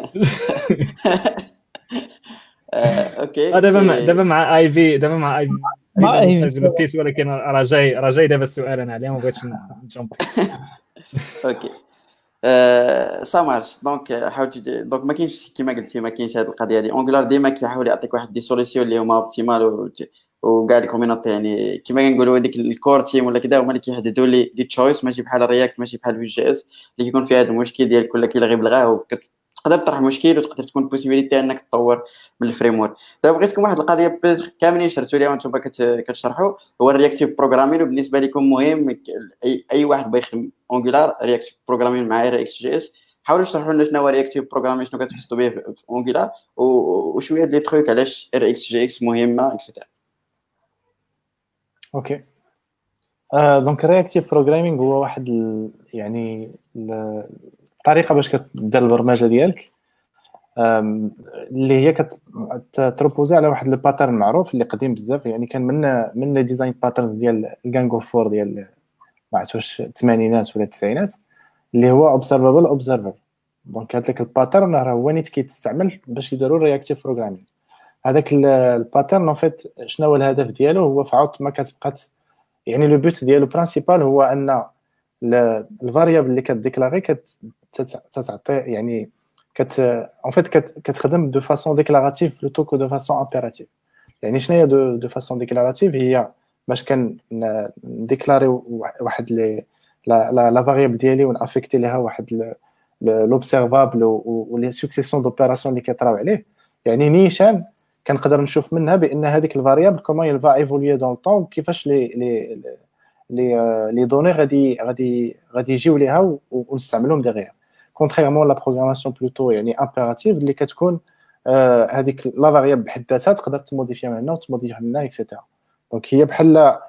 اوكي دابا مع دابا مع اي في دابا مع اي مع في سايز بيس ولكن راه جاي راه جاي دابا السؤال انا عليه ما بغيتش نجومب. اوكي سامارش دونك حاولت دونك ما كاينش كيما قلتي ما كاينش هذه القضيه دي انجولار ديما كيحاول يعطيك واحد دي سوليسيون اللي هما اوبتيمال وكاع الكوميونيتي يعني كيما كنقولوا هذيك الكور تيم ولا كذا هما اللي كيحددوا لي لي تشويس ماشي بحال رياكت ماشي بحال في جي اس اللي كيكون فيها هذا المشكل ديال كل كيلغي بلغاه وتقدر تطرح مشكل وتقدر تكون بوسيبيليتي انك تطور من الفريم ورك. دابا بغيتكم واحد القضيه كاملين شرتوا ليها وانتم كتشرحوا هو الرياكتيف بروغرامين وبالنسبه لكم مهم اي اي واحد بغى يخدم انجولار رياكتيف بروغرامين مع رياكت جي اس. حاولوا تشرحوا لنا شنو هو رياكتيف بروغرامين شنو كتقصدوا به في انجولار وشويه ديال لي تروك علاش ار اكس جي اكس مهمه اكسترا. اوكي آه دونك رياكتيف بروغرامينغ هو واحد ال... يعني الطريقه باش كدير البرمجه ديالك اللي هي كتروبوزي على واحد الباترن معروف اللي قديم بزاف يعني كان من من لي ديزاين باترنز ديال الجانجو فور ديال ما عرفتش الثمانينات ولا التسعينات اللي هو اوبزرفابل اوبزرفر. دونك هذاك الباترن راه هو نيت كيتستعمل باش يديروا الرياكتيف بروغرامينغ. هذاك الباترن اون فيت شنو هو الهدف ديالو هو فعوت ما كتبقى يعني لو بوت ديالو برينسيبال هو ان الفاريابل اللي كتديكلاري كتعطي يعني كت اون فيت كتخدم دو فاسون ديكلاراتيف بلوتو كو دو فاسون امبيراتيف. يعني شنو هي دو دو فاسون ديكلاراتيف هي باش كان نديكلاري واحد لي لا لا فاريابل ديالي ونافيكتي ليها واحد لوبسيرفابل ولي سوكسيسيون دوبيراسيون اللي كيطراو عليه. يعني نيشان كنقدر نشوف منها بان هذيك الفاريابل كومون يلفا ايفولوي دون طون كيفاش لي لي لي لي دوني غادي غادي غادي يجيو ليها ونستعملوهم دغيا كونتريرمون لا بروغراماسيون بلوتو يعني امبيراتيف اللي كتكون هذيك لا فاريابل بحد ذاتها تقدر تموديفيها من هنا وتموديفيها من هنا اكسيتيرا. دونك هي بحال لو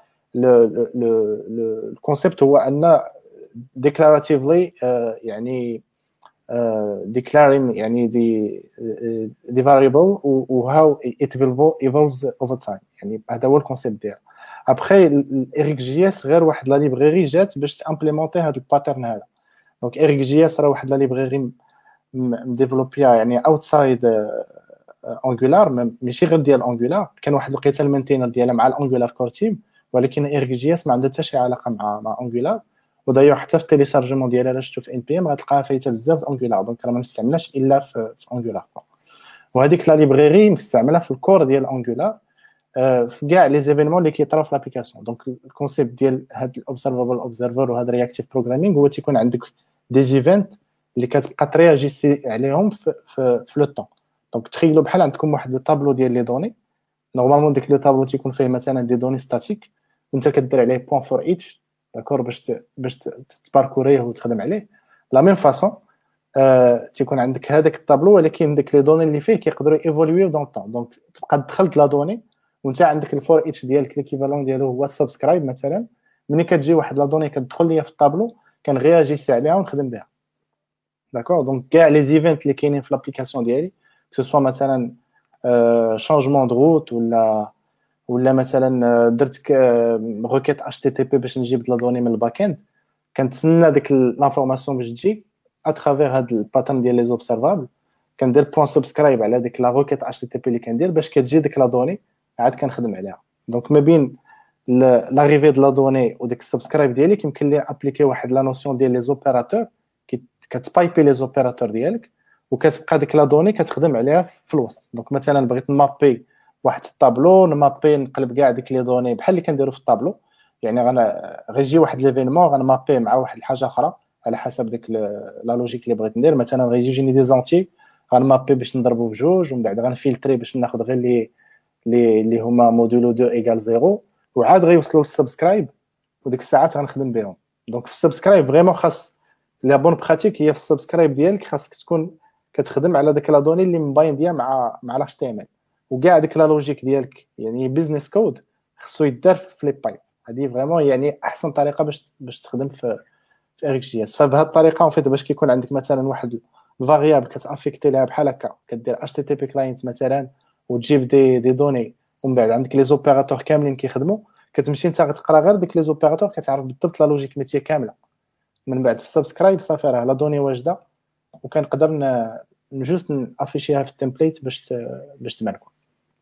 لو الكونسيبت هو ان ديكلاراتيفلي يعني declaring يعني the the variable و how it evolves over time. يعني هذا هو الكونسيبت ديالها. ابخي اريك جي اس غير واحد لا ليبراري جات باش تامبليمونتي هذا الباترن هذا. دونك اريك جي اس راه واحد لا ليبراري مديفلوبيا يعني اوتسايد انجولار ماشي غير ديال انجولار. كان واحد الوقيته المينتينر ديالها مع الانجولار كور تيم ولكن اريك جي اس ما عندها حتى شي علاقه مع مع انجولار. ودايو حتى في التيليشارجمون ديالها الا شفتو في ان بي ام غتلقاها فايته بزاف انجولار. دونك راه ما نستعملهاش الا في انجولار. وهذيك لا ليبراري مستعمله في الكور ديال انجولار في كاع لي زيفينمون اللي كيطراو في لابليكاسيون. دونك الكونسيبت ديال هاد الاوبزرفابل اوبزرفر وهاد الرياكتيف بروغرامينغ هو تيكون عندك دي ايفنت اللي كتبقى ترياجيسي عليهم في في, في لو طون. دونك تخيلوا بحال عندكم واحد الطابلو ديال لي دوني نورمالمون ديك لو طابلو تيكون فيه مثلا دي دوني ستاتيك وانت كدير عليه بوين فور ايتش داكور باش ت... باش تباركوريه وتخدم عليه. لا ميم فاصون آه، تيكون عندك هذاك الطابلو ولكن ديك لي دوني اللي فيه كيقدروا ايفولويو دون طون. دونك تبقى دخلت لا دوني وانت عندك الفور اتش ديالك ليكيفالون ديالو هو السبسكرايب مثلا. ملي كتجي واحد لا دوني كتدخل ليا في الطابلو كنغياجيسي عليها ونخدم بها. داكور دونك كاع لي زيفنت اللي كاينين في لابليكاسيون ديالي كو سوا مثلا شونجمون دو روت ولا ولا مثلا درت روكيت اتش تي تي بي باش نجيب لا دوني من الباك اند، كنتسنى ديك لانفورماسيون باش تجي اترافير هاد الباترن ديال لي زوبسيرفابل. كندير بوين سبسكرايب على ديك لا روكيت اتش تي تي بي اللي كندير باش كتجي ديك لا دوني عاد كنخدم عليها. دونك ما بين لاريفي د لا دوني وديك السبسكرايب ديالي كيمكن لي ابليكي واحد لا نوسيون ديال لي زوبيراتور كتبايبي لي زوبيراتور ديالك وكتبقى ديك لا دوني كتخدم عليها في الوسط. دونك مثلا بغيت نمابي واحد الطابلو نمابي نقلب كاع ديك لي دوني بحال اللي كنديرو في الطابلو، يعني غانا غيجي واحد ليفينمون غنمابي مع واحد الحاجه اخرى على حسب ديك لا لوجيك اللي بغيت ندير. مثلا غيجيني دي زونتي غنمابي باش نضربو بجوج ومن بعد غنفلتري باش ناخذ غير لي لي اللي هما مودولو اثنين ايكال صفر وعاد غيوصلوا للسبسكرايب وديك الساعات غنخدم بهم. دونك في السبسكرايب فريمون خاص لا بون براتيك هي في السبسكرايب ديالك خاصك تكون كتخدم على داك لا دوني اللي مباين ديال مع مع لاش تي ام ال وكاع ديك لا لوجيك ديالك يعني بيزنس كود خصو يدار في لي بايب. هذه فريمون يعني احسن طريقه باش باش تخدم في في اريكس جي اس. فبهذه الطريقه اون فيت باش كيكون عندك مثلا واحد الفاريابل كتافيكتي لها بحال هكا كدير اتش تي تي بي كلاينت مثلا وتجيب دي دي دوني ومن بعد عندك لي زوبيراتور كاملين كيخدموا كتمشي انت غتقرا غير ديك لي زوبيراتور كتعرف بالضبط لا لوجيك ميتي كامله. من بعد في السبسكرايب صافي راه لا دوني واجده وكنقدر نجوست نافيشيها في التمبليت باش باش تماركو.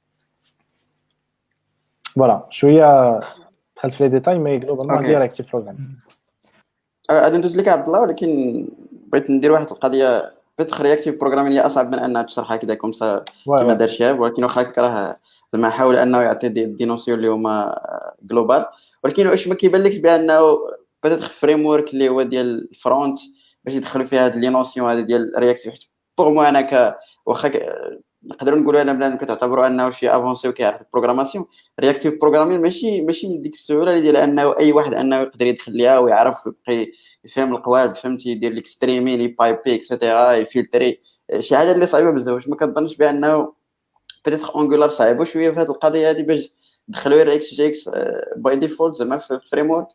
فوالا شويه دخلت في لي ديتاي مي جلوبالمون ديريكتيف بروغرام. غادي ندوز لك عبد الله ولكن بغيت ندير واحد القضيه بيتخ رياكتيف بروغرامين هي اصعب من انها تشرحها كذا كومسا كما دار شهاب، ولكن واخا كراه زعما حاول انه يعطي دي, دي نوسيون اللي هما جلوبال. ولكن واش ما كيبان لك بانه بيتيتر فريم ورك اللي هو ديال الفرونت باش يدخلوا فيها هاد لي نوسيون هذه ديال رياكتيف حيت بوغ مو انا ك واخا نقدروا نقولوا انا بلان كتعتبروا انه شي افونسي وكيعرف البروغراماسيون رياكتيف بروغرامين ماشي ماشي من ديك السهوله اللي ديال انه اي واحد انه يقدر يدخل ليها ويعرف يبقى يفهم القوالب فهمتي يدير لك ستريمين يبايبي اكسيتيرا يفلتري شي حاجه اللي صعيبه بزاف. واش ما كنظنش بانه بيتيتر انجولار صعيبه شويه في هذه القضيه هذه باش دخلوا رياكس جي اكس باي ديفولت زعما في الفريم ورك؟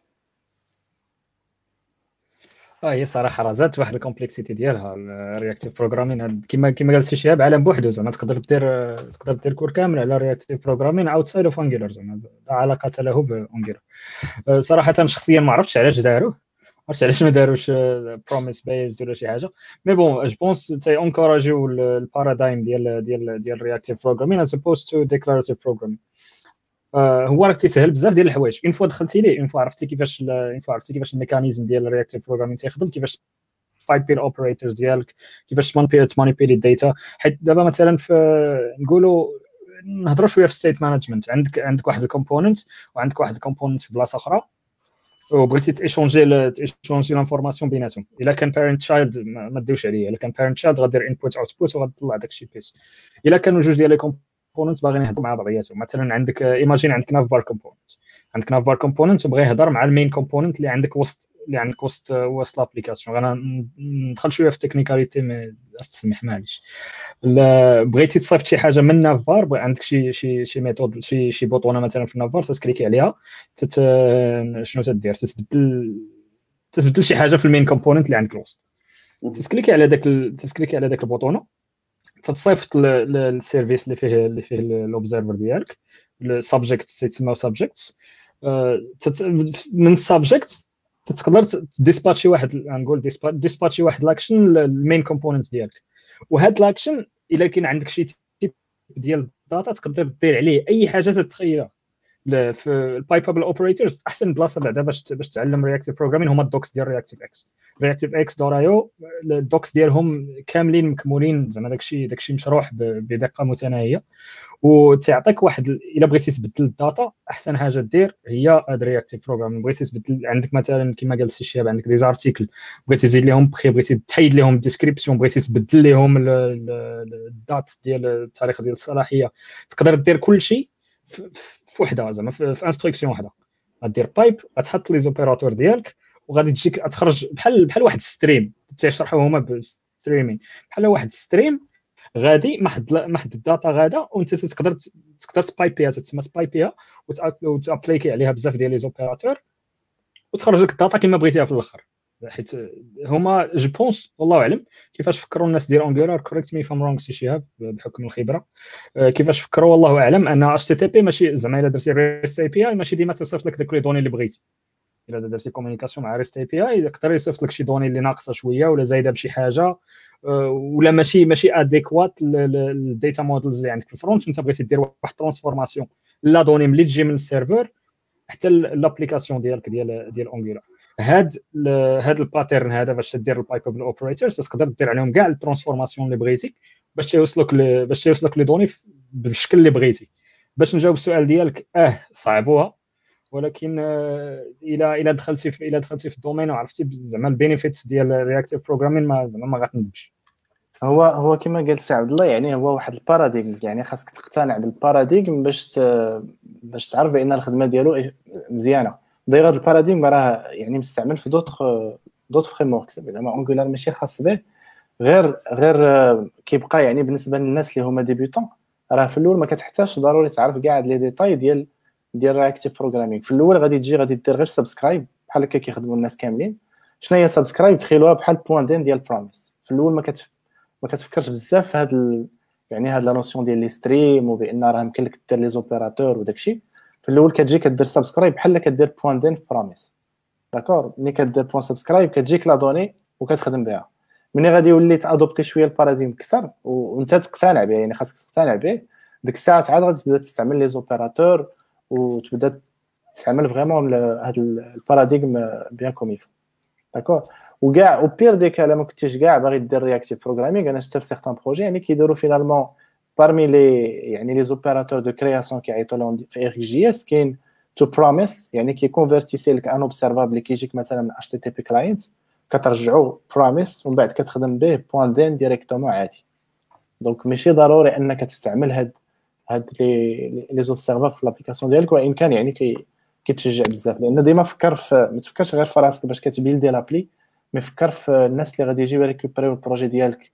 اه هي صراحه راه زادت واحد الكومبلكسيتي ديالها الرياكتيف بروغرامين كما كما قال سي شهاب عالم بوحدو زعما تقدر دير تقدر دير كور كامل على رياكتيف بروغرامين اوتسايد اوف انجولار زعما لا علاقه له بانجولار. صراحه شخصيا ما عرفتش علاش داروه عرفتش علاش ما داروش بروميس بيز ولا شي حاجه مي بون جو بونس تي انكوراجيو البارادايم ديال ديال ديال رياكتيف بروغرامين از اوبوست تو ديكلاراتيف بروغرامين. هو راه تيسهل بزاف ديال الحوايج اون فوا دخلتي ليه اون فوا عرفتي كيفاش اون فوا عرفتي كيفاش الميكانيزم ديال الرياكتيف بروغرامين تيخدم كيفاش بايبي الاوبريتورز ديالك كيفاش تمانيبيلي الداتا. حيت دابا مثلا في نقولوا نهضروا شويه في ستيت مانجمنت عندك عندك واحد الكومبوننت وعندك واحد الكومبوننت في بلاصه اخرى وبغيتي تيشونجي تيشونجي لانفورماسيون بيناتهم. الا كان بارنت تشايلد ما ديوش عليه الا كان بارنت تشايلد غدير انبوت اوتبوت وغتطلع داكشي بيس. الا كانوا جوج ديال لي كومبوننت باغيين يهضروا مع بعضياتهم مثلا عندك ايماجين عندك نافبار كومبوننت عندك نافبار كومبوننت وبغى يهضر مع المين كومبوننت اللي عندك وسط اللي عندك وسط وسط لابليكاسيون. انا ندخل شويه في التكنيكاليتي مي تسمح معليش. بغيتي تصيفط شي حاجه من نافبار عندك شي شي شي ميثود شي شي بوطونه مثلا في نافبار تسكليكي عليها تت شنو تدير تتبدل تتبدل شي حاجه في المين كومبوننت اللي عندك الوسط تسكليكي على داك تسكليكي على داك البوطونه تتصيفط للسيرفيس اللي فيه اللي فيه الاوبزرفر ديالك السبجكت تسمى سبجكتس من السبجكت تقدر ديسباتشي واحد نقول ديسباتشي واحد لاكشن للمين كومبوننت ديالك. وهاد لاكشن الا كاين عندك شي تيب ديال الداتا تقدر دير عليه اي حاجه تتخيلها. في البايبابل اوبريتورز احسن بلاصه بعدا باش باش تعلم رياكتيف بروغرامين هما الدوكس ديال رياكتيف اكس رياكتيف اكس دور ايو الدوكس ديالهم كاملين مكمولين زعما داكشي داكشي مشروح بدقه متناهيه وتعطيك واحد الا بغيتي تبدل الداتا احسن حاجه دير هي هاد رياكتيف بروغرامين. بغيتي تبدل عندك مثلا كما قال السي شهاب عندك دي زارتيكل بغيتي تزيد لهم بخي بغيتي تحيد لهم الديسكريبسيون بغيتي تبدل لهم الدات ديال التاريخ ديال الصلاحيه تقدر دير كل شيء في وحده زعما في انستركسيون وحده غدير بايب غتحط لي زوبيراتور ديالك وغادي تجيك تخرج بحال بحال واحد ستريم تيشرحوا هما بالستريمين بحال واحد ستريم غادي محد محد الداتا غادا وانت تقدر تقدر سبايبيها تسمى سبايبيها وتابليكي عليها بزاف ديال لي زوبيراتور وتخرج لك الداتا كما بغيتيها في الاخر. حيت هما جو بونس والله اعلم كيفاش فكروا الناس ديال انجولار كوريكت مي فام رونغ سي شهاب بحكم الخبره كيفاش فكروا والله اعلم ان اتش تي تي بي ماشي زعما الا درتي ريست اي بي اي ماشي ديما تصيفط لك داك لي دوني اللي بغيتي. الا درتي كومونيكاسيون مع ريست اي بي اي يقدر يصيفط لك شي دوني اللي ناقصه شويه ولا زايده بشي حاجه ولا ماشي ماشي اديكوات للداتا مودلز اللي عندك في الفرونت وانت بغيتي دير واحد ترانسفورماسيون لا دوني ملي تجي من السيرفر حتى لابليكاسيون ديالك ديال ديال انجولار. هاد هاد الباترن هذا باش دير البايب اوبريتورز تقدر دير عليهم كاع الترانسفورماسيون اللي بغيتي باش تيوصلوك باش تيوصلوك لي دوني بالشكل اللي بغيتي. باش نجاوب السؤال ديالك اه صعبوها ولكن الى الى دخلتي في الى دخلتي في الدومين وعرفتي زعما البينيفيتس ديال الرياكتيف بروغرامين ما زعما ما غتندمش. هو هو كما قال سي عبد الله يعني هو واحد الباراديغم يعني خاصك تقتنع بالباراديغم باش ت... باش تعرف بان الخدمه ديالو مزيانه. داير هذا الباراديغم راه يعني مستعمل في دوطخ دوط فريم وركس زعما انجولار ماشي خاص به غير غير كيبقى يعني بالنسبه للناس اللي هما ديبيوتون راه في الاول ما كتحتاجش ضروري تعرف كاع لي ديتاي ديال ديال رياكتيف بروغرامينغ. في الاول غادي تجي غادي دير غير سبسكرايب بحال هكا كيخدموا الناس كاملين. شنو هي سبسكرايب؟ تخيلوها بحال بوان دين ديال بروميس. في الاول ما كت ما كتفكرش بزاف في هاد ال... يعني هاد لا نوسيون ديال لي ستريم وبان راه يمكن لك دير لي زوبيراتور وداكشي. في الاول كتجي كدير سبسكرايب بحال كدير بوان دين في بروميس داكور. ملي كدير بوان سبسكرايب كتجيك لا دوني وكتخدم بها. ملي غادي يولي تادوبتي شويه الباراديم كثر وانت تقتنع به يعني خاصك تقتنع به ديك الساعه عاد غادي تبدا تستعمل لي زوبيراتور وتبدا تستعمل فريمون هاد الباراديم بيان كوميف داكور. وكاع او بير دي كالا ما كنتيش كاع باغي دير رياكتيف بروغرامينغ. انا شفت في سيغتان بروجي يعني كيديروا فينالمون parmi لي يعني لي زوبيراتور دو كرياسيون كيعيطوا لهم في ار جي اس كاين تو بروميس يعني كي كونفيرتيسي لك ان اوبسيرفابل اللي كيجيك مثلا من اتش تي تي بي كلاينت كترجعوا بروميس ومن بعد كتخدم به بوان دين ديريكتومون عادي. دونك ماشي ضروري انك تستعمل هاد هاد لي لي زوبسيرفابل في لابليكاسيون ديالك وان كان يعني كي كيتشجع بزاف لان ديما فكر في ما تفكرش غير في راسك باش كتبيلدي لابلي مي فكر في الناس اللي غادي يجيو ريكوبريو البروجي ديالك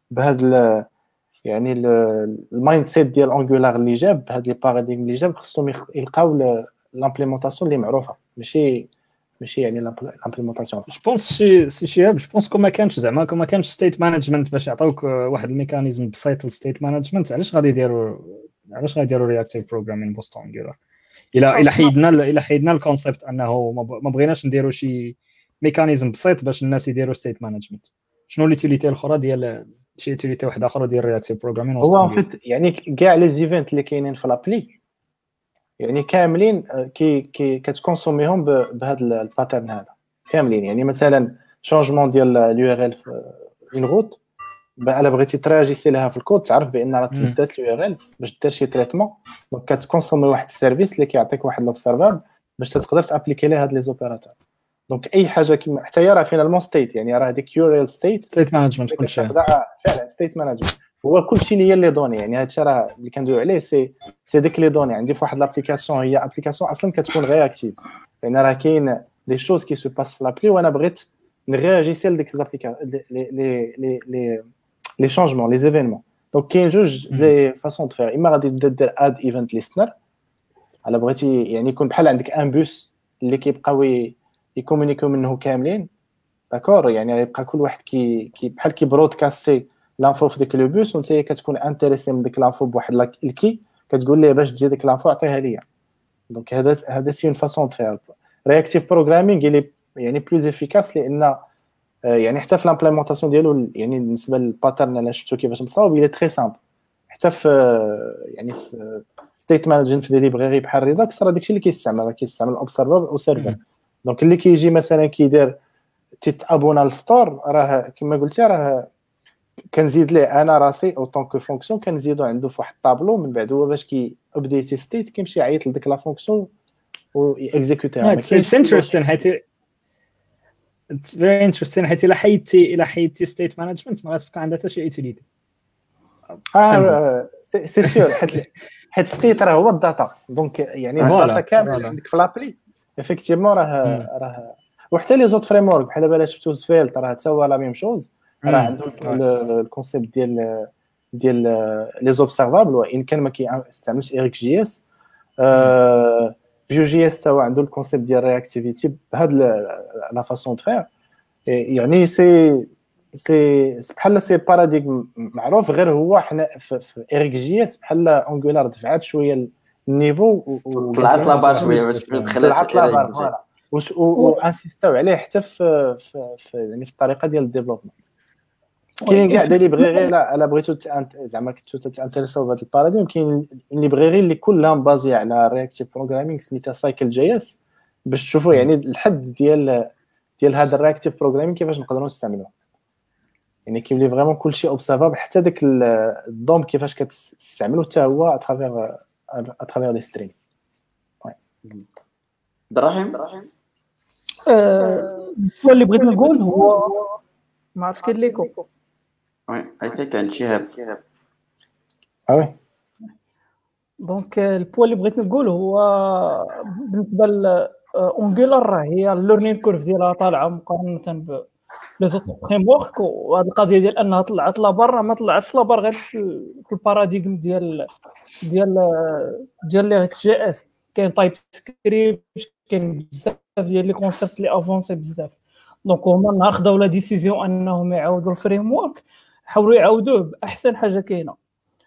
بهاد يعني المايند سيت ديال انجولار اللي جاب هاد لي باراديغم اللي جاب خصهم يلقاو لامبليمونطاسيون اللي معروفه ماشي ماشي يعني لامبليمونطاسيون. جو بونس سي سي شياب جو بونس كما كانش زعما كما كانش ستيت مانجمنت باش يعطوك واحد الميكانيزم بسيط للستيت مانجمنت علاش غادي يديروا علاش غادي يديروا رياكتيف بروغرامين بوست انجولار الى الى حيدنا الى حيدنا الكونسيبت انه ما بغيناش نديروا شي ميكانيزم بسيط باش الناس يديروا ستيت مانجمنت. شنو ليتيليتي الاخرى ديال شي يوتيليتي واحده اخرى ديال رياكتيف بروغرامين؟ هو فيت يعني كاع لي زيفنت اللي كاينين في لابلي يعني كاملين كي كي كتكونسوميهم بهذا الباترن هذا كاملين. يعني مثلا شونجمون ديال اليو ار ال في اون روت الا بغيتي تراجيسي لها في الكود تعرف بان راه تمدات اليو ار ال باش دير شي تريتمون دونك كتكونسومي واحد السيرفيس اللي كيعطيك واحد لوبسيرفابل باش تقدر تابليكي ليه هاد لي زوبيراتور. دونك اي حاجه كيما حتى هي راه فينالمون ستيت يعني راه هذيك يو ار ال ستيت ستيت مانجمنت كلشي فعلا ستيت مانجمنت هو كلشي اللي هي لي دوني. يعني هادشي راه اللي كندويو عليه سي سي ديك لي دوني. عندي في واحد لابليكاسيون هي ابليكاسيون اصلا كتكون رياكتيف لان راه كاين لي شوز كي سو باس في لابلي وانا بغيت نرياجيسي لديك لابليكاسيون لي لي لي لي لي شونجمون لي زيفينمون. دونك كاين جوج لي فاصون دو فير. اما غادي تبدا دير اد ايفنت ليستنر على بغيتي يعني يكون بحال عندك ان بوس اللي كيبقاو يكومونيكيو منه كاملين داكور. يعني يبقى كل واحد كي كي بحال كي برودكاستي لانفو في ديك لو بوس وانت كتكون انتريسي من ديك لانفو بواحد الكي كتقول ليه باش تجي ديك لانفو عطيها ليا. دونك هذا هذا سي اون فاصون دو فير. رياكتيف بروغرامينغ اللي يعني بلوز افيكاس لان يعني حتى في لامبليمونطاسيون ديالو يعني بالنسبه للباترن انا شفتو كيفاش مصاوب الى تري سامبل. حتى في يعني في ستيت مانجمنت في دي ليبراري بحال ريداكس راه داكشي اللي كيستعمل راه كيستعمل اوبسيرفر او سيرفر. دونك اللي كيجي مثلا كيدير تيتابونا للستور راه كما قلتي راه كنزيد ليه انا راسي او طونك فونكسيون كنزيدو عنده في واحد الطابلو من بعد هو باش كي ابديتي ستيت كيمشي يعيط لديك لا فونكسيون و اكزيكوتيها. ما كاينش انتريستين حيت اتس فيري انتريستين حيت الا حيدتي الا حيدتي ستيت مانجمنت ما غاتبقى عندها حتى شي يوتيليتي. اه سي سي سيور حيت حيت ستيت راه هو الداتا. دونك يعني الداتا كامل عندك في لابلي افيكتيفمون راه راه وحتى لي زوت فريم ورك بحال دابا شفتو سفيلت راه حتى هو لا ميم شوز راه عنده الكونسيبت ديال ديال لي زوبسيرفابل وان كان ما كيستعملش ايريك جي اس فيو جي اس هو عنده الكونسيبت ديال رياكتيفيتي بهاد لا فاسون دو فير يعني سي سي بحال سي باراديغم معروف غير هو حنا في ايريك جي اس بحال انجولار دفعات شويه النيفو طلعت لابار شويه باش دخلت طلعت لابار فوالا وانسيستاو عليه حتى في في يعني في الطريقه ديال الديفلوبمون كاين كاع دي ليبريري لا الا بغيتو زعما كنتو تانتريساو بهذا الباراديم كاين ليبريري اللي كلها بازي على رياكتيف بروغرامينغ سميتها سايكل جي اس باش تشوفوا يعني الحد ديال ديال هذا الرياكتيف بروغرامينغ كيفاش نقدروا نستعملوه يعني كيولي فريمون كلشي اوبسيرفابل حتى داك الدوم كيفاش كتستعملو حتى هو اترافير اترافير لي ستريم دراهم اه اللي بغيت نقول هو ما عرفتش كاين ليكو وي اي ثينك كان شهاب اه وي دونك البوا اللي بغيت نقول هو بالنسبه لانجولار راه هي الليرنين كورف ديالها طالعه مقارنه ب لي زوت فريم ورك وهاد القضيه ديال انها طلعت لابار ما طلعتش لابار غير في الباراديغم ديال ديال ديال لي جي اس كاين تايب سكريبت كاين بزاف ديال لي كونسيبت لي افونسي بزاف دونك هما نهار خداو لا ديسيزيون انهم يعاودوا الفريم ورك حاولوا يعاودوه باحسن حاجه كاينه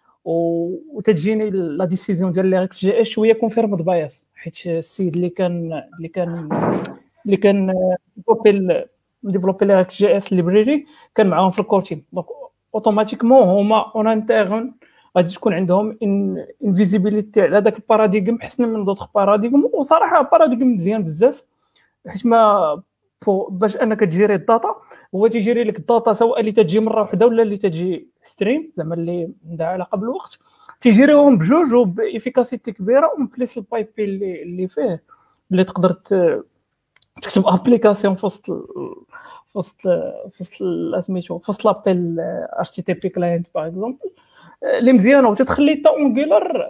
وتجيني لا ديسيزيون ديال لي اكس جي اس شويه كونفيرمد بايس حيت السيد اللي كان اللي كان اللي كان ديفلوبي ديفلوبي لي اكس جي اس ليبراري كان معاهم في الكور تيم دونك اوتوماتيكمون هما اون انترن غادي تكون عندهم ان فيزيبيليتي على داك الباراديغم احسن من دوطخ باراديغم وصراحه باراديغم مزيان بزاف حيت ما باش انك تجيري الداتا هو تيجيري لك الداتا سواء اللي تجي مره واحده ولا اللي تجي ستريم زعما اللي عندها علاقه بالوقت تيجيريهم بجوج وبافيكاسيتي كبيره ومبليس البايب اللي اللي فيه اللي تقدر تكتب ابليكاسيون في وسط في وسط في وسط سميتو في وسط لابيل اتش تي تي بي كلاينت باغ اكزومبل اللي مزيانه وتتخلي حتى اونجولار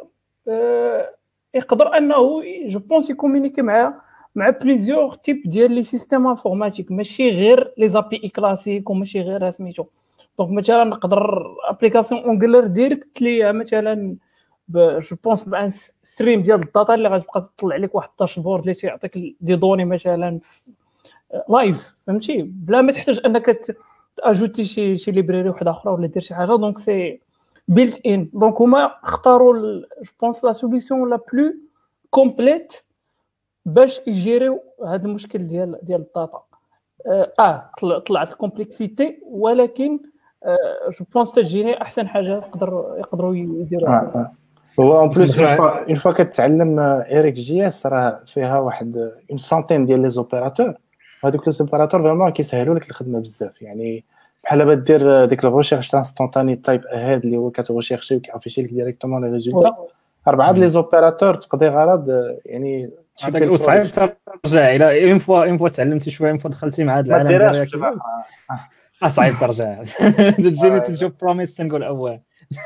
يقدر انه جو بونس يكومونيكي مع مع بليزيور تيب ديال لي سيستيم انفورماتيك ماشي غير لي زابي اي كلاسيك وماشي غير سميتو دونك مثلا نقدر ابليكاسيون اونجولار ديريكت ليا مثلا جو بونس مع ستريم ديال الداتا اللي غتبقى تطلع لك واحد الداشبورد اللي تيعطيك دي دوني مثلا لايف فهمتي بلا ما تحتاج انك تاجوتي شي شي ليبراري واحده اخرى ولا دير شي حاجه دونك سي بيلت ان دونك هما اختاروا جو بونس لا سوليوشن لا بلو كومبليت باش يجيريو هذا المشكل ديال ديال الداتا اه طلعت الكومبلكسيتي ولكن جو بونس تجيني احسن حاجه يقدر يقدروا يديروها هو اون بليس اون فوا كتعلم ايريك جي اس راه فيها واحد اون سانتين ديال لي زوبيراتور هذوك لي زوبيراتور فريمون كيسهلوا لك الخدمه بزاف يعني بحال با دير ديك الريشيرش انستانتاني تايب اهيد اللي هو كتغوشيرشي وكيعرفيشي لك ديريكتومون لي ريزولتا اربعه لي زوبيراتور تقضي غرض يعني هذاك صعيب ترجع الى اون فوا اون فوا تعلمتي شويه اون فوا دخلتي مع هذا العالم ديالك اه صعيب ترجع تجيني تشوف بروميس تنقول اول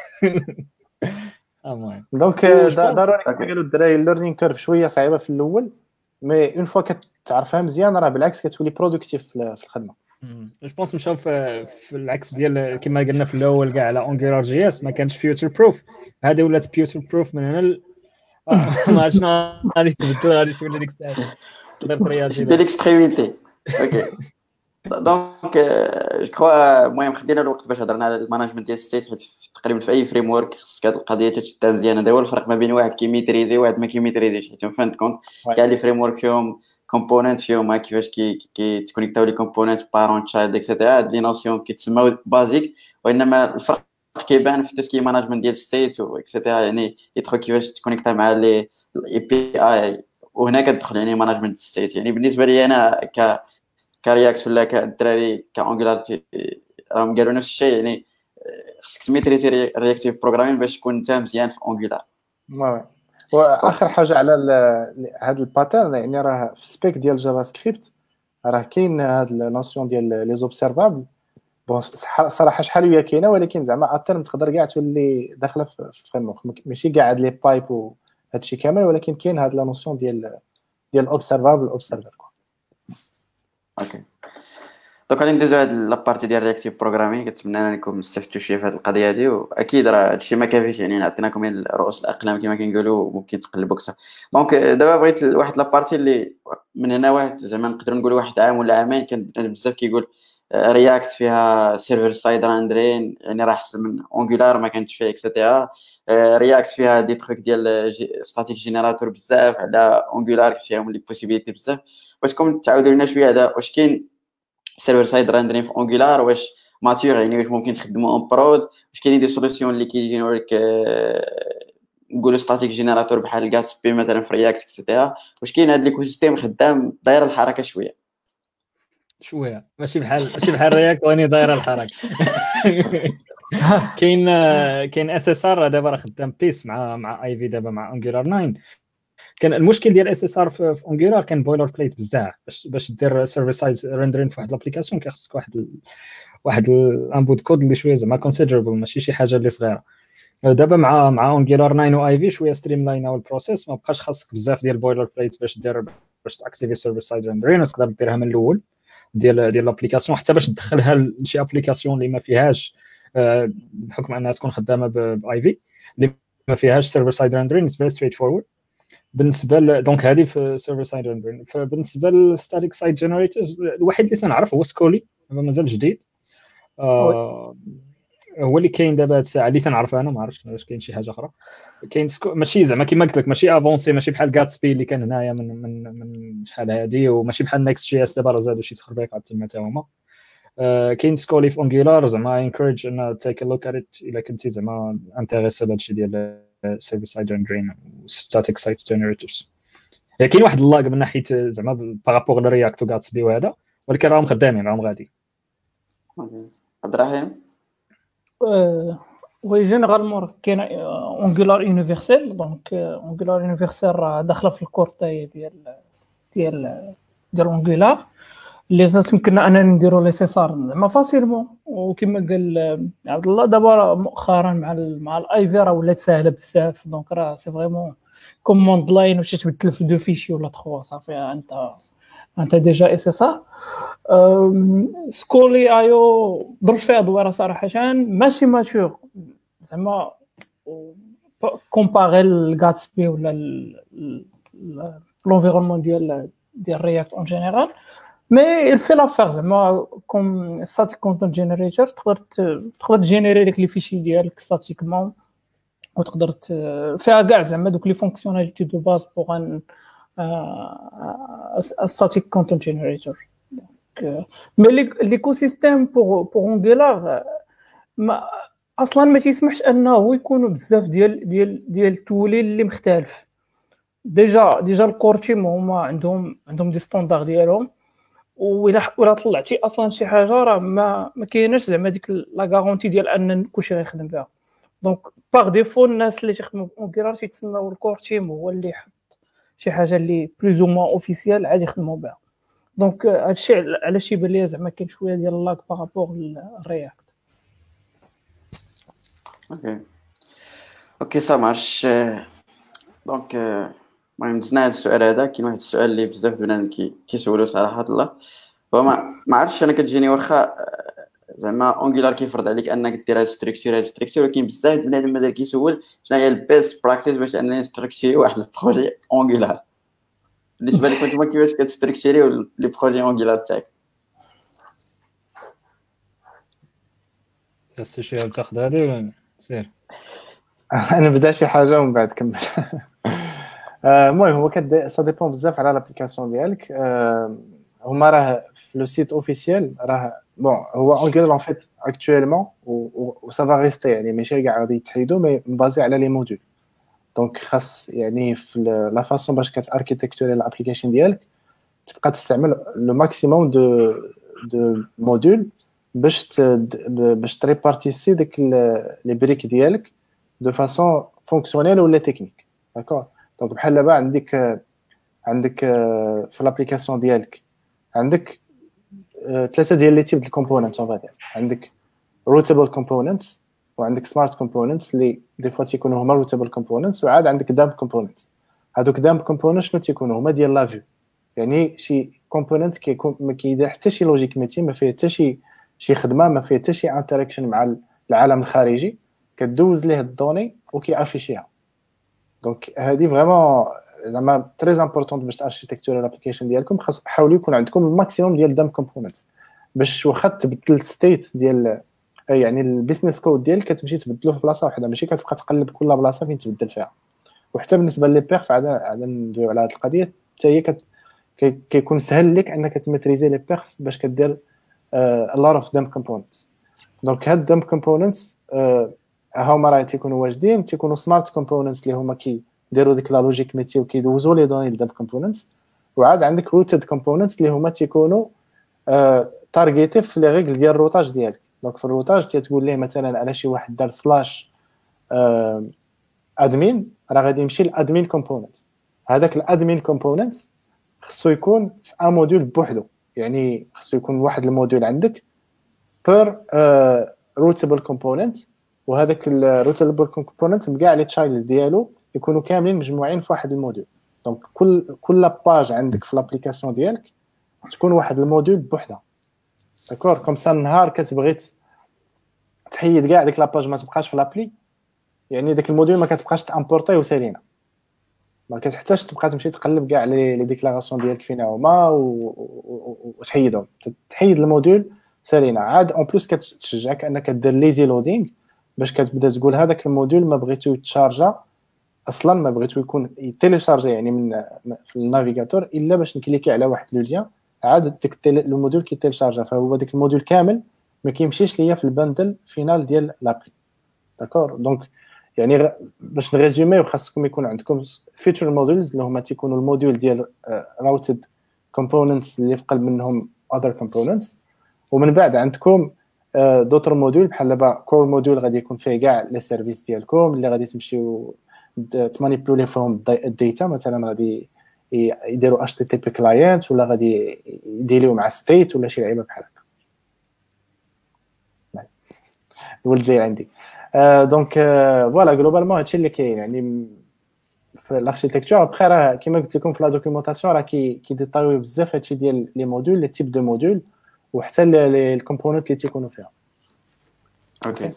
المهم دونك ضروري قالوا الدراري الليرنين كيرف شويه صعيبه في الاول مي اون فوا كتعرفها مزيان راه بالعكس كتولي برودكتيف في الخدمه جو بونس مشاو في العكس ديال كما قلنا في الاول كاع على اونجولار جي اس ما كانش فيوتشر بروف هذه ولات فيوتشر بروف من هنا ما عرفتش غادي تبدل غادي تولي ديك الساعه تقدر ترياجي ديال الاكستريميتي اوكي دونك جو كخوا المهم خدينا الوقت باش هضرنا على المانجمنت ديال ستيت حيت تقريبا في اي فريم ورك خصك هاد القضيه تشدها مزيان هذا هو الفرق ما بين واحد كيميتريزي وواحد ما كيميتريزيش حيت فين كونت كاع لي فريم ورك فيهم كومبوننت فيهم كيفاش كي تكونيكتاو لي كومبوننت بارون تشايلد اكسيتيرا هاد لي نوسيون كيتسموا بازيك وانما الفرق كيبان في تسكي مانجمنت ديال ستيت اكسيتيرا يعني يدخل كيفاش تكونيكتا مع لي اي بي اي وهنا كتدخل يعني مانجمنت ستيت يعني بالنسبه لي انا ك كرياكس ولا كالدراري كانجولار راهم قالوا نفس الشيء يعني خصك تميتريزي رياكتيف بروغرامين باش تكون انت مزيان في انجولار وي واخر حاجه على هذا الباترن يعني راه في سبيك ديال جافا سكريبت راه كاين هاد النوسيون ديال لي زوبسيرفابل بون صراحه شحال هي كاينه ولكن زعما اترم تقدر كاع تولي داخله في الفريم ورك ماشي كاع هاد لي بايب وهادشي كامل ولكن كاين هاد لا نوسيون ديال ديال اوبسيرفابل اوبسيرفر. اوكي دونك غادي ندوزو هاد لابارتي ديال رياكتيف بروغرامين. كنتمنى انكم استفدتوا شويه في هاد القضيه هادي، واكيد راه هادشي ما كافيش، يعني عطيناكم رؤوس الاقلام كما كنقولوا، ممكن تقلبوا اكثر. دونك دابا بغيت واحد لابارتي اللي من هنا واحد زعما نقدروا نقولوا واحد عام ولا عامين كان بزاف كيقول رياكت فيها سيرفر سايد راندرين، يعني راه احسن من اونجولار ما كانتش فيها اكسيتيرا. رياكت فيها دي تروك ديال ستاتيك جينيراتور بزاف، على اونجولار فيهم لي بوسيبيليتي بزاف. واش كنتم تعاودوا لنا شويه على واش كاين سيرفر سايد راندرين في اونجولار، واش ماتور يعني واش ممكن تخدموا اون برود، واش كاينين دي سوليسيون اللي كيجيو لك نقولوا ستاتيك جينيراتور بحال غاتسبي مثلا في رياكت اكسيتيرا، واش كاين هذا ليكو سيستيم خدام داير الحركه شويه شويه ماشي بحال ماشي بحال رياكت واني دايره الحركه. كاين كاين اس اس ار دابا راه خدام بيس مع مع اي في دابا مع انجولار تسعة. كان المشكل ديال اس اس ار في انجولار كان بويلر بليت بزاف، باش باش دير سيرفر سايد ريندرين في واحد لابليكاسيون كيخصك واحد ال... واحد الانبوت كود اللي شويه زعما كونسيدربل، ماشي شي حاجه اللي صغيره. دابا مع مع انجولار تسعة و اي في شويه ستريم لاين او البروسيس، ما بقاش خاصك بزاف ديال بويلر بليت باش دير باش تاكتيفي سيرفر سايد ريندرين، تقدر ديرها من الاول ديال ديال لابليكاسيون، حتى باش تدخلها لشي ابليكاسيون اللي ما فيهاش بحكم انها تكون خدامه باي في اللي ما فيهاش سيرفر سايد ريندرين. اتس فيري ستريت فورورد بالنسبه ل... دونك هذه في سيرفر سايد ريندرين. فبالنسبه للستاتيك سايد جنريتورز الوحيد اللي تنعرف هو سكولي، مازال جديد. آه... هو اللي كاين دابا هاد الساعه اللي تنعرف انا، ما عرفتش واش كاين شي حاجه اخرى. كاين سكو... ماشي زعما كيما قلت لك ماشي افونسي، ماشي بحال غاتسبي اللي كان هنايا من من من شحال هادي، وماشي بحال نيكست جي اس دابا راه زادوا شي تخربيقات تما حتى هما. Uh, كاين سكولي في انجولار زعما انكوريج ان تيك ا لوك ات ات الا كنتي زعما انتريسي بهادشي ديال سيرفر سايد ريندرين وستاتيك سايت جينيريتورز. كاين واحد اللاغ من ناحيه زعما بارابور لرياكت وغاتسبي وهذا، ولكن راهم خدامين راهم غادي. عبد الرحيم وي جينيرالمون كاين انجولار يونيفرسال. دونك انجولار يونيفرسال راه داخله في الكورتاي ديال ديال ديال انجولار اللي تمكننا اننا نديروا لي سيسار زعما فاسيلمون. وكما قال عبد الله دابا مؤخرا مع ال مع الاي في راه ولات ساهله بزاف. دونك راه سي فريمون كوموند لاين واش تبدل في دو فيشي ولا تخوا صافي انت انت ديجا اس اس ار. سكولي ايو ضرب فيها دويره صراحه ماشي ماتور زعما كومباري الغاتسبي ولا لونفيرونمون ديال ديال رياكت اون جينيرال. مي الفي لافير زعما كوم ستاتيك كونتنت جينيريتور تقدر تقدر تجينيري لك لي فيشي ديالك ستاتيكمون، وتقدر فيها كاع زعما دوك لي فونكسيوناليتي دو باز بوغ ان ستاتيك كونتنت جينيريتور. مي ليكو سيستيم بوغ بوغ انجولار ما اصلا ما تيسمحش انه يكونوا بزاف ديال ديال ديال التولي اللي مختلف. ديجا ديجا الكور تيم هما عندهم عندهم دي ستاندار ديالهم، ولا ولا طلعتي اصلا شي حاجه راه ما ما كايناش زعما ديك لا غارونتي ديال ان كلشي غيخدم بها. دونك باغ ديفو الناس اللي تيخدموا اونكيرار تيتسناو الكور تيم هو اللي يحط شي حاجه اللي بلوز او موان اوفيسيال عادي يخدموا بها. دونك هادشي علاش يبان ليا زعما كاين شويه ديال اللاك بارابور للرياكت. اوكي اوكي سا مارش. دونك المهم دزنا هاد السؤال هذا. كاين واحد السؤال اللي بزاف بنادم كي كيسولو صراحه الله، وما ما عرفتش انا كتجيني واخا زعما انجولار كيفرض عليك انك دير هاد ستركتور هاد ستركتور، ولكن بزاف بنادم مازال كيسول شنو هي البيست براكتيس باش انني نستركتوري واحد البروجي انجولار. بالنسبه لكم نتوما كيفاش كتستركتوريو لي بروجي انجولار تاعك؟ تحس شي تاخذ هذه ولا سير؟ انا بدا شي حاجه ومن بعد كمل. المهم هو كد سا ديبون بزاف على لابليكاسيون ديالك. هما راه في لو سيت اوفيسيال راه بون هو انجولار ان فيت اكطويلمون و سا فا ريستي، يعني ماشي كاع غادي يتحيدوا مي مبازي على لي موديول. دونك خاص يعني في لا فاصون باش كتاركيتكتوري الابليكاسيون ديالك تبقى تستعمل لو ماكسيموم دو دو موديول باش باش تريبارتيسي ديك لي بريك ديالك دو فاصون فونكسيونيل ولا تكنيك. داكور. دونك بحال دابا عندك عندك في الابليكاسيون ديالك عندك ثلاثه ديال لي تيب د الكومبوننت اون فادير. عندك روتابل كومبوننتس وعندك سمارت كومبوننتس اللي دي فوا تيكونوا هما روتابل كومبوننتس، وعاد عندك دامب كومبوننتس. هادوك دام كومبوننت شنو تيكونوا هما ديال لا فيو، يعني شي كومبوننت كيكون ما كيدير حتى شي لوجيك ميتي، ما فيه حتى شي شي خدمه، ما فيه حتى شي انتراكشن مع العالم الخارجي، كدوز ليه الدوني وكيافيشيها. دونك هادي فريمون زعما تري امبورطون باش اركيتكتور الابليكيشن ديالكم، خاص حاولوا يكون عندكم الماكسيموم ديال دام كومبوننتس باش واخا تبدل الستيت ديال يعني البيزنس كود ديالك كتمشي تبدلو في بلاصه واحده، ماشي كتبقى تقلب كل بلاصه فين تبدل فيها. وحتى بالنسبه لي بيرف عاد عاد ندويو على هذه القضيه حتى هي كت... كيكون سهل لك انك تماتريزي لي بيرف باش كدير ا لوت اوف دام كومبوننتس. دونك هاد دام كومبوننتس هما راه تيكونوا واجدين، تيكونوا سمارت كومبوننتس اللي هما كيديروا ديك لا لوجيك ميتي وكيدوزوا لي دوني لدام كومبوننتس. وعاد عندك روتد كومبوننتس اللي هما تيكونوا تارغيتي في لي ريغل ديال الروتاج ديالك. دونك في الروتاج تتقول ليه مثلا على شي واحد دار سلاش ادمين، راه غادي يمشي للادمين كومبوننت. هذاك الادمين كومبوننت خصو يكون في ان موديول بوحدو، يعني خصو يكون واحد الموديول عندك بير روتابل كومبوننت، وهذاك الروتابل كومبوننت كاع لي تشايلد ديالو يكونوا كاملين مجموعين في واحد الموديول. دونك كل كل باج عندك في الابليكاسيون ديالك تكون واحد الموديول بوحدها، داكور؟ كوم سا النهار كتبغي تحيد كاع ديك لاباج ما تبقاش في لابلي، يعني داك الموديول ما كتبقاش تامبورطيه وسالينا، ما كتحتاجش تبقى تمشي تقلب كاع لي لي ديكلاراسيون ديالك فينا هما وتحيدهم، تحيد الموديول سالينا. عاد اون بليس كتشجعك انك دير ليزي لودينغ باش كتبدا تقول هذاك الموديول ما بغيتو يتشارجا اصلا، ما بغيتو يكون يتيليشارجا يعني من في النافيغاتور الا باش نكليكي على واحد لو لين، عاد ديك الموديول كيتيليشارجا، فهو داك الموديول كامل ما كيمشيش ليا في البندل فينال ديال لابلي، داكور؟ دونك يعني باش نريزومي خاصكم يكون عندكم فيتشر موديلز اللي هما تيكونوا الموديول ديال راوتد كومبوننتس اللي في قلب منهم اذر كومبوننتس، ومن بعد عندكم دوتر موديول بحال دابا كور موديول غادي يكون فيه كاع لي سيرفيس ديالكم اللي غادي تمشيو تمانيبيولي فيهم الداتا، مثلا غادي يديروا اتش تي تي بي كلاينت ولا غادي يديروا مع ستيت ولا شي لعيبه بحال هكا. الولد جاي عندي. دونك فوالا غلوبالمون هادشي اللي كاين يعني في الاركيتكتور. ابخي راه كيما قلت لكم في لا دوكيومونطاسيون راه كي كيديطايو بزاف هادشي ديال لي موديول لي تيب دو موديول وحتى لي الكومبوننت اللي تيكونوا فيها. اوكي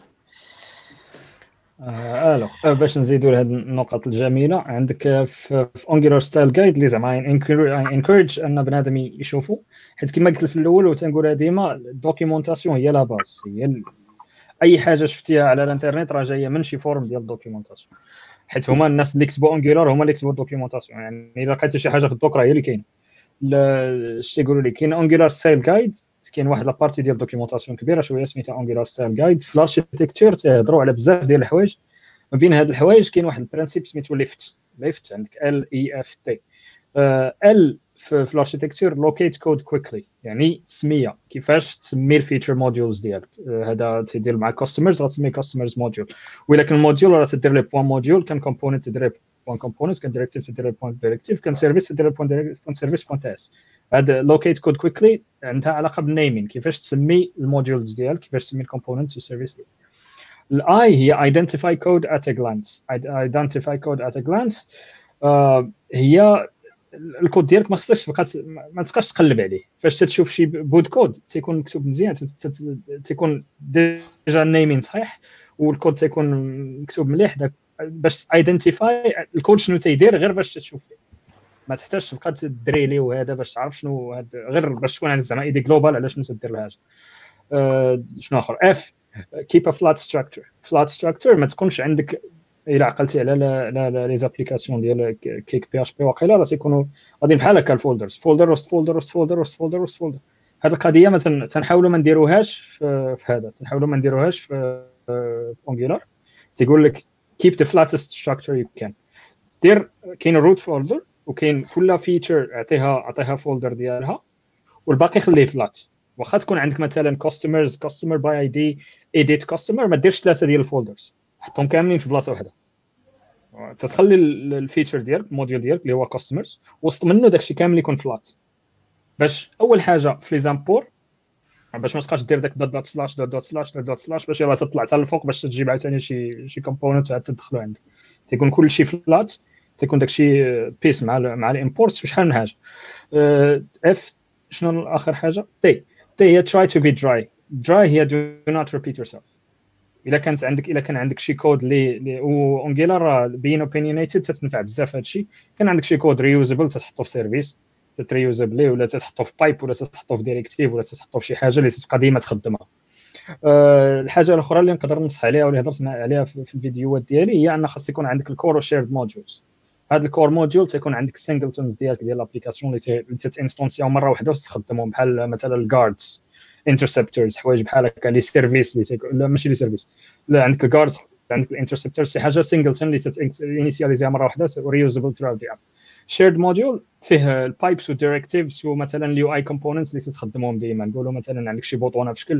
الو باش نزيدوا لهاد النقط الجميله عندك في اونجولار ستايل جايد اللي زعما انكوريج ان بنادم يشوفوا، حيت كما قلت في الاول وتنقولها ديما الدوكيومونطاسيون هي لا باز، هي ال... اي حاجه شفتيها على الانترنت راه جايه من شي فورم ديال الدوكيومونطاسيون، حيت هما الناس اللي كتبوا اونجولار هما اللي كتبوا الدوكيومونطاسيون. يعني الا لقيتي شي حاجه في الدوك راه هي اللي كاينه. اش تيقولوا لي كاين اونجولار ستايل جايد، كاين واحد لابارتي ديال الدوكيومونطاسيون كبيره شويه سميتها اونجولار ستايل جايد. في الاركيتكتور تهضروا على بزاف ديال الحوايج، ما بين هاد الحوايج كاين واحد البرانسيب سميتو ليفت. ليفت عندك ال اي اف تي. ال في الاركيتكتور لوكيت كود كويكلي، يعني تسميه كيفاش تسمي الفيتشر موديولز ديالك. هذا تيدير مع كاستمرز غتسمي كاستمرز موديول، ولكن الموديول راه تدير لي بوان موديول، كان كومبوننت تدير بوان كومبوننت، كان ديريكتيف تدير بوان ديريكتيف، كان سيرفيس تدير بوان بوان سيرفيس بوان تي اس. هذا لوكيت كود كويكلي عندها علاقه بالنيمين، كيفاش تسمي الموديولز ديالك، كيفاش تسمي الكومبوننتس والسيرفيس ديالك. الاي هي identify code at a glance. identify code at a glance uh, هي الكود ديالك ما خصكش تبقى ما تبقاش تقلب عليه. فاش تشوف شي بود كود تيكون مكتوب مزيان، تيكون ديجا نيمين صحيح والكود تيكون مكتوب مليح، داك باش ايدنتيفاي الكود شنو تيدير غير باش تشوف فيه، ما تحتاجش تبقى تدريلي وهذا باش تعرف شنو هذا، غير باش تكون عندك زعما ايدي جلوبال على شنو تدير الحاجه. أه شنو اخر اف keep a flat structure. flat structure ما تكونش عندك الا عقلتي على لا لي زابليكاسيون ديال كيك بي اش بي واقيلا راه تيكونوا غاديين بحال هكا الفولدرز، فولدر وسط فولدر وسط فولدر وسط فولدر وسط فولدر. هذه القضيه مثلا تنحاولوا ما نديروهاش في هذا، تنحاولوا ما نديروهاش في في اونجولار. تيقول لك keep the flattest structure you can. دير كاين روت فولدر وكاين كل فيتشر اعطيها اعطيها فولدر ديالها والباقي خليه فلات. واخا تكون عندك مثلا كاستمرز كاستمر باي اي دي ايديت كاستمر، ما ديرش ثلاثه ديال الفولدرز، حطهم كاملين في بلاصه واحده. تتخلي الفيتشر ديالك الموديول ديالك اللي هو كاستمرز وسط منه داكشي كامل يكون فلات، باش اول حاجه في لي زامبور باش ما تبقاش دير داك دوت دوت سلاش دوت دوت سلاش دوت دوت سلاش باش يلاه تطلع حتى الفوق باش تجيب عاوتاني شي شي كومبوننت عاد تدخلو عندك. تيكون كلشي فلات تيكون داكشي بيس مع ال مع الامبورت وشحال من حاجه. اف شنو اخر حاجه؟ تي تي هي try to be dry dry هي do not repeat yourself. الا كانت عندك الا كان عندك شي كود اللي وانجيلار راه بين opinionated تتنفع بزاف هادشي. كان عندك شي كود ريوزابل تتحطو في سيرفيس تتريوزابلي ولا تتحطو في بايب ولا تتحطو في ديريكتيف ولا تتحطو في شي حاجه اللي تبقى ديما تخدمها. أه الحاجه الاخرى اللي نقدر ننصح عليها واللي هضرت عليها في الفيديوهات ديالي هي ان خاص يكون عندك الكور وشيرد موديولز. هاد الكور موديول تيكون عندك سينجلتونز ديالك ديال الابليكاسيون اللي تتانستونسياو مره واحده وتستخدمهم بحال مثلا الجاردز انترسبتورز حوايج بحال هكا لي سيرفيس اللي لا ماشي لي سيرفيس لا عندك الجاردز عندك الانترسبتورز شي حاجه سينجلتون اللي تانيسياليزيها مره واحده وريوزابل ثرو ذا اب. شيرد موديول فيه البايبس والديريكتيفز ومثلا اليو اي كومبوننتس اللي تستخدمهم ديما. نقولوا مثلا عندك شي بوطونه بشكل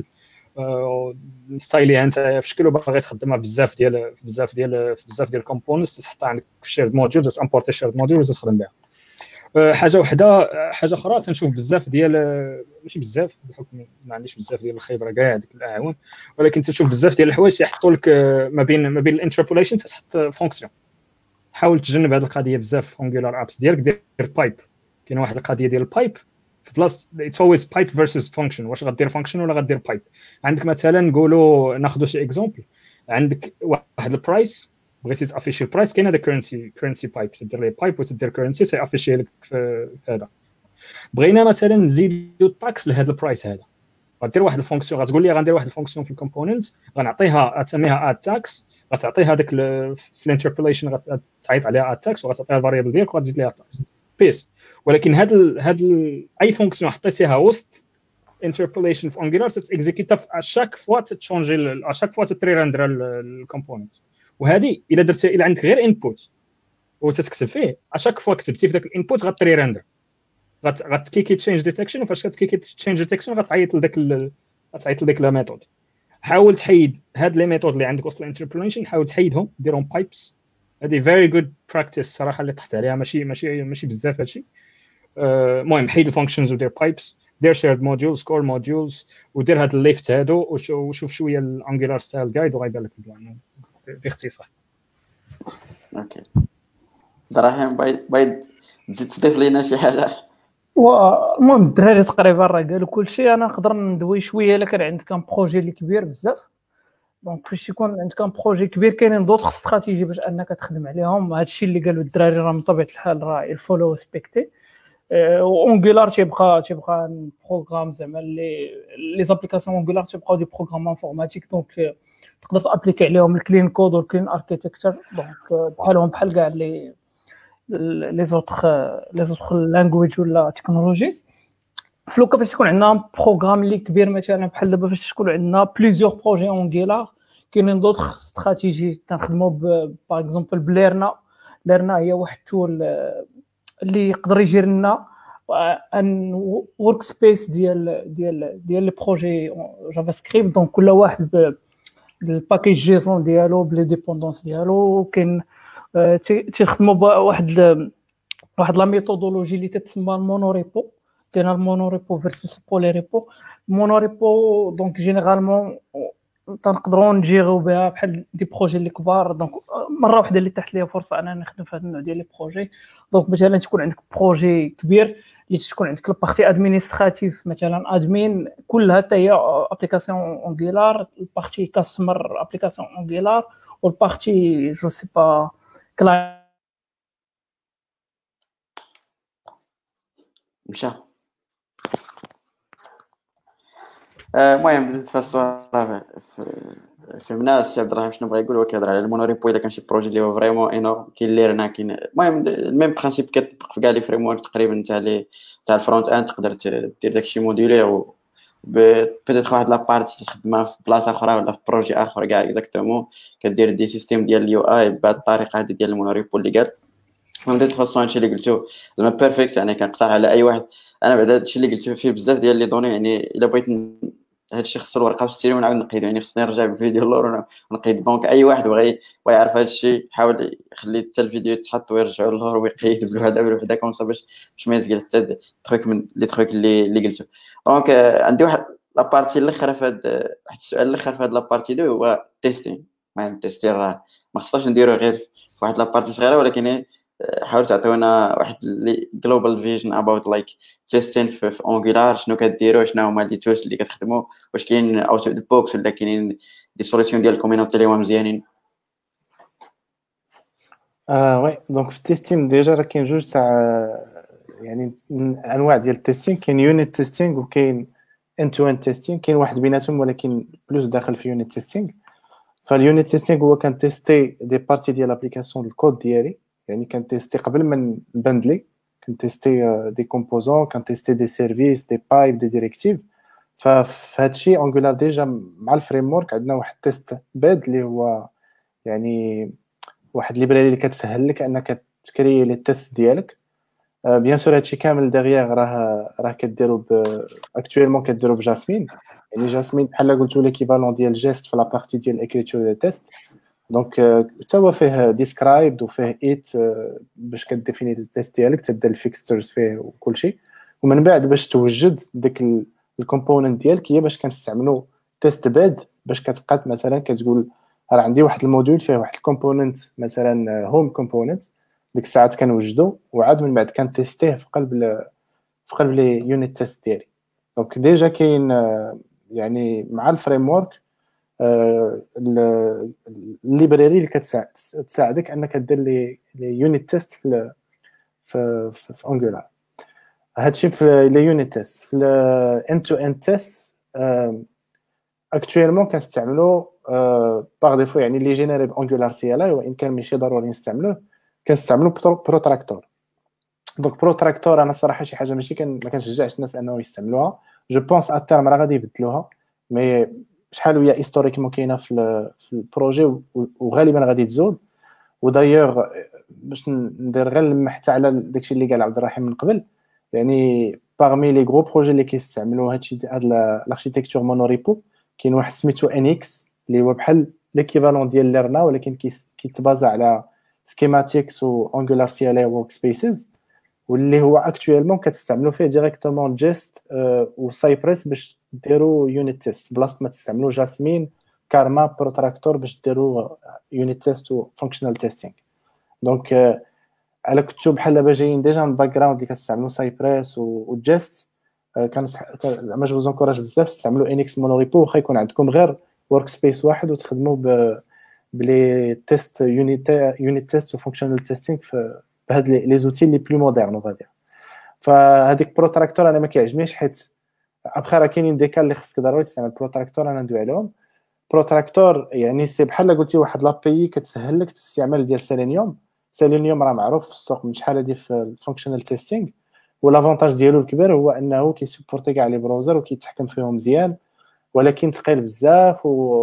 ستايليها انت في شكل وباغي تخدمها بزاف ديال بزاف ديال بزاف ديال الكومبوننتس تحطها عندك في شيرد موديول تامبورتي شيرد موديول وتخدم بها. حاجه وحده حاجه اخرى تنشوف بزاف ديال ماشي بزاف بحكم ما عنديش بزاف ديال الخبره كاع ديك الاعوام ولكن تشوف بزاف ديال الحوايج يحطوا لك ما بين ما بين الانتربوليشن تحط فونكسيون. حاول تجنب هذه القضيه بزاف في انجولار ابس ديالك دير بايب. كاين واحد القضيه ديال البايب في بلاصه اتس اولويز بايب فيرسز فانكشن. واش غدير فانكشن ولا غدير بايب؟ عندك مثلا نقولوا ناخذوا شي اكزامبل عندك واحد البرايس بغيتي تافيشي البرايس كاين هذا كرنسي كرنسي بايب تدير ليه بايب وتدير كرنسي تافيشي لك في هذا. بغينا مثلا نزيدوا التاكس لهذا البرايس هذا غدير واحد الفونكسيون غتقول لي غندير واحد الفونكسيون في الكومبوننت غنعطيها غتسميها اد تاكس غتعطيها هذاك في الانتربوليشن غتعيط عليها اد تاكس وغتعطيها الفاريبل ديالك وغتزيد ليها التاكس بيس. ولكن هاد ال هاد ال اي فونكسيون حطيتيها وسط انتربوليشن في انجولار تتيكزيكيتا اشاك فوا تشونجي اشاك فوا تريرندر الكومبوننت. وهذه الا درتي الا عندك غير انبوت وتتكتب فيه اشاك فوا كتبتي في داك الانبوت غتريرندر غتكيكي تشينج ديتكشن وفاش كتكيكي تشينج ديتكشن غتعيط لذاك غتعيط لذاك لا ميثود. حاول تحيد هاد لي ميثود اللي عندك وسط الانتربوليشن حاول تحيدهم ديرهم بايبس. هذه فيري جود براكتيس صراحه اللي طحت عليها ماشي ماشي ماشي بزاف هادشي. المهم حيد الفانكشنز ودير بايبس دير شيرد موديولز كور موديولز ودير هاد الليفت هادو وشوف شويه الانجولار ستايل جايد وغيبان لك البلان باختصار. اوكي دراهم بايد بايد تزيد تضيف لينا شي حاجه؟ والمهم الدراري تقريبا راه قالوا كلشي. انا نقدر ندوي شويه الا كان عندك ان بروجي اللي كبير بزاف. دونك فاش يكون عندك ان بروجي كبير كاينين دوطخ استراتيجي باش انك تخدم عليهم. هادشي اللي قالوا الدراري راه من طبيعه الحال راه الفولو سبيكتي. اونغولار تيبقى تيبقى بروغرام زعما لي لي زابليكاسيون اونغولار تيبقاو دي بروغرام انفورماتيك. دونك تقدر تابليكي عليهم الكلين كود والكلين اركيتكتشر. دونك بحالهم بحال كاع لي لي زوطخ لي زوطخ لانجويج ولا تكنولوجيز. فلوكا فاش تكون عندنا بروغرام اللي كبير مثلا بحال دابا فاش تكون عندنا بليزيور بروجي اونغولار كاينين دوطخ استراتيجي تنخدموا باغ اكزومبل بليرنا. ليرنا هي واحد التول اللي يقدر يجير لنا ان ورك سبيس ديال ديال ديال لي بروجي جافا سكريبت. دونك كل واحد بالباكيج جيسون ديالو بلي ديبوندونس ديالو. كاين تيخدموا بواحد واحد لا ميثودولوجي اللي تتسمى المونوريبو. كاين المونوريبو فيرسس بوليريبو. المونوريبو دونك جينيرالمون تنقدروا نجيرو بها بحال دي بروجي اللي كبار. دونك مره واحده اللي تحت ليا فرصه انا نخدم في هذا النوع ديال لي بروجي. دونك مثلا تكون عندك بروجي كبير اللي تكون عندك البارتي ادمينستراتيف مثلا ادمين كلها حتى هي ابليكاسيون اونغولار. البارتي كاستمر ابليكاسيون اونغولار والبارتي جو سي با كلاينت مشى. المهم بديت في الصوره فهمنا السي عبد الرحيم شنو بغا يقول. هو كيهضر على المونوريبو الا كان شي بروجي اللي هو فريمون انورم كاين ليرنا كاين المهم الميم برينسيپ كتطبق في كاع لي فريم ورك تقريبا تاع لي تاع الفرونت اند. تقدر دير داكشي موديولير و بيتيت واحد لابارتي تخدمها في بلاصه اخرى ولا في بروجي اخر كاع اكزاكتومون كدير دي سيستيم ديال اليو اي بهذه الطريقه هذه ديال المونوريبو اللي قال. المهم ديت فاصون هادشي اللي قلتو زعما بيرفكت يعني كنقترح على اي واحد. انا بعدا هادشي اللي قلتو فيه بزاف ديال لي دوني يعني الا بغيت هادشي خصو الورقه والستيري ونعاود نقيدو يعني خصني نرجع بالفيديو اللور ونقيد. دونك اي واحد بغى بغى يعرف هادشي حاول يخلي حتى الفيديو يتحط ويرجعوا للور ويقيد بالوحده بالوحده كون باش باش ما يسقل حتى تروك من لي تروك اللي اللي قلتو. دونك عندي واحد لابارتي الاخر في هاد واحد السؤال الاخر في هاد لابارتي دو هو تيستين. المهم تيستين راه ما خصناش نديرو غير في واحد لابارتي صغيره ولكن حاولوا تعطيونا واحد جلوبال فيجن اباوت لايك تيستين في اونغولار، شنو كديروا، شنو هما لي توش اللي كتخدموا، واش كاين اوت اوف بوكس ولا كاينين دي سوليسيون ديال الكوميونيتي اللي هما مزيانين. اه وي دونك في التيستين ديجا راه كاين جوج تاع يعني انواع ديال التيستين، كاين يونيت تيستينغ وكاين end to end تيستينغ، كاين واحد بيناتهم ولكن بلوس داخل في يونيت تيستينغ. فاليونيت تيستينغ هو كان تيستي دي بارتي ديال لابليكاسيون الكود ديالي، يعني كان تيستي قبل ما نبندلي، كان تيستي دي كومبوزون، كان تيستي دي سيرفيس، دي بايب، دي ديريكتيف. ففي هادشي انجولار ديجا مع الفريم ورك عندنا واحد تيست باد اللي هو يعني واحد ليبراري اللي كتسهل لك انك تكري لي تيست ديالك. بيان سور هادشي كامل دغيا راه راه كديروا اكطويلمون كديروا بجاسمين، يعني جاسمين بحال قلتوا ليكيفالون ديال جيست في لا بارتي ديال الاكريتور ديال تيست. دونك حتى هو فيه ديسكرايبد وفيه ايت باش كديفيني التيست ديالك، تبدا الفيكسترز فيه وكلشي، ومن بعد باش توجد ديك الكومبوننت ديالك هي باش كنستعملوا تيست باد، باش كتبقى مثلا كتقول راه عندي واحد الموديول فيه واحد الكومبوننت مثلا هوم كومبوننت، ديك الساعات كنوجدو وعاد من بعد كنتيستيه في قلب في قلب لي يونيت تيست ديالي. دونك ديجا كاين يعني مع الفريم ورك الليبراري اللي كتساعدك انك دير لي يونيت تيست في في في انجولار. هادشي في لي يونيت تيست. في الاند تو اند تيست اكطويلمون كنستعملوا باغ ديفو يعني لي جينيري بانجولار سي ال اي، وان كان ماشي ضروري نستعملوه، كنستعملوا بروتراكتور. دونك بروتراكتور انا صراحه شي حاجه ماشي كان ما كنشجعش الناس انهم يستعملوها. جو بونس ا تيرم راه غادي يبدلوها، مي شحال وهي هيستوريكمون كاينه في في البروجي وغالبا غادي تزول. ودايوغ باش ندير غير لمح حتى على داكشي اللي قال عبد الرحيم من قبل، يعني باغمي لي غرو بروجي اللي كيستعملوا هادشي هاد الاركتيكتور مونوريبو، كاين واحد سميتو ان اكس اللي هو بحال ليكيفالون ديال ليرنا ولكن كيتبازا على سكيماتيكس و انجولار سي ال اي ورك سبيسز، واللي هو اكطويلمون كتستعملوا فيه ديريكتومون جيست و سايبريس باش ديروا يونيت تيست، بلاصه ما تستعملوا جاسمين كارما بروتراكتور باش ديروا يونيت تيست و فانكشنال تيستينغ. دونك على كنتو بحال دابا جايين ديجا من باك جراوند اللي كتستعملوا سايبريس و جيست، كان زعما جو زونكوراج بزاف تستعملوا انكس مونوريبو، واخا يكون عندكم غير ورك سبيس واحد وتخدموا ب بلي تيست يونيت يونيت تيست و فانكشنال تيستينغ في بهاد لي زوتي لي بلو مودرن وغادي. فهذيك بروتراكتور انا ما كيعجبنيش، حيت ابخي راه كاينين دي كال اللي خصك ضروري تستعمل بروتراكتور، انا ندوي عليهم. بروتراكتور يعني سي بحال قلتي واحد لابي كتسهل لك الاستعمال ديال سيلينيوم. سيلينيوم راه معروف في السوق من شحال هادي في الفانكشنال تيستينغ، والافونتاج ديالو الكبير هو انه كيسبورتي كاع لي بروزر وكيتحكم فيهم مزيان، ولكن ثقيل بزاف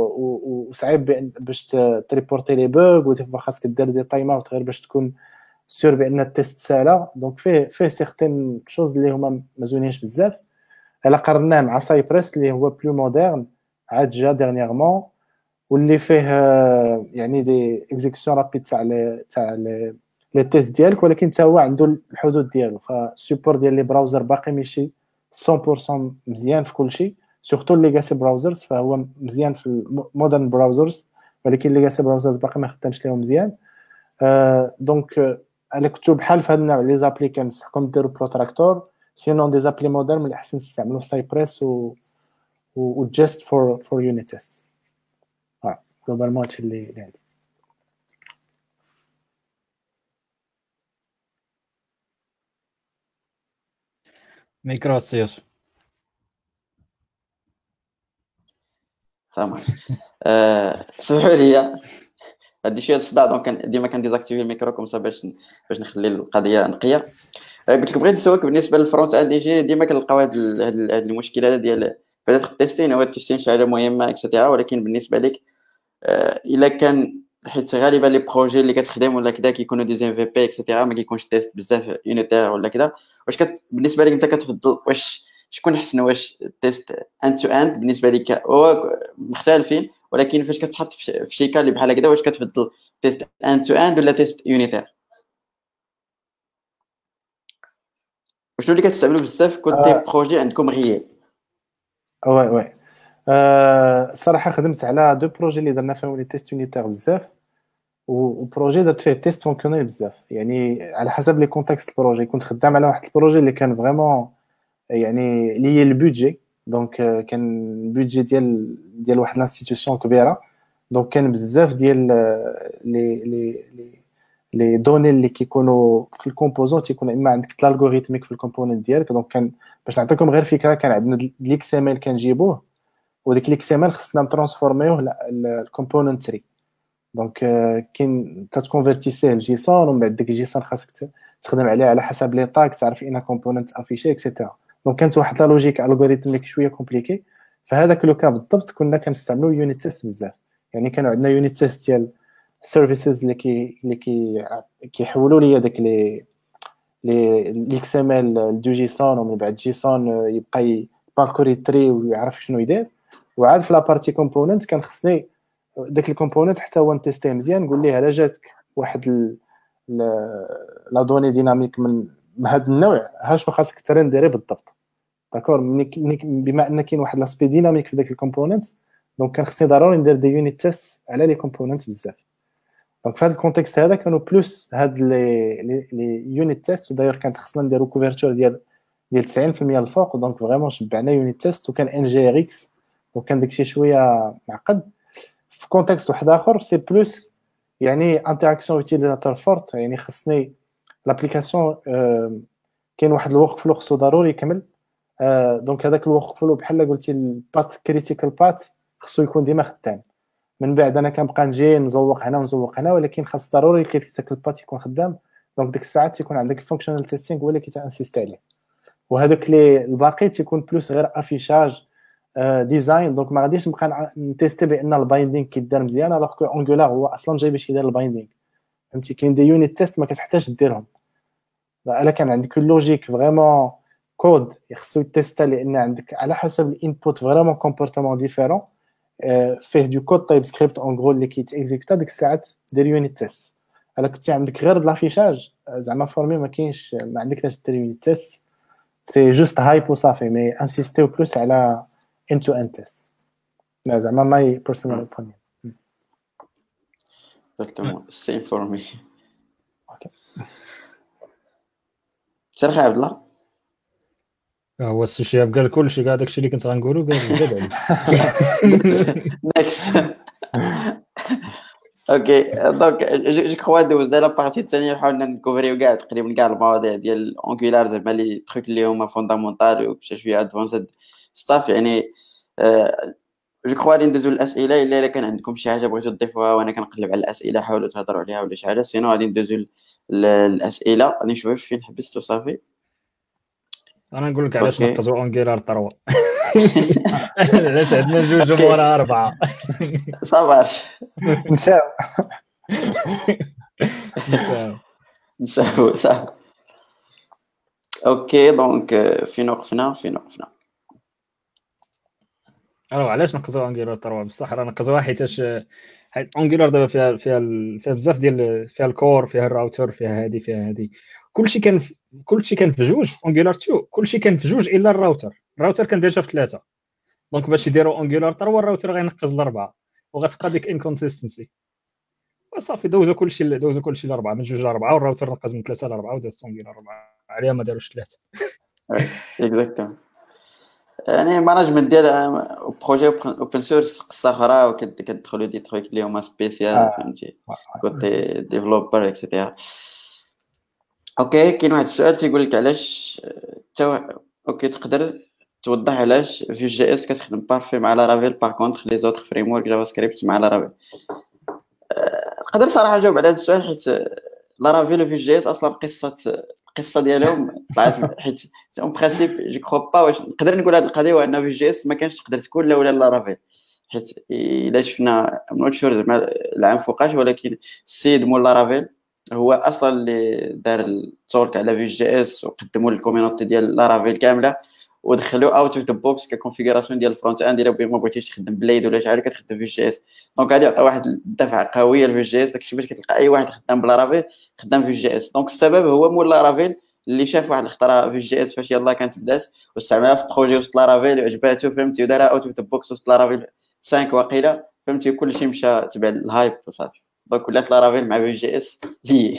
وصعيب باش تريبورتي لي بوغ، وديما خاصك دير دي تايم اوت غير باش تكون سور بان التيست سالا. دونك فيه فيه سيغتين شوز اللي هما ما زوينينش بزاف. الا قارناه مع سايبريس اللي هو بلو مودرن عاد جا ديرنييرمون، واللي فيه يعني دي اكزيكسيون رابيد تاع لي تاع لي لي تيست ديالك، ولكن حتى هو عنده الحدود ديالو. فالسيبور ديال لي براوزر باقي ماشي مية بالمية مزيان في كلشي، سورتو ليغاسي براوزرز فهو مزيان في المودرن براوزرز، ولكن ليغاسي براوزرز باقي ما خدامش ليهم مزيان. آه دونك انا كنتو بحال في هاد النوع لي زابلي كنصحكم ديروا بروتراكتور، سينون دي زابلي مودرن من الاحسن تستعملوا سايبريس و و جيست فور فور يونيت تيست. اه جلوبالمون هادشي اللي اللي عندي. ميكرو سيوس. السلام عليكم. أه سمحوا لي هادي شويه الصداع، دونك ديما كنديزاكتيفي الميكرو كوم سا باش باش نخلي القضيه نقيه. قلت لك بغيت نسولك بالنسبه للفرونت اند انجينير، ديما كنلقاو هاد هاد المشكله ديال بدات التيستين، هو التيستين شي حاجه مهمه اكسيتيرا، ولكن بالنسبه لك الا كان حيت غالبا لي بروجي اللي كتخدم ولا كذا كيكونوا دي ام في بي اكسيتيرا، ما كيكونش تيست بزاف يونيتير ولا كذا، واش كت... بالنسبه لك انت كتفضل واش شكون احسن، واش تيست اند تو اند بالنسبه لك هو مختلفين، ولكن فاش كتحط في شي كال اللي بحال هكذا واش كتفضل تيست اند تو اند ولا تيست يونيتير؟ وشنو اللي كتستعملوا بزاف كوتي بروجي عندكم غياب؟ وي وي أه صراحه خدمت على دو بروجي اللي درنا فيهم لي تيست يونيتير بزاف. وبروجي درت فيه تيست فونكسيونيل بزاف، يعني على حسب لي كونتكست البروجي. كنت خدام على واحد البروجي اللي كان فريمون يعني اللي هي البودجي، دونك كان البودجي ديال ديال واحد الانستيتيوشن كبيره، دونك كان بزاف ديال لي لي لي لي دوني اللي كيكونوا في الكومبوزون تيكون اما عندك الالغوريثميك في الكومبوننت ديالك. دونك كان باش نعطيكم غير فكره، كان عندنا الاكس ام ال كنجيبوه، وديك الاكس ام ال خصنا نترانسفورميوه للكومبوننت تري. دونك كاين تتكونفيرتيسيه لجيسون، ومن بعد ديك الجيسون خاصك تخدم عليه على حسب لي طاك، تعرف اين كومبوننت افيشي اكسيتيرا. دونك كانت واحد لا لوجيك الغوريثميك شويه كومبليكي. فهذاك لو كا بالضبط كنا كنستعملوا يونيت تيست بزاف، يعني كانوا عندنا يونيت تيست ديال سيرفيسز اللي كي اللي كي كيحولوا لي داك لي لي الاكس ام ال دو جيسون، ومن بعد جيسون يبقى باركوري تري ويعرف شنو يدير. وعاد في لابارتي كومبوننت كان خصني داك الكومبوننت حتى هو نتيستيه مزيان، نقول ليه الا جاتك واحد لا دوني ديناميك من هذا النوع، ها شنو خاصك ترنديري بالضبط. داكور، بما ان كاين واحد لاسبي ديناميك في داك الكومبوننت، دونك كان خصني ضروري ندير دي يونيت تيست على لي كومبوننت بزاف. دونك في هذا الكونتكست هذا كانوا بلوس هاد لي لي يونيت تيست، وداير كانت خصنا نديرو كوفرتور ديال ديال تسعين بالمية الفوق. دونك فريمون شبعنا يونيت تيست، وكان ان جي ار اكس، وكان داكشي شويه معقد. في كونتكست واحد اخر سي بلوس يعني انتراكسيون يوتيليزاتور فورت، يعني خصني لابليكاسيون كاين واحد الورك فلو خصو ضروري يكمل. دونك هذاك الورك فلو بحال قلتي الباث كريتيكال باث خصو يكون ديما خدام. من بعد انا كنبقى نجي نزوق هنا ونزوق هنا، ولكن خاص ضروري كريتيكال باث يكون خدام. دونك ديك الساعات تيكون عندك الفانكشنال تيستينغ هو اللي كيتانسيست عليه، وهذوك لي الباقي تيكون بلوس غير افيشاج ديزاين. دونك ما غاديش نبقى نتيستي بان البايندينغ كيدار مزيان، الوغ كو انجولار هو اصلا جاي باش يدير البايندينغ. فهمتي كاين دي يونيت تيست ما كتحتاج ديرهم، الا كان عندك اللوجيك فريمون كود يخصو يتيستا، لان عندك على حسب الانبوت فريمون كومبورتمون ديفيرون فيه دو كود تايب سكريبت اون غرو اللي كيتيكزيكوتا، ديك الساعات دير يونيت تيست. الا كنتي عندك غير لافيشاج زعما فورمي ما كاينش، ما عندكش دير يونيت تيست، سي جوست هايب وصافي. مي انسيستيو بلوس على end to end tests. لا زعما ماي بيرسونال اوبينيون. exactement same for me. اوكي شرح يا عبد الله. هو السي شهاب قال كلشي، كاع داكشي اللي كنت غنقولو قال زاد عليه. next اوكي دونك جو كخوا دوز دا لا بارتي الثانيه حاولنا نكوفريو كاع تقريبا كاع المواضيع ديال اونغولار، زعما لي تروك اللي هما فوندامونتال وشي شويه ادفانسد ستاف. يعني جو كخوا غادي ندوزو للاسئله، الا كان عندكم شي حاجه بغيتو تضيفوها وانا كنقلب على الاسئله حاولوا تهضروا عليها ولا شي حاجه، سينو غادي ندوزو للاسئله. غادي نشوف فين حبست وصافي. انا نقول لك علاش أوكي. نقزوا اونغولار ثلاثة. علاش عندنا جوج ومورا اربعه. صافاش نساو نساو. نساو صح. اوكي دونك فين وقفنا فين وقفنا الو علاش نقزوا انجولار ثلاثة؟ بصح راه نقزوها حيتاش حيت انجولار دابا فيها فيها ال- فيها بزاف ديال فيها الكور، فيها الراوتر، فيها هادي فيها هادي، كلشي كان في كلشي كان في جوج. في انجولار اثنين كلشي كان في جوج الا الراوتر. الراوتر كان ديجا في ثلاثه، دونك باش يديروا انجولار ثلاثة الراوتر غينقز لاربعه، وغتبقى ديك انكونسيستنسي. وصافي دوزو كلشي دوزو كلشي لاربعه، من جوج لاربعه، والراوتر نقز من ثلاثه لاربعه، وداز انجولار اربعه عليها ما داروش ثلاثه. اكزاكتومون. يعني مانجمنت ديال بروجي اوبن سورس قصه اخرى، وكتدخلوا دي تروك اللي هما سبيسيال فهمتي كوتي ديفلوبر اكسيتيرا. اوكي كاين واحد السؤال تيقول لك علاش تو... اوكي تقدر توضح علاش في جي اس كتخدم بارفي مع لارافيل باغ كونطخ لي زوتر فريم ورك جافا سكريبت مع لارافيل؟ نقدر صراحه نجاوب على هذا السؤال، حيت لارافيل وفي جي اس اصلا قصه القصه ديالهم طلعت، حيت اون برينسيپ جو كرو با واش نقدر نقول هذه القضيه، وان في جي اس ما كانش تقدر تكون لا ولا لارافيل. حيت الا شفنا نوت شور زعما العام فوقاش، ولكن السيد مول لارافيل هو اصلا اللي دار التورك على في جي اس، وقدموا للكوميونيتي ديال لارافيل كامله، ودخلوا اوت اوف ذا بوكس ككونفيغوراسيون ديال الفرونت اند. الا ما بغيتيش تخدم بليد ولا شي حاجه كتخدم في جي اس، دونك غادي يعطي واحد الدفعه قويه لفي جي اس. داكشي باش كتلقى اي واحد خدام بلارافيل خدام في جي اس. دونك السبب هو مول لارافيل اللي شاف واحد الخطره في جي اس فاش يلاه كانت بدات، واستعملها في بروجي وسط لارافيل وعجباتو فهمتي، ودارها اوت اوف ذا بوكس وسط لارافيل خمسة واقيلا فهمتي، كلشي مشى تبع الهايب وصافي. دونك ولات لارافيل مع في جي اس لي.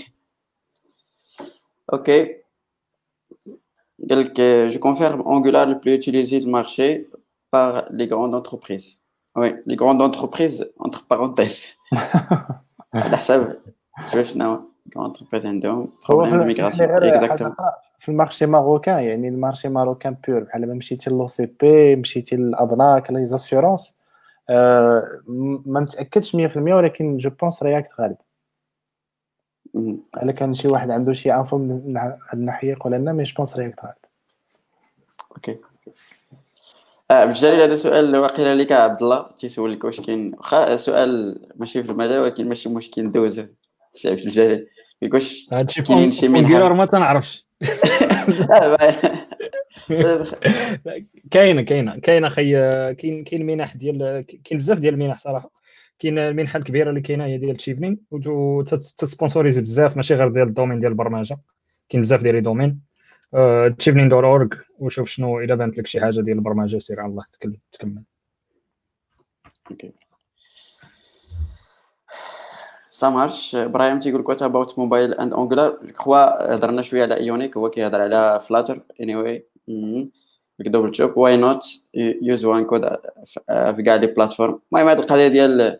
اوكي قال لك je confirme Angular le plus utilisé du marché par les grandes entreprises. Oui, les grandes entreprises entre parenthèses. على حساب شوف شنو grande entreprise عندهم هو problème في de اسمح لي migration. غير حاجه Exactement. اخرى في المارشي ماروكان، يعني المارشي ماروكان بور، بحال ما مشيتي لو سي بي، مشيتي للابناك لي زاسيورونس، آه ما متاكدش مية في المية، ولكن جو بونس رياكت غالب. Mhm. الا كان شي واحد عنده شي انفو من هاد الناحيه يقول لنا، مي جو بونس رياكت غالب. اوكي اه بالجليل هذا سؤال واقيلا لك عبد الله تيسولك واش كاين واخا سؤال ماشي في المجال ولكن ماشي مشكل ندوزه سي في الجليل واش هادشي كاينين في شي اونغولار منحه. ما تنعرفش. آه، با- كاينه كاينه كاينه خي كاين كاين منح ديال كاين بزاف ديال المنح صراحه. كاين المنحه الكبيره اللي كاينه هي ديال تشيفنين وتسبونسوريزي بزاف، ماشي غير ديال الدومين ديال البرمجه، كاين بزاف ديال لي دومين. تشيفنين دوت اورغ وشوف شنو الا بانت لك شي حاجه ديال البرمجه سير على الله تكلم تكمل. اوكي ça marche. ابراهيم تيقول لك what about mobile and angular. جو كخوا هضرنا شويه على ايونيك، هو كيهضر على فلاتر anyway. دبل جوب واي نوت يوز وان كود في كاع لي بلاتفورم. المهم هاد القضيه ديال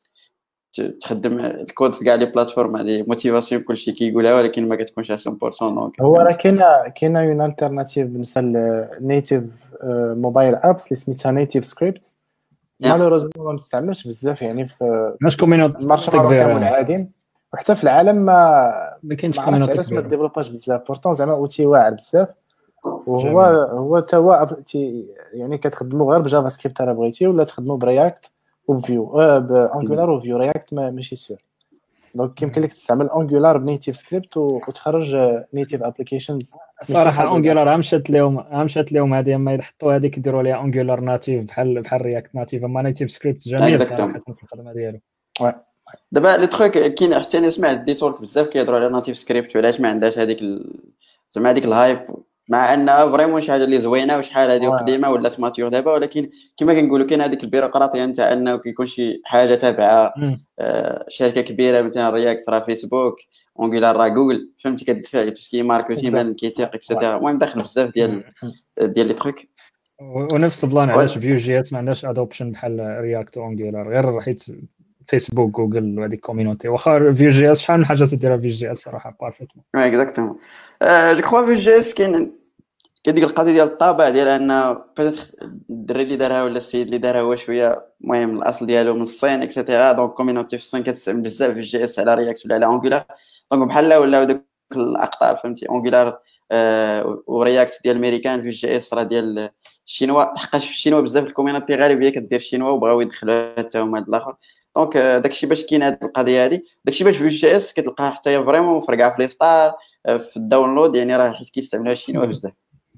تخدم الكود في كاع لي بلاتفورم هذه موتيفاسيون كلشي كيقولها، ولكن ما كتكونش مية بالمية. دونك هو راه كاينه كاينه اون التيرناتيف بالنسبه للنيتيف موبايل ابس اللي سميتها نيتيف سكريبت، مالوروزمون ما مستعملش بزاف يعني في ماش كومينوت المارشي الماروكان والعادين، وحتى في العالم ما ما كاينش ما عرفتش كومينوتي علاش ما كبيره. ديفلوباش بزاف. بورتون زعما اوتي واعر بزاف، وهو جميل. هو تا هو أب- تي- يعني كتخدموا غير بجافا سكريبت الا بغيتي، ولا تخدموا برياكت وبفيو آه بانجولار وفيو. رياكت ما ماشي سير، دونك يمكن لك تستعمل انجولار بنيتيف سكريبت وتخرج نيتيف ابليكيشنز. صراحه اونغولار مشات لهم مشات لهم هذه، اما يحطوا هذيك يديروا ليها اونغولار ناتيف بحال بحال رياكت ناتيف، اما نيتيف سكريبت جميل صراحه في الخدمه ديالو. دابا لي تروك كاين حتى انا سمعت دي تورك بزاف كيهضروا على ناتيف سكريبت وعلاش ما عندهاش هذيك ال... زعما هذيك الهايب، مع انها فريمون شي حاجه اللي زوينه وشحال هذه قديمه ولات ماتيور دابا، ولكن كما كنقولوا كاين هذيك البيروقراطيه نتاع انه كيكون شي حاجه تابعه آه شركه كبيره مثلا رياكت راه فيسبوك، اونغولار راه جوجل، فهمتي كتدفع لي توسكي ماركتينغ كيتيق اكسيتيرا. المهم داخل بزاف ديال ديال لي تروك. ونفس البلان علاش فيو جي اس ما عندهاش ادوبشن بحال رياكت اونغولار، غير حيت فيسبوك جوجل وهذيك كوميونيتي. واخا فيو جي اس شحال من حاجه تديرها فيو جي اس صراحه بارفيتمون. وي اكزاكتومون. جو كخوا فيو جي اس كاين كديك القضيه ديال الطابع ديال ان بيتيت الدري اللي دارها ولا السيد اللي دارها هو شويه المهم الاصل ديالو من الصين اكسيتيرا. دونك كوميونيتي في الصين كتستعمل بزاف في جي اس على رياكت ولا على انجولار، دونك بحال ولا دوك الاقطاع فهمتي انجولار آه ورياكت ديال الامريكان في جي اس راه ديال الشينوا، حقاش في الشينوا بزاف الكوميونيتي غالبيه كدير الشينوا وبغاو يدخلوا حتى هما هاد الاخر. دونك داكشي باش كاين هاد القضيه هادي، داكشي باش في جي اس كتلقاها حتى هي فريمون مفرقعه في لي ستار في الداونلود، يعني راه حيت كيستعملوها الشينوا بزاف.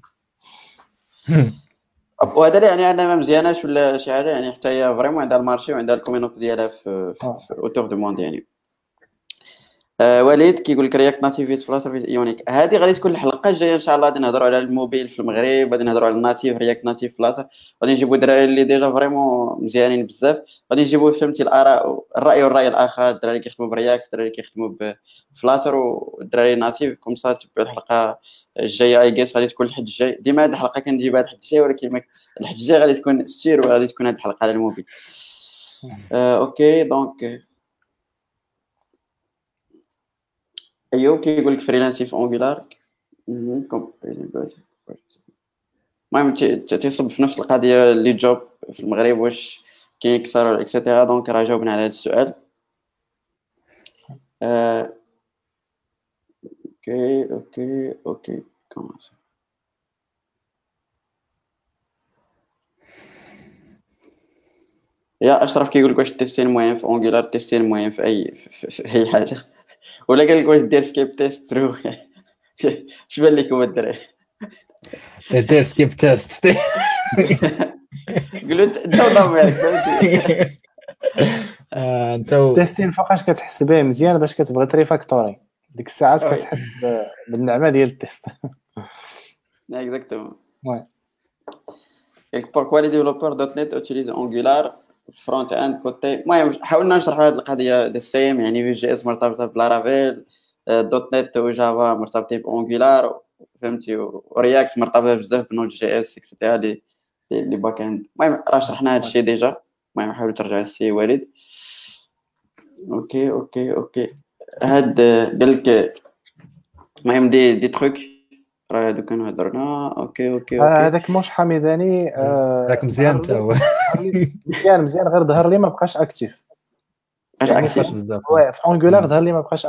وهذا لا يعني انها ما مزياناش ولا شي حاجه، يعني حتى هي فريمون عندها المارشي وعندها الكوميونيتي ديالها في في اوتور دو موند يعني. آه وليد كيقول لك رياكت ناتيف فلاتر في ايونيك. هذه غادي تكون الحلقه الجايه ان شاء الله، غادي نهضروا على الموبيل في المغرب، غادي نهضروا على الناتيف رياكت ناتيف فلاتر، غادي نجيبوا الدراري اللي ديجا فريمون مزيانين بزاف، غادي نجيبوا فهمتي الاراء الراي والراي الاخر، الدراري كيخدموا برياكت الدراري كيخدموا بفلاتر والدراري ناتيف. كوم سا تبعوا الحلقه الجايه اي جيس غادي تكون الحد الجاي. ديما هذه الحلقه كنجيبها الحد الجاي، ولكن الحد الجاي غادي تكون سير وغادي تكون هذه الحلقه على الموبيل. آه اوكي دونك ايوب كيقول لك فريلانسي في اونغولار. المهم تيصب في نفس القضيه اللي جوب في المغرب واش كاين اكثر اكسيتيرا. دونك راه جاوبنا على هذا السؤال. آه... اوكي اوكي اوكي كومونس. يا اشرف كيقول لك واش تيستين مهم في اونغولار، تيستين مهم في اي في, في اي حاجه، ولا قال لك واش دير سكيب تيست ترو. اش بان لكم الدراري؟ دير سكيب تيست قولوا انت وضميرك فهمتي. انت تيستين فوقاش كتحس به مزيان باش كتبغي تريفاكتوري، ديك الساعات كتحس بالنعمه ديال التيست. اكزاكتومون. وي Et pourquoi les développeurs .NET utilisent Angular فرونت اند كوتي. المهم حاولنا نشرحوا هذه القضيه دي سيم، يعني في جي اس مرتبطه بلارافيل، دوت نت وجافا مرتبطين بانجولار، فهمتي، ورياكت مرتبطه بزاف بنود جي اس اكسيتيرا لي لي باك اند. المهم راه شرحنا هذا الشيء ديجا. المهم حاولوا ترجعوا السي وليد. اوكي اوكي اوكي هاد قال لك المهم دي دي تروك راه هادو كانوا هضرنا. اوكي اوكي آه، اوكي هذاك موش حميداني آه، راك مزيان ظهر حتى لي- هو ظهر لي مزيان مزيان غير ظهر لي ما بقاش اكتيف. اش يعني اكسيف في بزاف. ouais, في انجولار ظهر لي ما بقاش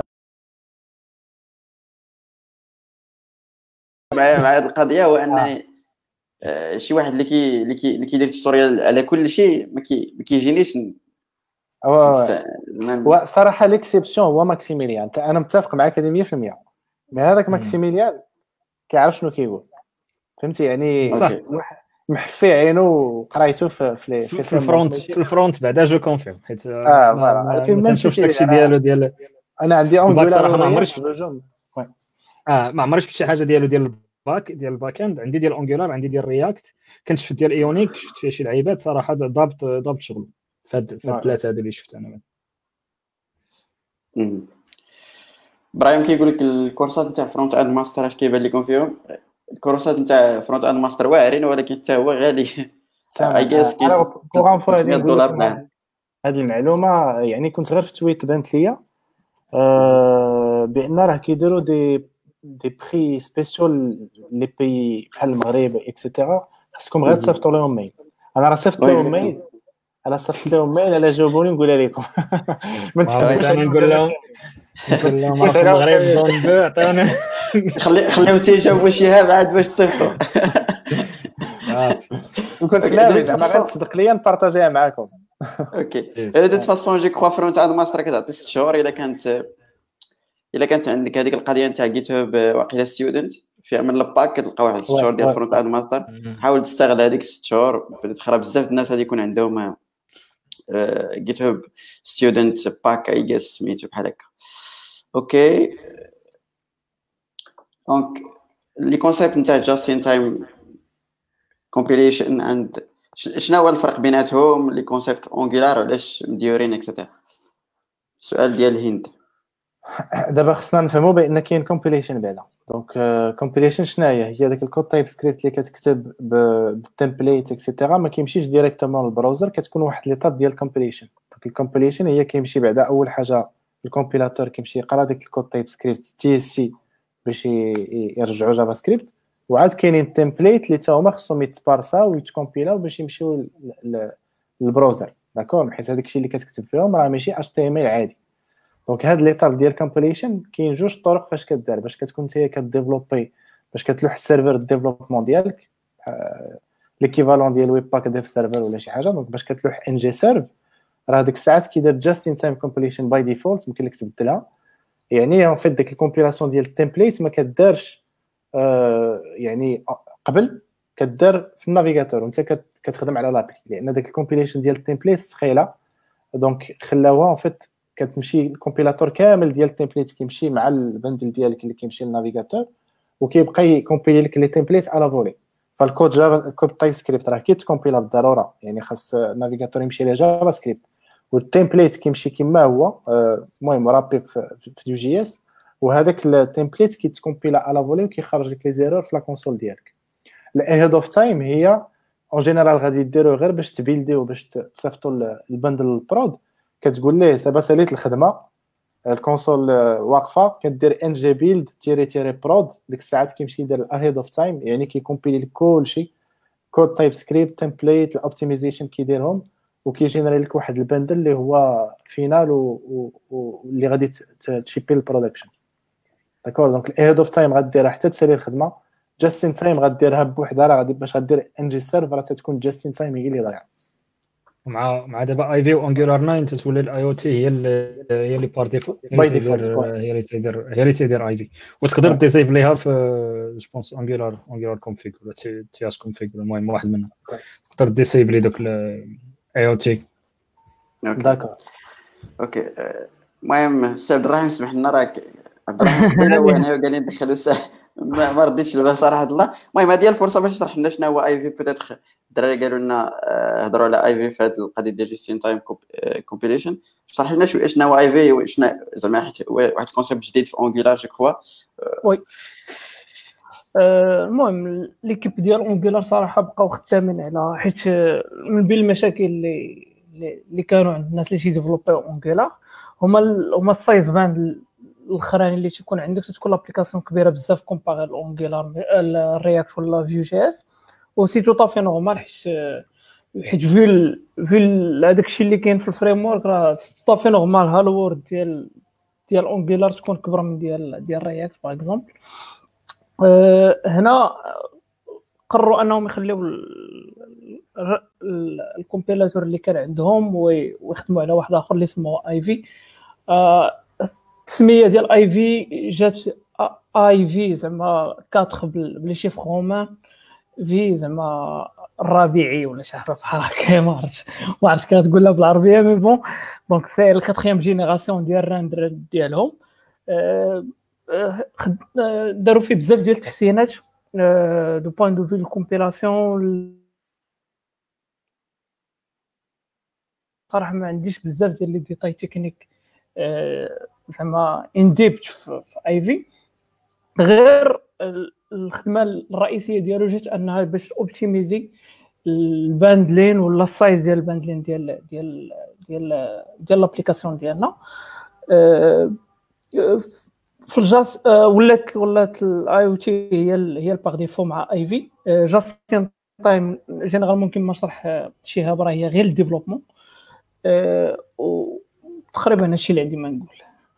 مع مع هاد القضيه هو آه. انني آه، شي واحد اللي كي اللي كي اللي كيدير توتوريال على كل شيء ما كي ما كيجينيش ن- هو نست- زعما هو صراحه ليكسيبسيون هو ماكسيميليان. أنت- انا متفق معك هذه مية في المية. مي هذاك مم. ماكسيميليان كيعرف شنو كيقول، فهمتي يعني صح. اوكي واحد محفي عينه وقرايته في في في في في الفرونت ماشي في الفرونت بعدا جو كونفيرم حيت اه ما فوالا ما, الفيلم ما ميم تنشوفش سي داكشي انا ديالو ديال انا عندي الباك. انجولار صراحه ما ورياكت عمرش بجوج. اه ما عمرش شفت شي حاجه ديالو ديال الباك ديال الباك اند. عندي ديال انجولار، عندي ديال رياكت، كنت شفت ديال ايونيك، شفت فيه شي لعيبات صراحه ضابط ضابط شغل فهاد فهاد الثلاثه هادو اللي شفت انا. مم. ابراهيم كيقول لك الكورسات نتاع فرونت اند ماستر اش كيبان لكم فيهم؟ الكورسات نتاع فرونت اند ماستر واعرين ولكن حتى هو غالي. اي تمام. جيس انا كاين بوغ انفو غادي ثلاثمية نقول دولار لكم بعام. هذه المعلومه. يعني كنت غير في تويت بانت ليا آه بان راه كيديروا دي دي بري سبيسيال لي بي بحال المغرب اكسيتيرا. خاصكم غير تصيفطوا لهم ميل. انا راه صيفطت وي لهم ميل انا صيفطت لهم ميل على جاوبوني نقولها لكم. ما ما بغيت تكذبوش انا عليهم نقول دابا لهم ما نقول لهم راه تكذبوش في عليهم المغرب ثاني. زون دو عطيونا خلي خليهم تيجاوبوا شهاب عاد باش تصيفطوا. صافي. وكنت اوكي ناوي دو زعما غير فاسون تصدق ليا نبارطاجيها معاكم. اوكي دو فاسون جي كخوا فرونت اند ماستر كتعطي ست شهور. الا كانت الا كانت عندك هذيك القضيه نتاع جيت هاب واقيلا ستودنت فيها من الباك كتلقى واحد ست وي شهور ديال وي فرونت اند ماستر. حاول تستغل هذيك ست شهور. بتخرب بزاف الناس غادي يكون عندهم جيت هاب ستودنت باك اي جيس سميتو بحال هكا. اوكي دونك لي كونسيبت نتاع جاست ان تايم كومبيليشن اند شنو هو الفرق بيناتهم؟ لي كونسيبت اونجولار علاش مديورين اكسيتيرا؟ السؤال ديال هند. دابا خصنا نفهموا بان كاين كومبيليشن بعدا. دونك كومبيليشن شنو هي؟ هي داك الكود تايب سكريبت اللي كتكتب بالتمبليت اكسيتيرا ما كيمشيش ديريكتومون للبراوزر، كتكون واحد ليطاب ديال الكومبيليشن. دونك الكومبيليشن هي كيمشي بعدا اول حاجه الكومبيلاتور كيمشي يقرا داك الكود تايب سكريبت تي اس سي باش يرجعوا جافا سكريبت، وعاد كاينين التمبليت اللي تا هما خصهم يتبارساو ويتكومبيلاو باش يمشيو للبراوزر. داكور، حيت هذاك الشيء اللي كتكتب فيهم راه ماشي اتش تي ام ال عادي. دونك هاد ليطاب ديال كومبيليشن كاين جوج طرق فاش كدار باش كتكون نتايا كديفلوبي باش كتلوح السيرفر ديفلوبمون ديالك ليكيفالون ديال ويب باك ديف سيرفر ولا شي حاجه. دونك باش كتلوح ان جي سيرف راه ديك الساعات كيدير جاست ان تايم كومبيليشن باي ديفولت، يمكن لك تبدلها. يعني اون فيت ديك الكومبيلاسيون ديال التمبليت ما كدارش آه يعني قبل كدار في النافيغاتور وانت كتخدم على لابي، لان داك الكومبيليشن ديال التمبليت ثقيله. دونك خلاوها اون فيت كتمشي الكومبيلاتور كامل ديال التمبليت كيمشي مع البندل ديالك اللي كيمشي للنافيغاتور وكيبقى يكومبيلي لك لي تمبليت على فولي. فالكود جافا الكود تايب سكريبت راه كيتكومبيلا بالضروره، يعني خاص النافيغاتور يمشي ليه جافا سكريبت والتمبليت كيمشي كما هو المهم رابي في يو جي اس، وهذاك التمبليت كيتكومبيلا على فولي وكيخرج لك لي زيرور في لا كونسول ديالك. الاهيد اوف تايم هي اون جينيرال غادي ديرو غير باش تبيلديو باش تصيفطوا البندل للبرود. كتقول ليه دابا ساليت الخدمه الكونسول واقفه كدير ان جي بيلد تيري تيري برود، ديك الساعات كيمشي يدير الاهيد اوف تايم يعني كيكومبيلي لك كلشي كود تايب سكريبت تمبليت الاوبتيمايزيشن كيديرهم وكيجينيري لك واحد البندل اللي هو فينال واللي غادي تشيبي البرودكشن. داكور، دونك الاهيد اوف تايم غديرها حتى تسالي الخدمه. جاست ان تايم غديرها بوحدها راه غادي باش غدير ان جي سيرفر تتكون جاست ان تايم هي اللي ضايعه. مع مع دابا اي في وانجولار تسعة تتولي الاي او تي هي اللي هي اللي بار ديفو باي ديفولت هي اللي تيدير هي اللي تيدير اي في، وتقدر ديسيف ليها في جو بونس انجولار انجولار كونفيغ ولا تي اس كونفيغ المهم واحد منهم تقدر ديسيف لي دوك الاي او تي. داكور اوكي المهم السي عبد الرحيم سمح لنا راك عبد الرحيم قبيله هو هنا وقال لي ندخلوا ما ما رديتش البال صراحه الله. المهم هذه هي الفرصه باش تشرح لنا شنو هو اي في. بيتيتر الدراري قالوا لنا آه، هضروا على اي في في هذه القضيه ديال جيستين تايم كومبيليشن. شرح لنا شويه شنو هو اي في وشنو زعما حيت هو واحد الكونسيبت جديد في اونجولار جو كخوا. وي آه، المهم ليكيب ديال اونجولار صراحه بقاو خدامين على حيت آه، من بين المشاكل اللي اللي اللي كانوا عند الناس اللي تيديفلوبيو اونجولار هما ال- هما السايز باند الاخراني اللي تيكون عندك تكون لابليكاسيون كبيره بزاف كومباري الاونجولار الرياكت ولا فيو جي اس. و سي تو طافي نورمال حيت آه، حيت في ال... في ال- هذاك الشيء اللي كاين في الفريم ورك راه طافي نورمال هالو وورد ديال ديال اونجولار تكون كبر من ديال ديال رياكت باغ اكزومبل. أه هنا قرروا انهم يخليو الكومبيلاتور اللي كان عندهم ويخدموا على واحد اخر اللي سموه اي في. أه التسميه ديال اي في جات اي في زعما أربعة بلي شيف رومان في زعما الربيعي ولا شي حاجه بحال هكا ما عرفتش ما عرفتش كتقولها بالعربيه مي بون دونك سي الكاتريام جينيراسيون ديال الراندر ديالهم. أه أه داروا فيه بزاف ديال التحسينات دو بوين دو في الكومبيلاسيون. صراحه ما عنديش بزاف ديال لي ديتاي تكنيك أه زعما ان ديبت في اي في غير الخدمه الرئيسيه ديالو جات انها باش اوبتيميزي الباندلين ولا السايز ديال الباندلين ديال ديال ديال ديال لابليكاسيون ديالنا. أه في الجاس أه ولات ولات الاي او تي هي هي الباغ ديفو مع اي في. جاستين تايم جينيرالمون كيما شرح شهاب راه هي غير الديفلوبمون. أه وتقريبا هادشي اللي عندي ما نقول.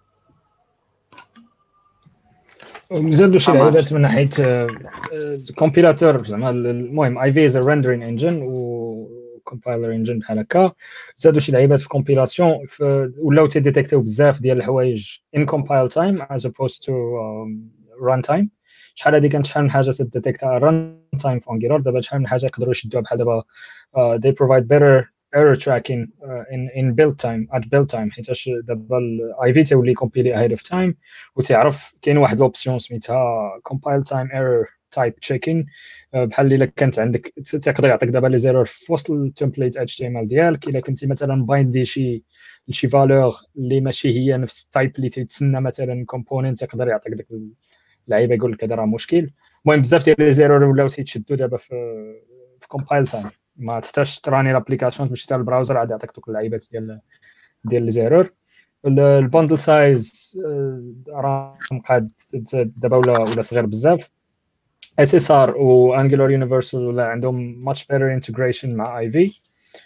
زادوا شي لعيبات من ناحيه كومبيلاتور زعما المهم اي في از ريندرين انجن و كومبايلر انجن بحال هكا. زادوا شي لعيبات في كومبيلاسيون ولاو تيديتيكتيو بزاف ديال الحوايج ان كومبايل تايم از اوبوست تو ران تايم. شحال هادي كانت شحال من حاجه تديتيكتا ران تايم في انجلر دابا شحال من حاجه يقدروا يشدوها بحال دابا they provide better error tracking uh, in in build time at build time حيتاش دابا الاي في تولي كومبيلي ahead of time وتعرف كاين واحد لوبسيون سميتها compile time error type checking بحال الا كانت عندك تقدر يعطيك دابا لي زيرور في وسط التمبليت اتش تي ام ال ديالك الا كنتي مثلا بايندي شي شي فالور اللي ماشي هي نفس التايب اللي تيتسنى مثلا كومبوننت يقدر يعطيك داك اللعيبه يقول لك هذا راه مشكل. المهم بزاف ديال لي زيرور ولاو تيتشدوا دابا في في compile time ما تحتاجش تراني لابليكاسيون تمشي حتى البراوزر عاد يعطيك دوك اللعيبات ديال ديال لي زيرور. الباندل سايز راه مقاد دابا ولا ولا صغير بزاف. اس اس ار و انجلر يونيفرسال ولا عندهم ماتش بيتر انتجريشن مع اي في.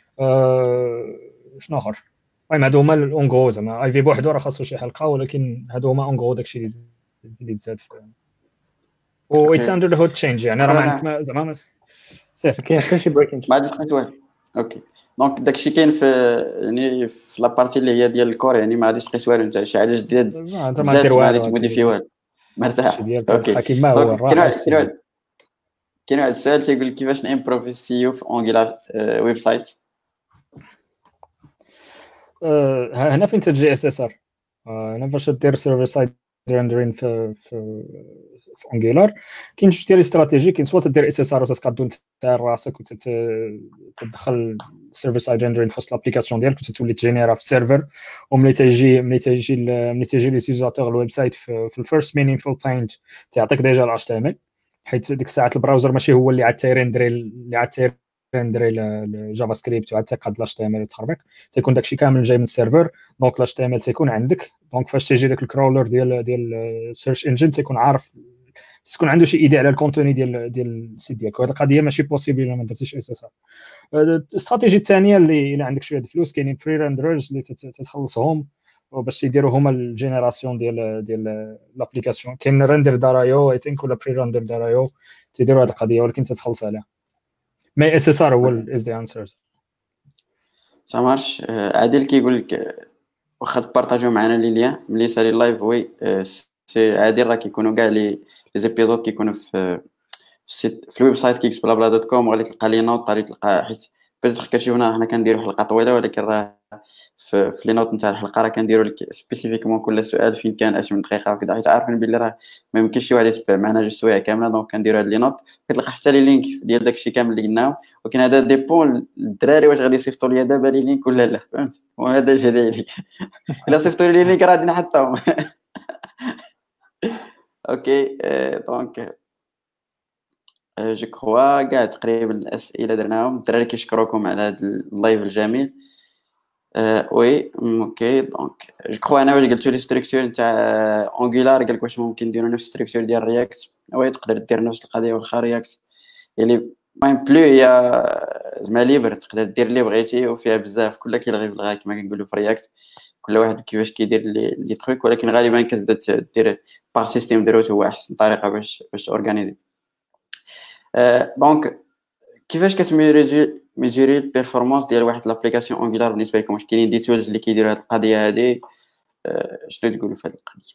شنو اخر المهم هادو هما الاونغو زعما اي في بوحدو راه خاصو شي حلقه ولكن هادو هما اونغو داكشي اللي اللي زاد في و اتس اندر ذا هود تشينج يعني راه ما عندك زعما سير كاين حتى شي بريكين ما عنديش قلت والو. اوكي دونك داكشي كاين في يعني في لابارتي اللي هي ديال الكور يعني ما غاديش تقيس والو نتا شي حاجه جديده انت ما دير ما غادي والو تموديفي والو مرتاح. اوكي كيما هو كاين واحد كاين واحد كاين واحد السؤال تيقول لك كيفاش نامبروف السيو في اونجولار ويب سايت. هنا فين تجي اس اس ار هنا فاش دير سيرفر سايد ريندرين في في في انجولار كاين جوج ديال استراتيجي. كاين سواء تدير اس اس ار وتقادو انت راسك وتدخل سيرفر سايد ريندرين في وسط لابليكاسيون ديالك وتولي تجينيرا في السيرفر وملي تيجي ملي تيجي ملي تيجي لي سيزاتور الويب سايت في, في الفيرست مينينفول بوينت تعطيك ديجا ال اتش تي ام ال حيت ديك الساعه البراوزر ماشي هو اللي عاد تيريندري اللي عاد تيريندري الجافا سكريبت وعاد تيقاد ال اتش تي ام ال وتخربق تيكون داكشي كامل جاي من السيرفر. دونك ال اتش تي ام ال تيكون عندك دونك فاش تيجي داك الكرولر ديال ديال السيرش انجن تيكون عارف تكون عنده شي ايدي على الكونتوني ديال ديال السيت ديالك. وهذه القضيه ماشي بوسيبل الا ما درتيش اس اس ار. الاستراتيجيه الثانيه اللي الا عندك شويه الفلوس كاينين فري ريندررز اللي تتخلصهم باش يديروا هما الجينيراسيون ديال ديال لابليكاسيون. كاين ريندر دارايو اي ثينك ولا بري ريندر دارايو تيديروا هذه القضيه ولكن تتخلص عليها. مي اس اس ار هو از ذا انسر. سامارش عادل كيقول لك واخا تبارطاجيو معنا لي ليان ملي سالي اللايف وي سي عادل راه كيكونوا كاع لي لي زيبيزود كيكونوا في السيت في الويب سايت كيكس بلا بلا دوت كوم وغادي تلقى لي نوت غادي تلقى حيت بدات كتشوفنا حنا كنديروا حلقه طويله ولكن راه في, في لي نوت نتاع الحلقه راه كنديروا لك سبيسيفيكمون كل سؤال فين كان اش من دقيقه وكذا، حيت عارفين بلي راه ما يمكنش شي واحد يتبع معنا جوج سوايع كامله. دونك كنديروا هاد لي نوت كتلقى حتى لي لينك ديال داكشي كامل اللي قلناه، ولكن هذا ديبون الدراري واش غادي يصيفطوا لي دابا لي لينك ولا لا، فهمت؟ وهذا جدي عليك الا صيفطوا لي لي لينك راه غادي نحطهم. اوكي دونك جو كخوا كاع تقريبا الاسئله درناهم. الدراري كيشكروكم على هذا اللايف الجميل. أه وي اوكي دونك جو كخوا انا واش قلتوا لي ستركتور نتاع اونغولار قال لك واش ممكن نديروا نفس ستركتور ديال رياكت. وي تقدر دير نفس القضيه واخا رياكت يعني المهم بلو هي زعما ليبر، تقدر دير اللي بغيتي وفيها بزاف كلها كيلغي في الغا كما كنقولوا في رياكت، كل واحد كيفاش كيدير لي لي تروك، ولكن غالبا كتبدا دير باغ سيستيم ديروت هو احسن طريقه باش باش تورغانيزي. أه دونك كيفاش كتميزوري ميزوري البيرفورمانس ديال واحد لابليكاسيون اونغولار بالنسبه لكم؟ واش كاينين دي تولز اللي كيديروا هذه القضيه هذه؟ أه شنو تقولوا في هذه القضيه؟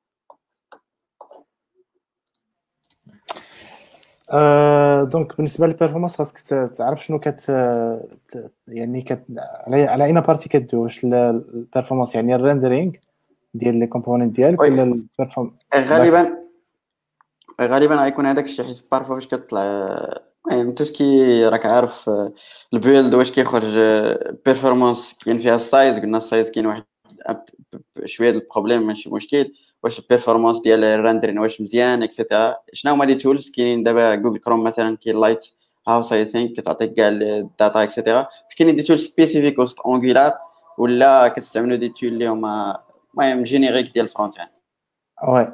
أه دونك بالنسبه للبيرفورمانس خاصك تعرف شنو كت يعني كت على على اين بارتي كدوي، واش البيرفورمانس يعني الريندرينغ ديال لي كومبوننت ديالك ولا البيرفورم. غالبا غالبا غيكون هذاك الشيء، حيت بارفو فاش كطلع المهم تسكي راك عارف البيلد واش كيخرج بيرفورمانس كاين فيها السايز. قلنا السايز كاين واحد شويه البروبليم ماشي مشكل، واش البيرفورمانس ديال الرندرين واش مزيان اكسيتيرا. شنو هما لي تولز كاينين دابا؟ جوجل كروم مثلا كاين لايت هاوس اي ثينك كتعطيك كاع الداتا اكسيتيرا. واش كاينين دي تولز سبيسيفيك وسط اونغولار ولا كتستعملوا دي تول اللي هما المهم جينيريك ديال الفرونت اند؟ وي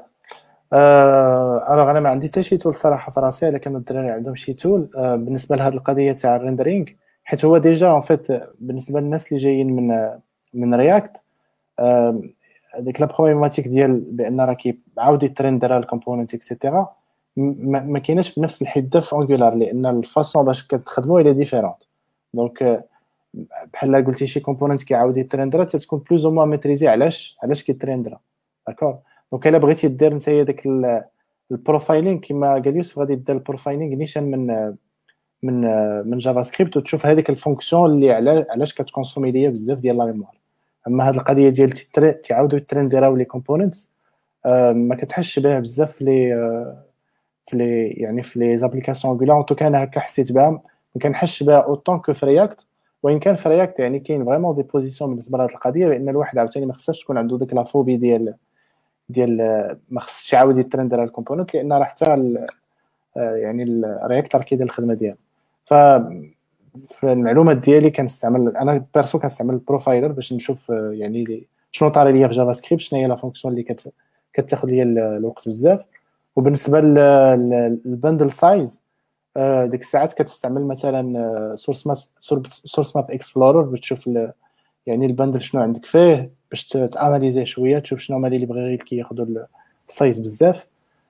أه الوغ انا ما عندي حتى شي تول صراحه في راسي، لكن الدراري عندهم شي تول أه بالنسبه لهاد القضيه تاع الريندرينغ، حيت هو ديجا اون فيت بالنسبه للناس اللي جايين من من رياكت أه ديك لا بروبليماتيك ديال بان راه كيعاود يترندر الكومبوننت اكسيتيرا ما كايناش بنفس الحده في اونغولار، لان الفاصون باش كتخدموا الى ديفيرونت. دونك بحال قلتي شي كومبوننت كيعاود يترندر تتكون بلوز او موان ميتريزي علاش علاش كيترندر. داكور دونك الا بغيتي دير نتايا داك البروفايلينغ كما قال يوسف غادي دير البروفايلينغ نيشان من من من جافا سكريبت وتشوف هذيك الفونكسيون اللي علاش كتكونسومي ليا بزاف ديال لا ميموار. اما هاد القضيه ديال تعاودوا ترندراو لي كومبوننتس ما كتحسش بها بزاف في لي في لي يعني في لي زابليكاسيون اونغولار. تو كان هكا حسيت بها ما كنحسش بها اوطون كو في رياكت، وان كان في رياكت يعني كاين فريمون دي بوزيسيون بالنسبه لهاد القضيه، لان الواحد عاوتاني ما خصهاش تكون عنده ديك لا فوبي ديال ديال ما خصش يعاود يترندر الكومبوننت، لان راه حتى يعني الرياكت راه كيدير الخدمه ديالو. ف في المعلومات ديالي كنستعمل انا بيرسو كنستعمل البروفايلر باش نشوف يعني شنو طاري ليا في جافا سكريبت، شنو هي لا فونكسيون اللي كت كتاخذ ليا الوقت بزاف. وبالنسبه للبندل سايز ديك الساعات كتستعمل مثلا سورس ماب سورس ماب اكسبلورر بتشوف يعني البندل شنو عندك فيه باش تاناليزيه شويه، تشوف شنو هما اللي بغا غير كياخذوا السايز بزاف.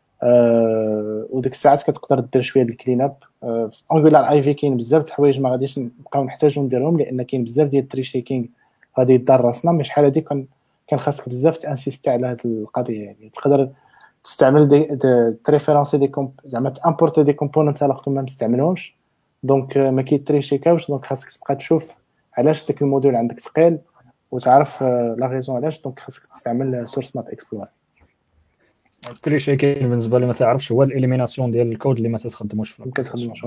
أه وديك الساعات كتقدر دير شويه ديال الكلين اب. أه في انغولار اي في كاين بزاف د الحوايج ما غاديش نبقاو نحتاجو نديرهم، لان كاين بزاف ديال التري شيكينغ غادي يدار راسنا. مي شحال هادي كان كان خاصك بزاف تانسيستي على هاد القضيه. يعني تقدر تستعمل دي تريفيرونسي دي كومب زعما تامبورتي دي كومبوننت الوغ ما مستعملهمش، دونك ما كيتريشيكاوش. دونك خاصك تبقى تشوف علاش داك الموديل عندك ثقيل وتعرف لا ريزون علاش. دونك خاصك تستعمل سورس ماب اكسبلور. التري كاين بالنسبه لي ما تعرفش هو الاليميناسيون ديال الكود اللي ما تخدموش ما كتخدموش.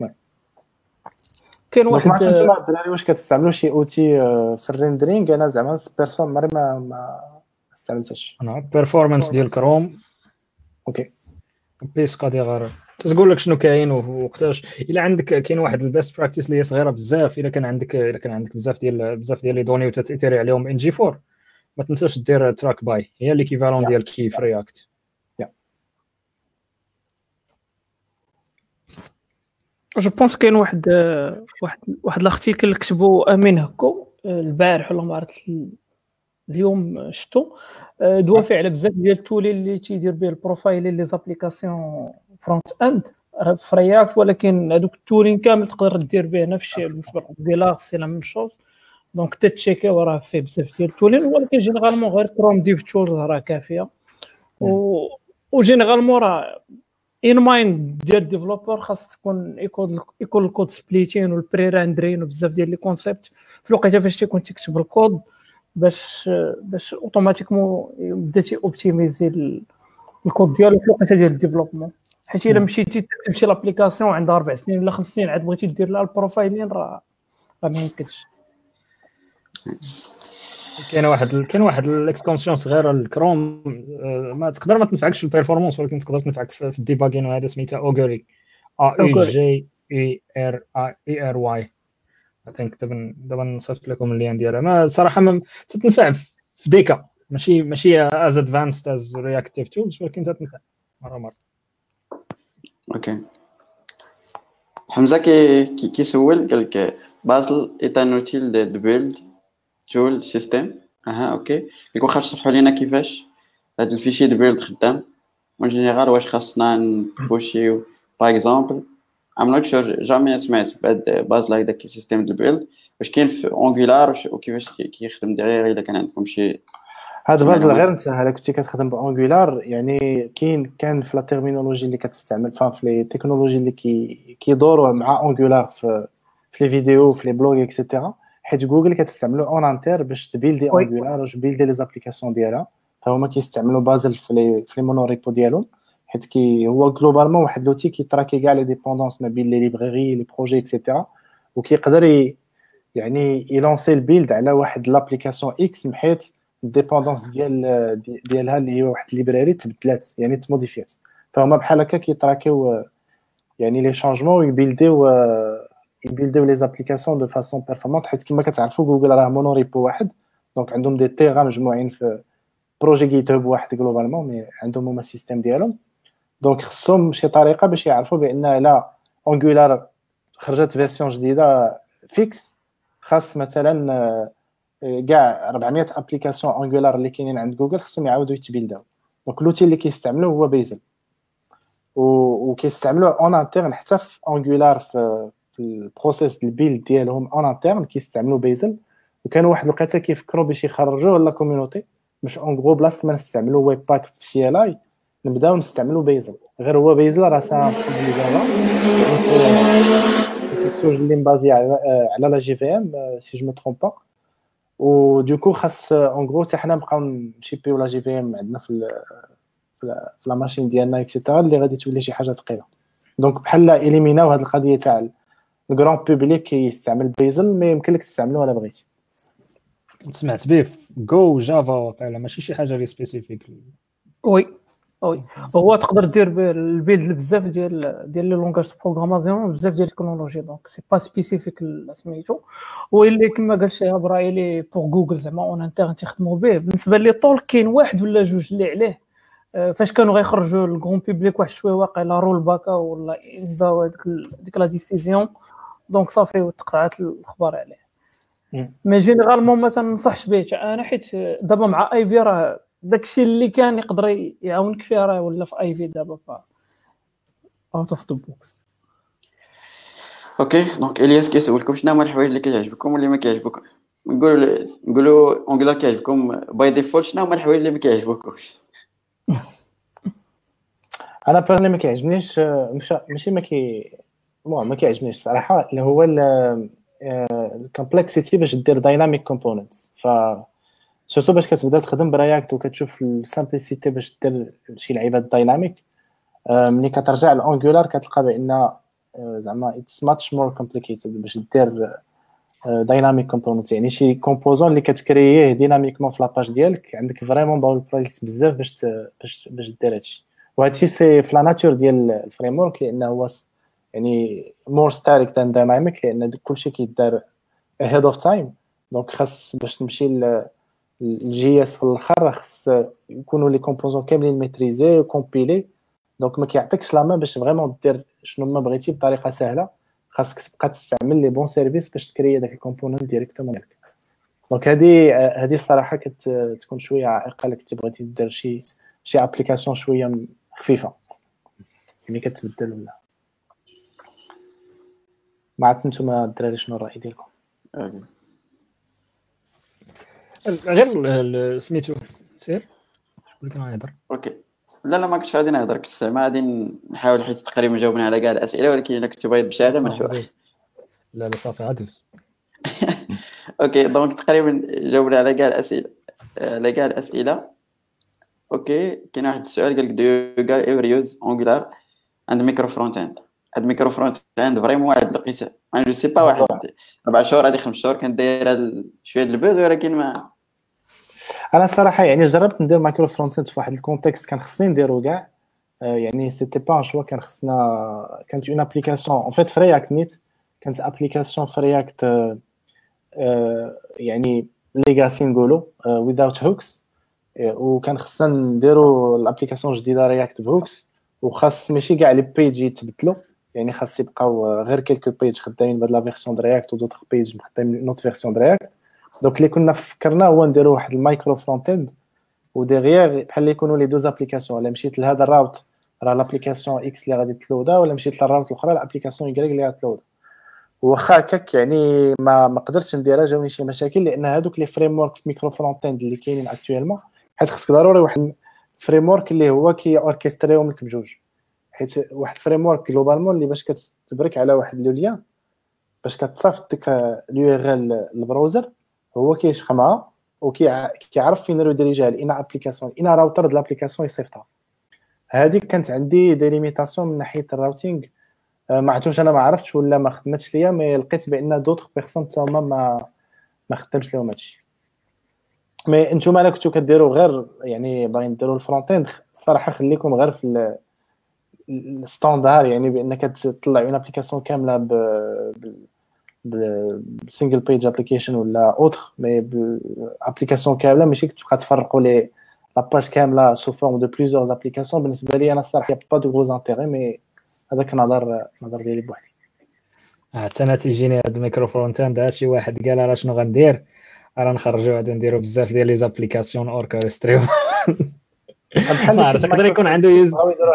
كاين واحد ما عرفتش نتوما الدراري واش كتستعملوا شي اوتي في الريندرينغ؟ انا زعما بيرسون ما ما ما استعملتش. انا بيرفورمانس ديال كروم اوكي بيس قادي غير تقول لك شنو كاين ووقتاش. الا عندك كاين واحد البيست براكتيس اللي هي صغيره بزاف، الا كان عندك الا كان عندك بزاف ديال بزاف ديال لي دوني وتتيري عليهم ان جي فور، ما تنساش دير تراك باي، هي ليكيفالون ديال كي في رياكت. جو بونس كاين واحد واحد واحد الارتيكل كتبو امين هكو البارح ولا ما عرفت اليوم شفتو، دوافع على بزاف ديال التولي اللي تيدير به البروفايل لي زابليكاسيون فرونت اند في رياكت، ولكن هذوك التولين كامل تقدر دير به نفس الشيء بالنسبه للغيلاغ سي لا ميم شوز. دونك تتشيكي وراه فيه بزاف ديال التولين، ولكن جينيرالمون غير كروم ديف تولز راه كافيه. و وجينيرالمون راه ان مايند ديال الديفلوبر خاص تكون يكون يكون الكود سبليتين والبري راندرين وبزاف ديال لي كونسيبت في الوقيته فاش تيكون تكتب الكود باش باش اوتوماتيكمون بديتي اوبتيميزي الكود ديالو في الوقيته ديال الديفلوبمون. حيت الا مشيتي تكتب شي لابليكاسيون عندها اربع سنين ولا خمس سنين عاد بغيتي دير لها البروفايلين راه راه ما يمكنش. كاين واحد كاين واحد الاكستنسيون صغيره الكروم ما تقدر ما تنفعكش في البيرفورمانس ولكن تقدر تنفعك في الديباغين وهذا سميتها اوغوري ا اي جي اي ار اي ار واي. I think دابا دابا نصيفط لكم اللين ديالها. ما صراحه ما تتنفع في ديكا ماشي ماشي از ادفانسد از رياكتيف تولز ولكن تتنفع مره مره. اوكي حمزه كي كيسول قال لك بازل ايت ان اوتيل دو بيلد تول سيستم. اها اوكي كيكون خاص تشرحوا لينا كيفاش هذا الفيشي دو بيلد خدام اون جينيرال. واش خاصنا نبوشيو باغ اكزومبل ام نوت شور جامي سمعت بعد بازل هكذاك سيستم دو بيلد واش كاين في انجولار وكيفاش كيخدم دغيا الا كان عندكم شي هذا بازل غير نسهل. كنتي كتخدم بانجولار يعني كاين كان في لا تيرمينولوجي اللي كتستعمل في لي تكنولوجي اللي كي كيدوروا مع انجولار في في لي فيديو في لي بلوغ اكسيتيرا. حيت جوجل كتستعملوا اون انتر باش تبيلدي انجولار واش بيلدي لي زابليكاسيون ديالها فهما كيستعملوا بازل في لي في لي مونوريبو ديالهم. حيت كي هو جلوبالمون واحد لوتي كيتراكي كاع لي ديبوندونس ما بين لي ليبراري لي بروجي اكسيتيرا وكيقدر يعني يلونسي البيلد على واحد لابليكاسيون اكس محيت الديبوندونس ديال ديالها اللي هي واحد ليبراري تبدلات يعني تموديفيات. فهما بحال هكا كيتراكيو يعني لي شانجمون ويبيلديو يبيلديو لي زابليكاسيون دو فاسون بيرفورمانت. حيت كما كتعرفوا جوجل راه مونوريبو واحد دونك عندهم دي تيغا مجموعين في بروجي جيت هاب واحد جلوبالمون مي عندهم هما السيستم ديالهم. دونك خصهم شي طريقه باش يعرفوا بان لا انجولار خرجت فيرسيون جديده فيكس خاص مثلا كاع أربعمية ابليكاسيون انجولار اللي كاينين عند جوجل خصهم يعاودوا يتبيلداو. دونك لوتي اللي كيستعملوه هو بيزل وكيستعملوه اون انترن حتى في انجولار في في البروسيس البيلد ديالهم اون انترن كيستعملوا بيزل. وكانوا واحد الوقيته كيفكروا باش يخرجوه لا كوميونيتي باش اون غرو بلاصه ما نستعملوا ويب باك في سي ال اي نبداو نستعملوا بيزل. غير هو بيزل راه سا بروجي جافا كيكسوج اللي مبازي على على لا جي في ام سي جو مو ترومب با. و دوكو خاص اون غرو حتى حنا نبقاو نشيبيو لا جي في ام عندنا في في لا ماشين ديالنا اكسيتيرا اللي غادي تولي شي حاجه ثقيله. دونك بحال اليميناو هذه القضيه تاع الجران بوبليك كيستعمل بيزل ما يمكن لك تستعملوه الا بغيتي. سمعت به جو جافا واقيلا ماشي شي حاجه لي سبيسيفيك. وي وي هو تقدر دير البيلد بزاف ديال ديال لي لونغاج بروغراماسيون بزاف ديال التكنولوجي دونك سي با سبيسيفيك سميتو. واللي كما قال شي براي لي بور جوجل زعما اون انترن تخدموا به. بالنسبه لي طول كاين واحد ولا جوج اللي عليه فاش كانوا غيخرجوا الكرون بوبليك واحد شويه واقيلا رول باكا ولا يبداو هذيك ديك لا ديسيزيون دونك صافي وتقطعت الاخبار عليه. مي جينيرالمون ما تنصحش به انا حيت دابا مع اي في راه داكشي اللي كان يقدر يعاونك فيه راه ولا في اي في دابا ف اوت اوف ذا بوكس. اوكي دونك الياس كيسولكم شنو هما الحوايج اللي كيعجبكم واللي ما كيعجبوكم. نقولوا نقولوا انجولار كيعجبكم باي ديفولت شنو هما الحوايج اللي ما كيعجبوكوش. انا بيرني ما كيعجبنيش ماشي ما كي المهم ما كيعجبنيش صراحه اللي هو الكومبلكسيتي باش دير دايناميك كومبوننتس. ف سورتو باش كتبدا تخدم برياكت وكتشوف السامبليسيتي باش دير شي لعيبات دايناميك ملي كترجع لانجولار كتلقى بان زعما اتس ماتش مور كومبليكيتد باش دير دايناميك كومبوننت. يعني شي كومبوزون اللي كتكرييه ديناميكمون في لاباج ديالك عندك فريمون باول بروجيكت بزاف باش باش باش دير هادشي. وهادشي سي في لا ناتور ديال الفريم ورك لانه هو يعني مور ستاتيك ذان دايناميك لان كلشي كيدار ahead of time. دونك خاص باش تمشي الجي اس في الاخر خاص يكونوا لي كومبوزون كاملين ميتريزي وكومبيلي. دونك ما كيعطيكش لا مان باش فريمون دير شنو ما بغيتي بطريقه سهله. خاصك تبقى تستعمل لي بون سيرفيس باش تكري داك الكومبوننت ديريكتومون ديالك. دونك هذه هذه الصراحه كتكون شويه عائقه لك تبغيتي دير شي شي ابليكاسيون شويه خفيفه ملي كتبدل ولا ما عرفت نتوما الدراري شنو الراي ديالكم. غير سميتو سير شكون كان غيهضر. اوكي لا لا ما كنتش غادي نهضر كنت ما غادي نحاول حيت تقريبا جاوبنا على كاع الاسئله ولكن الا كنت باغي تمشي هذا مرحبا. لا لا صافي عدوس. اوكي دونك تقريبا جاوبنا على كاع الاسئله على كاع الاسئله. اوكي كاين واحد السؤال قال لك دو يو جاي ايفر يوز انجولار عند ميكرو فرونت اند عند ميكرو فرونت اند فريمون واحد لقيت انا جو سي با واحد اربع شهور هذه خمس شهور كنت دايره شويه د البوز ولكن ما انا الصراحه يعني جربت ندير مايكرو فرونت اند في واحد الكونتكست كان خصني نديرو كاع يعني سيتي با ان شوا كان خصنا كانت اون ابليكاسيون ان فيت في رياكت نيت كانت ابليكاسيون في رياكت يعني ليغاسي نقولوا without hooks وكان خصنا نديرو الابليكاسيون جديده رياكت بهوكس وخاص ماشي كاع لي بيج يتبدلوا يعني خاص يبقاو غير كيلكو بيج خدامين بهاد لا فيرسيون د رياكت ودوطخ بيج خدامين نوت فيرسيون د رياكت. دونك اللي كنا فكرنا هو نديرو واحد المايكرو فرونت اند وديغيير بحال يكونوا لي دوز ابليكاسيون ولا مشيت لهذا الراوت راه لابليكاسيون اكس اللي غادي تلودا ولا مشيت للراوت الاخرى الابليكاسيون واي اللي غتلودا. واخا هكاك يعني ما ما قدرتش نديرها جاوني شي مشاكل لان هذوك لي فريم ورك في ميكرو فرونت اند اللي كاينين اكطويلمون حيت خصك ضروري واحد فريم ورك اللي هو كي اوركستريهم لك بجوج حيت واحد فريم ورك جلوبالمون اللي باش كتبرك على واحد لو ليان باش كتصيفط ديك اليو ار ال البراوزر هو كيشخمها وكيعرف فين ريديريجيها لإنا ابليكاسيون إنا راوتر د الابليكاسيون يصيفطها. هذيك كانت عندي دي ليميتاسيون من ناحيه الراوتينغ ما عرفتش انا ما عرفتش ولا ما خدمتش ليا مي لقيت بان دوطخ بيرسون تما ما ما خدمش لهم هادشي. مي نتوما الا كنتو كديروا غير يعني باغيين ديروا الفرونت اند الصراحه خليكم غير في الستاندار يعني بانك تطلع اون ابليكاسيون كامله ب بسنجل بيج ابليكيشن ولا اوتر مي ابليكاسيون كامله ماشي تبقى تفرقوا لي لاباج كامله سو فورم دو بليزيور ابليكاسيون. بالنسبه لي انا الصراحه با دو غوز انتيري مي هذاك نظر نظر ديالي بوحدي. حتى انا تيجيني هاد الميكرو فرونت اند شي واحد قال راه شنو غندير راه نخرجوا غادي نديروا بزاف ديال لي زابليكاسيون اوركستريو ما عرفتش يقدر يكون عنده يوز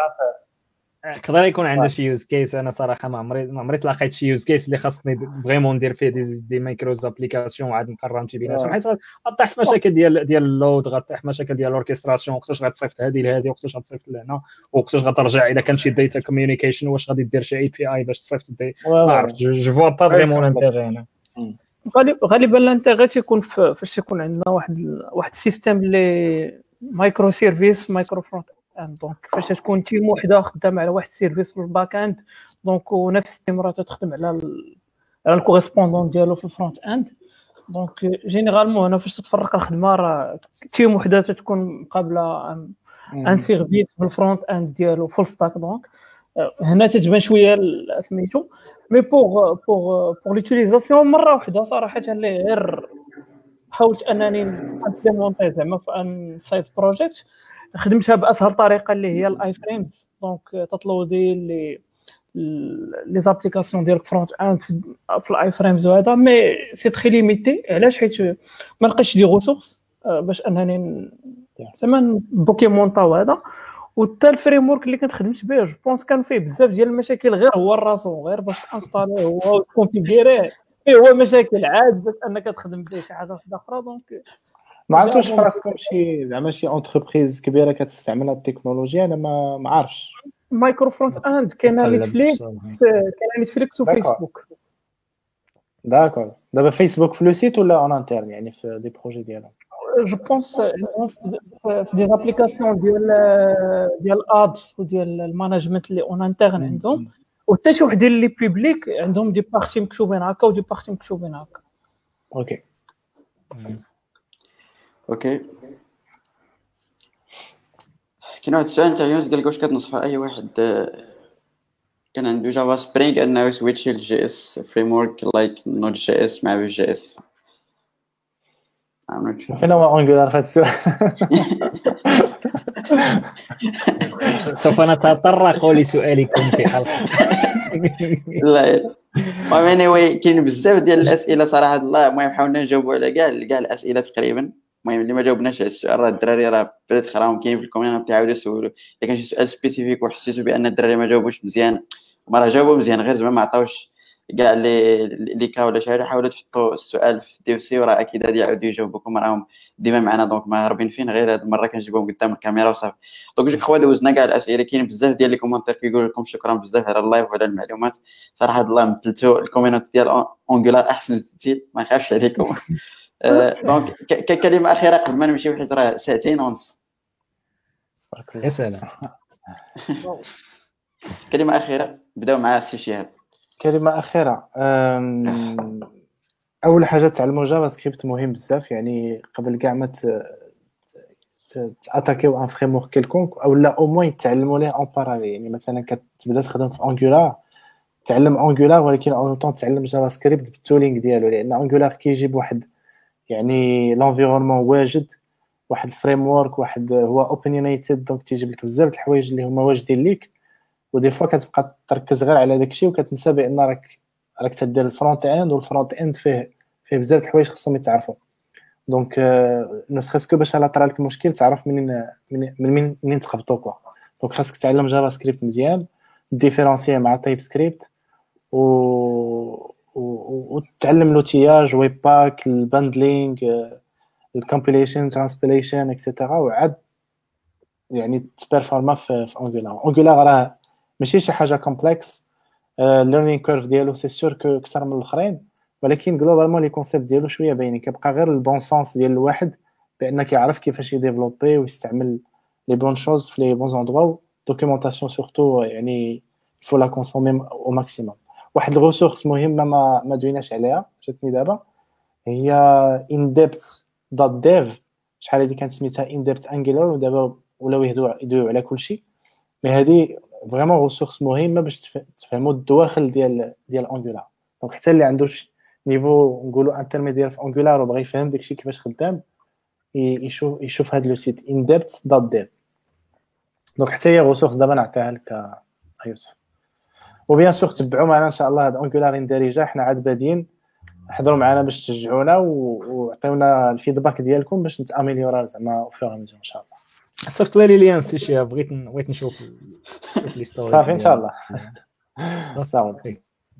يقدر يكون عنده شي يوز كيس. انا صراحه ما عمري ما عمري تلاقيت شي يوز كيس اللي خاصني فريمون ندير فيه دي دي مايكرو ابليكاسيون وعاد نقرر نمشي بيناتهم حيت غطيح في مشاكل ديال ديال اللود غطيح في مشاكل ديال الاوركستراسيون وقتاش غتصيفط هذه لهذه وقتاش غتصيفط لهنا وقتاش غترجع اذا كان شي داتا كوميونيكيشن واش غادي دير شي اي بي اي باش تصيفط الدي ما عرفتش جو فوا با فريمون لانتيغي. انا غالبا الانتيغي تيكون فاش يكون عندنا واحد واحد السيستيم اللي مايكرو سيرفيس مايكرو فرونت اند دونك فاش تكون تيم وحده خدامه على واحد السيرفيس في الباك اند دونك ونفس التيم راه تخدم على على الكوريسبوندون ديالو في الفرونت اند دونك جينيرالمون هنا فاش تتفرق الخدمه راه تيم وحده تكون مقابله ان سيرفيس في الفرونت اند ديالو فول ستاك دونك هنا تتبان شويه سميتو مي بوغ بوغ بوغ ليوتيليزاسيون مره واحده صراحه اللي غير حاولت انني نبليمونطي زعما في ان سايد بروجيكت خدمتها باسهل طريقه اللي هي الاي فريمز دونك تطلودي لي لي زابليكاسيون ديال الفرونت اند في الاي فريمز وهذا مي سي تري ليميتي علاش حيت ما لقيتش دي ريسورس باش انني زعما دوكيمونطاو هذا وحتى الفريم ورك اللي كنت خدمت به جو بونس كان فيه بزاف ديال المشاكل غير هو الراسو غير باش انستاليه هو وكونفيغيريه اي هو مشاكل عاد باش انك تخدم به شي حاجه اخرى دونك ما عرفتش فراسكم شي زعما شي اونتربريز كبيره كتستعمل هاد التكنولوجيا انا ما ما عارفش. مايكرو فرونت اند كاين نيتفليكس كاين نيتفليكس وفيسبوك داكور. دابا فيسبوك في لو سيت ولا اون انترن يعني في دي بروجي ديالهم جو بونس في دي ابليكاسيون ديال ديال ادز وديال المانجمنت اللي اون انترن عندهم وحتى شي وحدين اللي بوبليك عندهم دي بارتي مكتوبين هكا ودي بارتي مكتوبين هكا. اوكي اوكي كاين واحد السؤال تاع يونس قال لك واش كتنصحوا اي واحد كان عنده جافا سبرينغ انه يسويتش للجي اس فريم ورك لايك نود جي اس مع جي اس؟ فين هو انجولار في هذا السؤال؟ سوف نتطرق لسؤالكم في حلقه لا المهم اني واي كاين بزاف ديال الاسئله صراحه الله. المهم حاولنا نجاوبوا على كاع كاع الاسئله تقريبا. المهم اللي ما جاوبناش على السؤال راه الدراري راه بدات خراهم كاين في الكوميونتي تعاودوا يسولوا الا كان شي سؤال سبيسيفيك وحسيتوا بان الدراري ما جاوبوش مزيان ما راه جاوبوا مزيان غير زعما ما عطاوش كاع اللي اللي كا ولا شي حاجه حاولوا تحطوا السؤال في دي سي، وراه اكيد غادي يعاودوا يجاوبوكم، راهم ديما معنا دونك ما هاربين فين، غير هاد المره كنجيبوهم قدام الكاميرا وصافي. دونك جو كخوا دوزنا كاع الاسئله، كاين بزاف ديال لي كومونتير كيقول لكم شكرا بزاف على اللايف وعلى المعلومات. صراحه الله مثلتوا الكوميونتي ديال اونغولار احسن تمثيل، ما نخافش عليكم. آه، دونك ك- ككلمه اخيره قبل ما نمشيو حيت راه ساعتين ونص. بارك يا الله. سلام. كلمه اخيره بداو مع السي شهاب. كلمة أخيرة، أم، أول حاجة تعلموا جافا سكريبت مهم بزاف، يعني قبل كاع ما تاتاكيو ان فريم ورك كيلكونك، او لا او موين تعلموا ليه اون باراليل. يعني مثلا كتبدا تخدم في انجولار، تعلم انجولار ولكن اون طون تعلم جافا سكريبت بالتولينغ ديالو، لان انجولار كيجيب واحد يعني لونفيرونمون واجد، واحد الفريم ورك، واحد هو اوبينيونيتد، دونك تيجيب لك بزاف د الحوايج اللي هما واجدين ليك، ودي فوا كتبقى تركز غير على داكشي وكتنسى بان راك راك تدير الفرونت اند، والفرونت اند فيه فيه بزاف د الحوايج خصهم يتعرفوا. دونك نو سخيسكو باش لا طرا لك مشكل تعرف منين من من منين تخبطو كوا. دونك خاصك تعلم جافا سكريبت مزيان، ديفيرونسيي مع تايب سكريبت، و وتعلم لوتياج، ويب باك، الباندلينغ، الكومبيليشن، ترانسبيليشن اكسيتيرا، وعاد يعني تبيرفورما في في انجولار. انجولار راه ماشي شي حاجه كومبلكس، الليرنينغ كيرف ديالو سي سور كو اكثر من الاخرين، ولكن جلوبالمون لي كونسيبت ديالو شويه باينين، كيبقى غير البون سونس ديال الواحد بان كيعرف كيفاش يديفلوبي ويستعمل لي بون شوز في لي بون زوندروا. دوكيومونطاسيون سورتو يعني فو لا كونسومي او ماكسيموم. واحد الريسورس مهمه ما ما دويناش عليها جاتني دابا، هي ان ديبث دوت ديف. شحال هادي كانت سميتها ان ديبث انجولار، ودابا ولاو يهدوا يدويو على كلشي، مي هادي فريمون ريسورس مهمه باش تفهموا الدواخل ديال ديال انجولار. دونك حتى اللي عنده شي نيفو نقولوا انترميديير في انجولار وبغى يفهم داكشي كيفاش خدام، يشوف يشوف هذا لو سيت ان ديبث دوت ديف. دونك حتى هي ريسورس دابا نعطيها لك يوسف. وبيان سور تبعوا معنا ان شاء الله هاد انجولار اندارجه، حنا عاد بادين، حضروا معنا باش تشجعونا وعطيونا الفيدباك ديالكم باش نتاميليورا زعما في ان شاء الله. صيفط لي ليان سي شي، بغيت بغيت نشوف نشوف لي ستوري صافي ان شاء الله. صافي.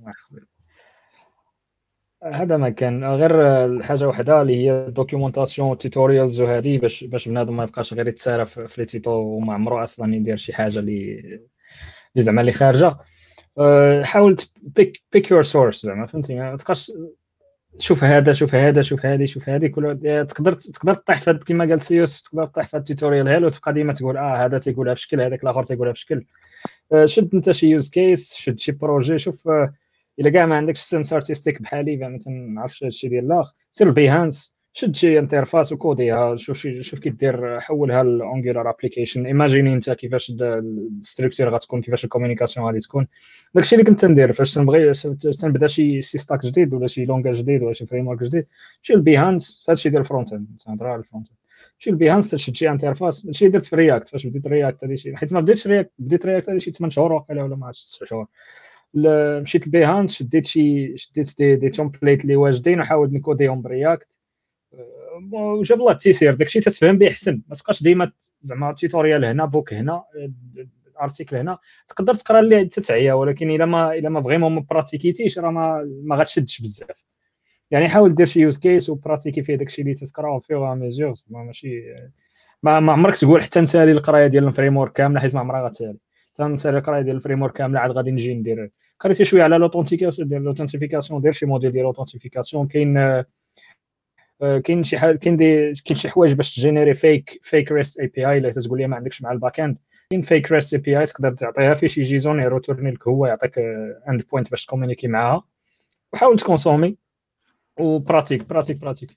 هذا ما كان غير الحاجه وحده اللي هي الدوكيومونطاسيون توتوريالز وهذه، باش باش بنادم ما يبقاش غير يتسارى في لي تيتو وما عمره اصلا يدير شي حاجه اللي اللي زعما اللي خارجه. حاول بيك بيك يور سورس، زعما فهمتي، ما تبقاش شوف هذا شوف هذا شوف هذه شوف هذه كل تقدر تقدر تطيح في كما قال سي يوسف، تقدر تطيح في التوتوريال هالو وتبقى ديما تقول اه هذا تيقولها بشكل، هذاك الاخر تيقولها بشكل. شد انت شي يوز كيس، شد شي بروجي، شوف الا كاع ما عندكش سنس ارتستيك بحالي ما تنعرفش هادشي ديال الاخ، سير بيهانس، شد شي انترفاس وكوديها، شوف شي شوف كي دير، حولها لانجولار ابليكيشن، ايماجيني انت كيفاش الستركتور غتكون، كيفاش الكومونيكاسيون غادي تكون. داكشي اللي كنت ندير فاش تنبغي تنبدا شي شي ستاك جديد ولا شي لونغاج جديد ولا شي فريم ورك جديد، مشي لبيهانس هادشي ديال الفرونت اند، تنهضر على الفرونت اند، مشي لبيهانس تشد شي انترفاس. هادشي درت في رياكت فاش بديت رياكت، هادي شي حيت ما بديتش رياكت، بديت رياكت هادي شي ثمانية شهور ولا ولا ما عرفتش تسع شهور. مشيت لبيهانس شديت شي شديت دي, دي تومبليت اللي واجدين وحاولت نكوديهم برياكت، وجاب الله التيسير. داكشي تتفهم به احسن، ما تبقاش ديما زعما توتوريال هنا بوك هنا ارتيكل هنا، تقدر تقرا اللي تتعيا، ولكن الا ما الا ما فريمون ما براتيكيتيش راه ما ما غاتشدش بزاف. يعني حاول دير شي يوز كيس وبراتيكي فيه داكشي اللي تتقراه فيه ميزور، ماشي ما ما عمرك تقول حتى نسالي القرايه ديال الفريم ورك كامله، حيت ما عمرها غتسالي. حتى نسالي القرايه ديال الفريم ورك كامله عاد غادي نجي ندير قريتي شويه على لوثنتيكاسيون ديال لوثنتيفيكاسيون، دير شي موديل ديال لوثنتيفيكاسيون. كاين كاين شي حاجه كاين دي كاين شي حوايج باش تجينيري فيك فيك ريست اي بي اي، الا تقول لي ما عندكش مع الباك اند، كاين فيك ريست اي بي اي تقدر تعطيها فيه شي جيزون يروتورني لك، هو يعطيك اند بوينت باش تكومونيكي معاها، وحاول تكونسومي وبراتيك براتيك براتيك.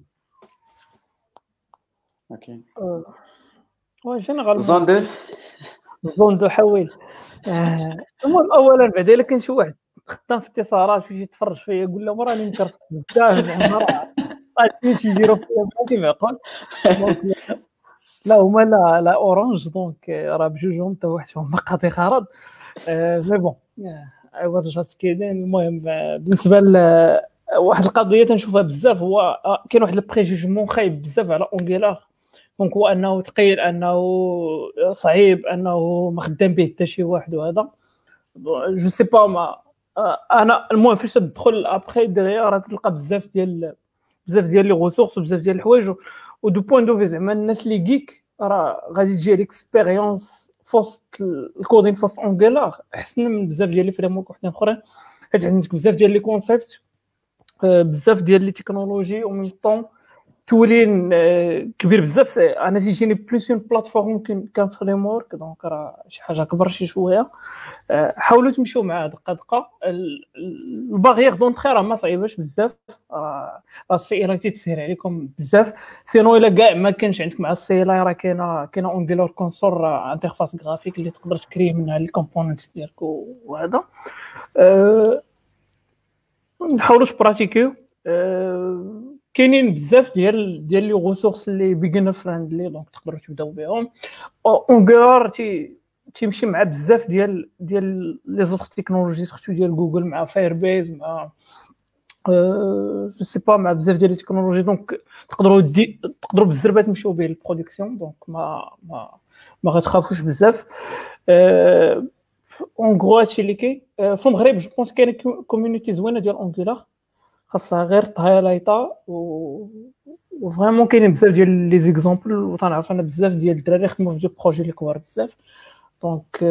اوكي واه جينيرالمون زون دو زون دو حويل. المهم اولا بعدا الا كان شي واحد خدام في اتصالات ويجي يتفرج فيا يقول له راني مكرفت بزاف زعما راه عرفتي شي يديروا فيا بحال كيما يقول. دونك لا هما لا لا اورانج، دونك راه بجوجهم حتى واحد فيهم ما قاضي غرض. مي بون اي واز جاست كيدين. المهم بالنسبه ل واحد القضيه تنشوفها بزاف، هو كاين واحد البريجوجمون خايب بزاف على اونغولار، دونك هو انه ثقيل، انه صعيب، انه ما خدام به حتى شي واحد، وهذا جو سي با ما انا المهم فاش تدخل ابخي دغيا راه تلقى بزاف ديال بزاف ديال لي ريسورس وبزاف ديال الحوايج ودو بوين دو في زعما الناس اللي جيك راه غادي تجي ليكسبيريونس فوسط الكودين فوسط اونجولار احسن من بزاف ديال لي فريم ورك وحدين اخرين، حيت عندك بزاف ديال لي كونسيبت بزاف ديال لي تكنولوجي او ميم طون تولين كبير بزاف. انا تيجيني بلوس اون بلاتفورم كان فريم ورك دونك راه شي حاجه كبر شي شويه. حاولوا تمشيو معاه دقه دقه. الباغيير دونطري راه ما صعيباش بزاف، راه السي ال تيتسهل عليكم بزاف. سينو الا كاع ما كانش عندك مع السي ال راه كاينه كاينه اونجولار كونسول انترفاس غرافيك اللي تقدر تكري منها لي كومبوننتس ديالك وهذا. أه نحاولوا تبراتيكيو. أه كاينين بزاف ديال ديال لي ريسورس اللي بيجنر فريندلي دونك تقدروا تبداو بهم. اونغولار تي تيمشي مع بزاف ديال ديال لي زوطخ تكنولوجي سورتو ديال جوجل مع فاير بيز مع اه جو سي با مع بزاف ديال التكنولوجي دونك تقدروا دي تقدروا بالزربه تمشيو به البرودكسيون دونك ما ما ما غتخافوش بزاف. اه اون غرو هادشي اللي كاين في المغرب. جو بونس كاين كوميونيتي زوينه ديال اونغولار خاصها غير تهايلايطا و وفريمون كاينين بزاف ديال لي زيكزامبل وتنعرف انا بزاف ديال الدراري خدموا في دي بروجي اللي كبار بزاف دونك.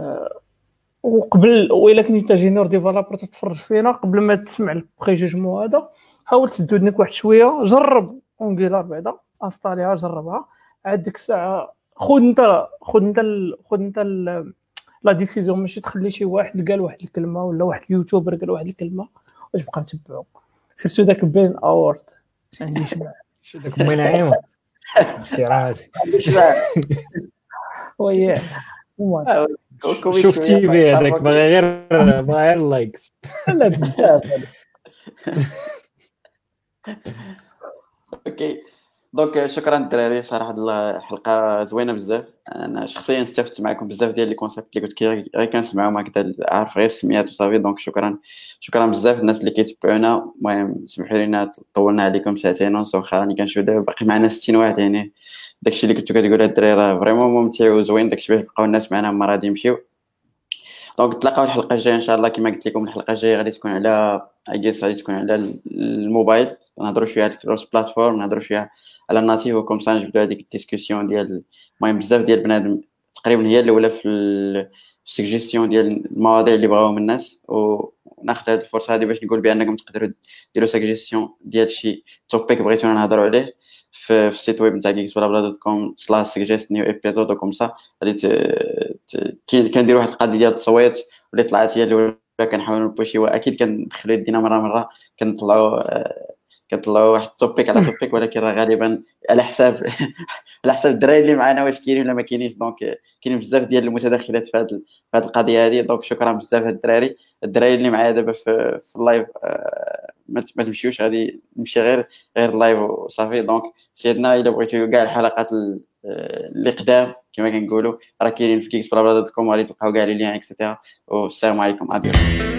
وقبل وإلا كنتي انت جينيور ديفلوبر تتفرج فينا قبل ما تسمع البريجوجمون هذا حاول تسدو ودنك واحد شويه، جرب اونغولار بعدا انستاليها جربها عاد ديك الساعه خذ انت خذ انت خذ انت لا ديسيزيون ماشي تخلي شي واحد قال واحد الكلمه ولا واحد اليوتيوبر قال واحد الكلمه وتبقى متبعو. سيرتو داك بين اورد عندي شمع شو داك بين عيمه احتراماتي وي آه، كوميت شفتي شوية. به هذاك باغي غير باغي غير لايكس. لا بزاف. اوكي دونك شكرا الدراري صراحه الحلقه زوينه بزاف. انا شخصيا استفدت معكم بزاف ديال لي كونسيبت اللي قلت غير كنسمعهم هكذا عارف غير السميات وصافي. دونك شكرا شكرا بزاف الناس اللي كيتبعونا. المهم سمحوا لنا طولنا عليكم ساعتين ونص واخا راني كنشوف دابا باقي معنا ستين واحد يعني داكشي اللي كنتو كتقولوا الدراري راه فريمون ممتع وزوين داكشي باش يبقاو الناس معنا هما غادي يمشيو. دونك تلاقاو الحلقه الجايه ان شاء الله. كما قلت لكم الحلقه الجايه غادي تكون على اجيس غادي تكون على الموبايل نهضروا شويه على الكروس بلاتفورم نهضروا شويه على الناتيف وكم سا نجبدوا هذيك الديسكوسيون ديال المهم بزاف ديال بنادم تقريبا هي الاولى في السجيستيون ديال المواضيع اللي بغاوهم الناس. وناخذ هذه الفرصه هذه باش نقول بانكم تقدروا ديروا سجيستيون ديال شي توبيك بغيتونا نهضروا عليه في السيت ويب نتاع geeks بلا بلا دوت كوم سلاش سجيست نيو ايبيزود وكم سا غادي كنديروا واحد القضيه ديال التصويت واللي طلعت هي الاولى كنحاولوا نبوشيوها. اكيد كندخلوا يدينا مره مره كنطلعوا كنطلعوا واحد التوبيك على توبيك ولكن راه غالبا على حساب على حساب الدراري اللي معنا واش كاينين ولا ما كاينينش. دونك كاين بزاف ديال المتداخلات في هذه في هذه القضيه هذه. دونك شكرا بزاف هاد الدراري الدراري اللي معايا دابا في, في اللايف. ما تمشيوش غادي نمشي غير غير اللايف وصافي. دونك سيدنا الا بغيتوا كاع الحلقات اللي قدام كما كنقولوا راه كاينين في geeks بلا بلا دوت كوم غادي تلقاو كاع لي لين اكسيتيرا. والسلام عليكم. اديو.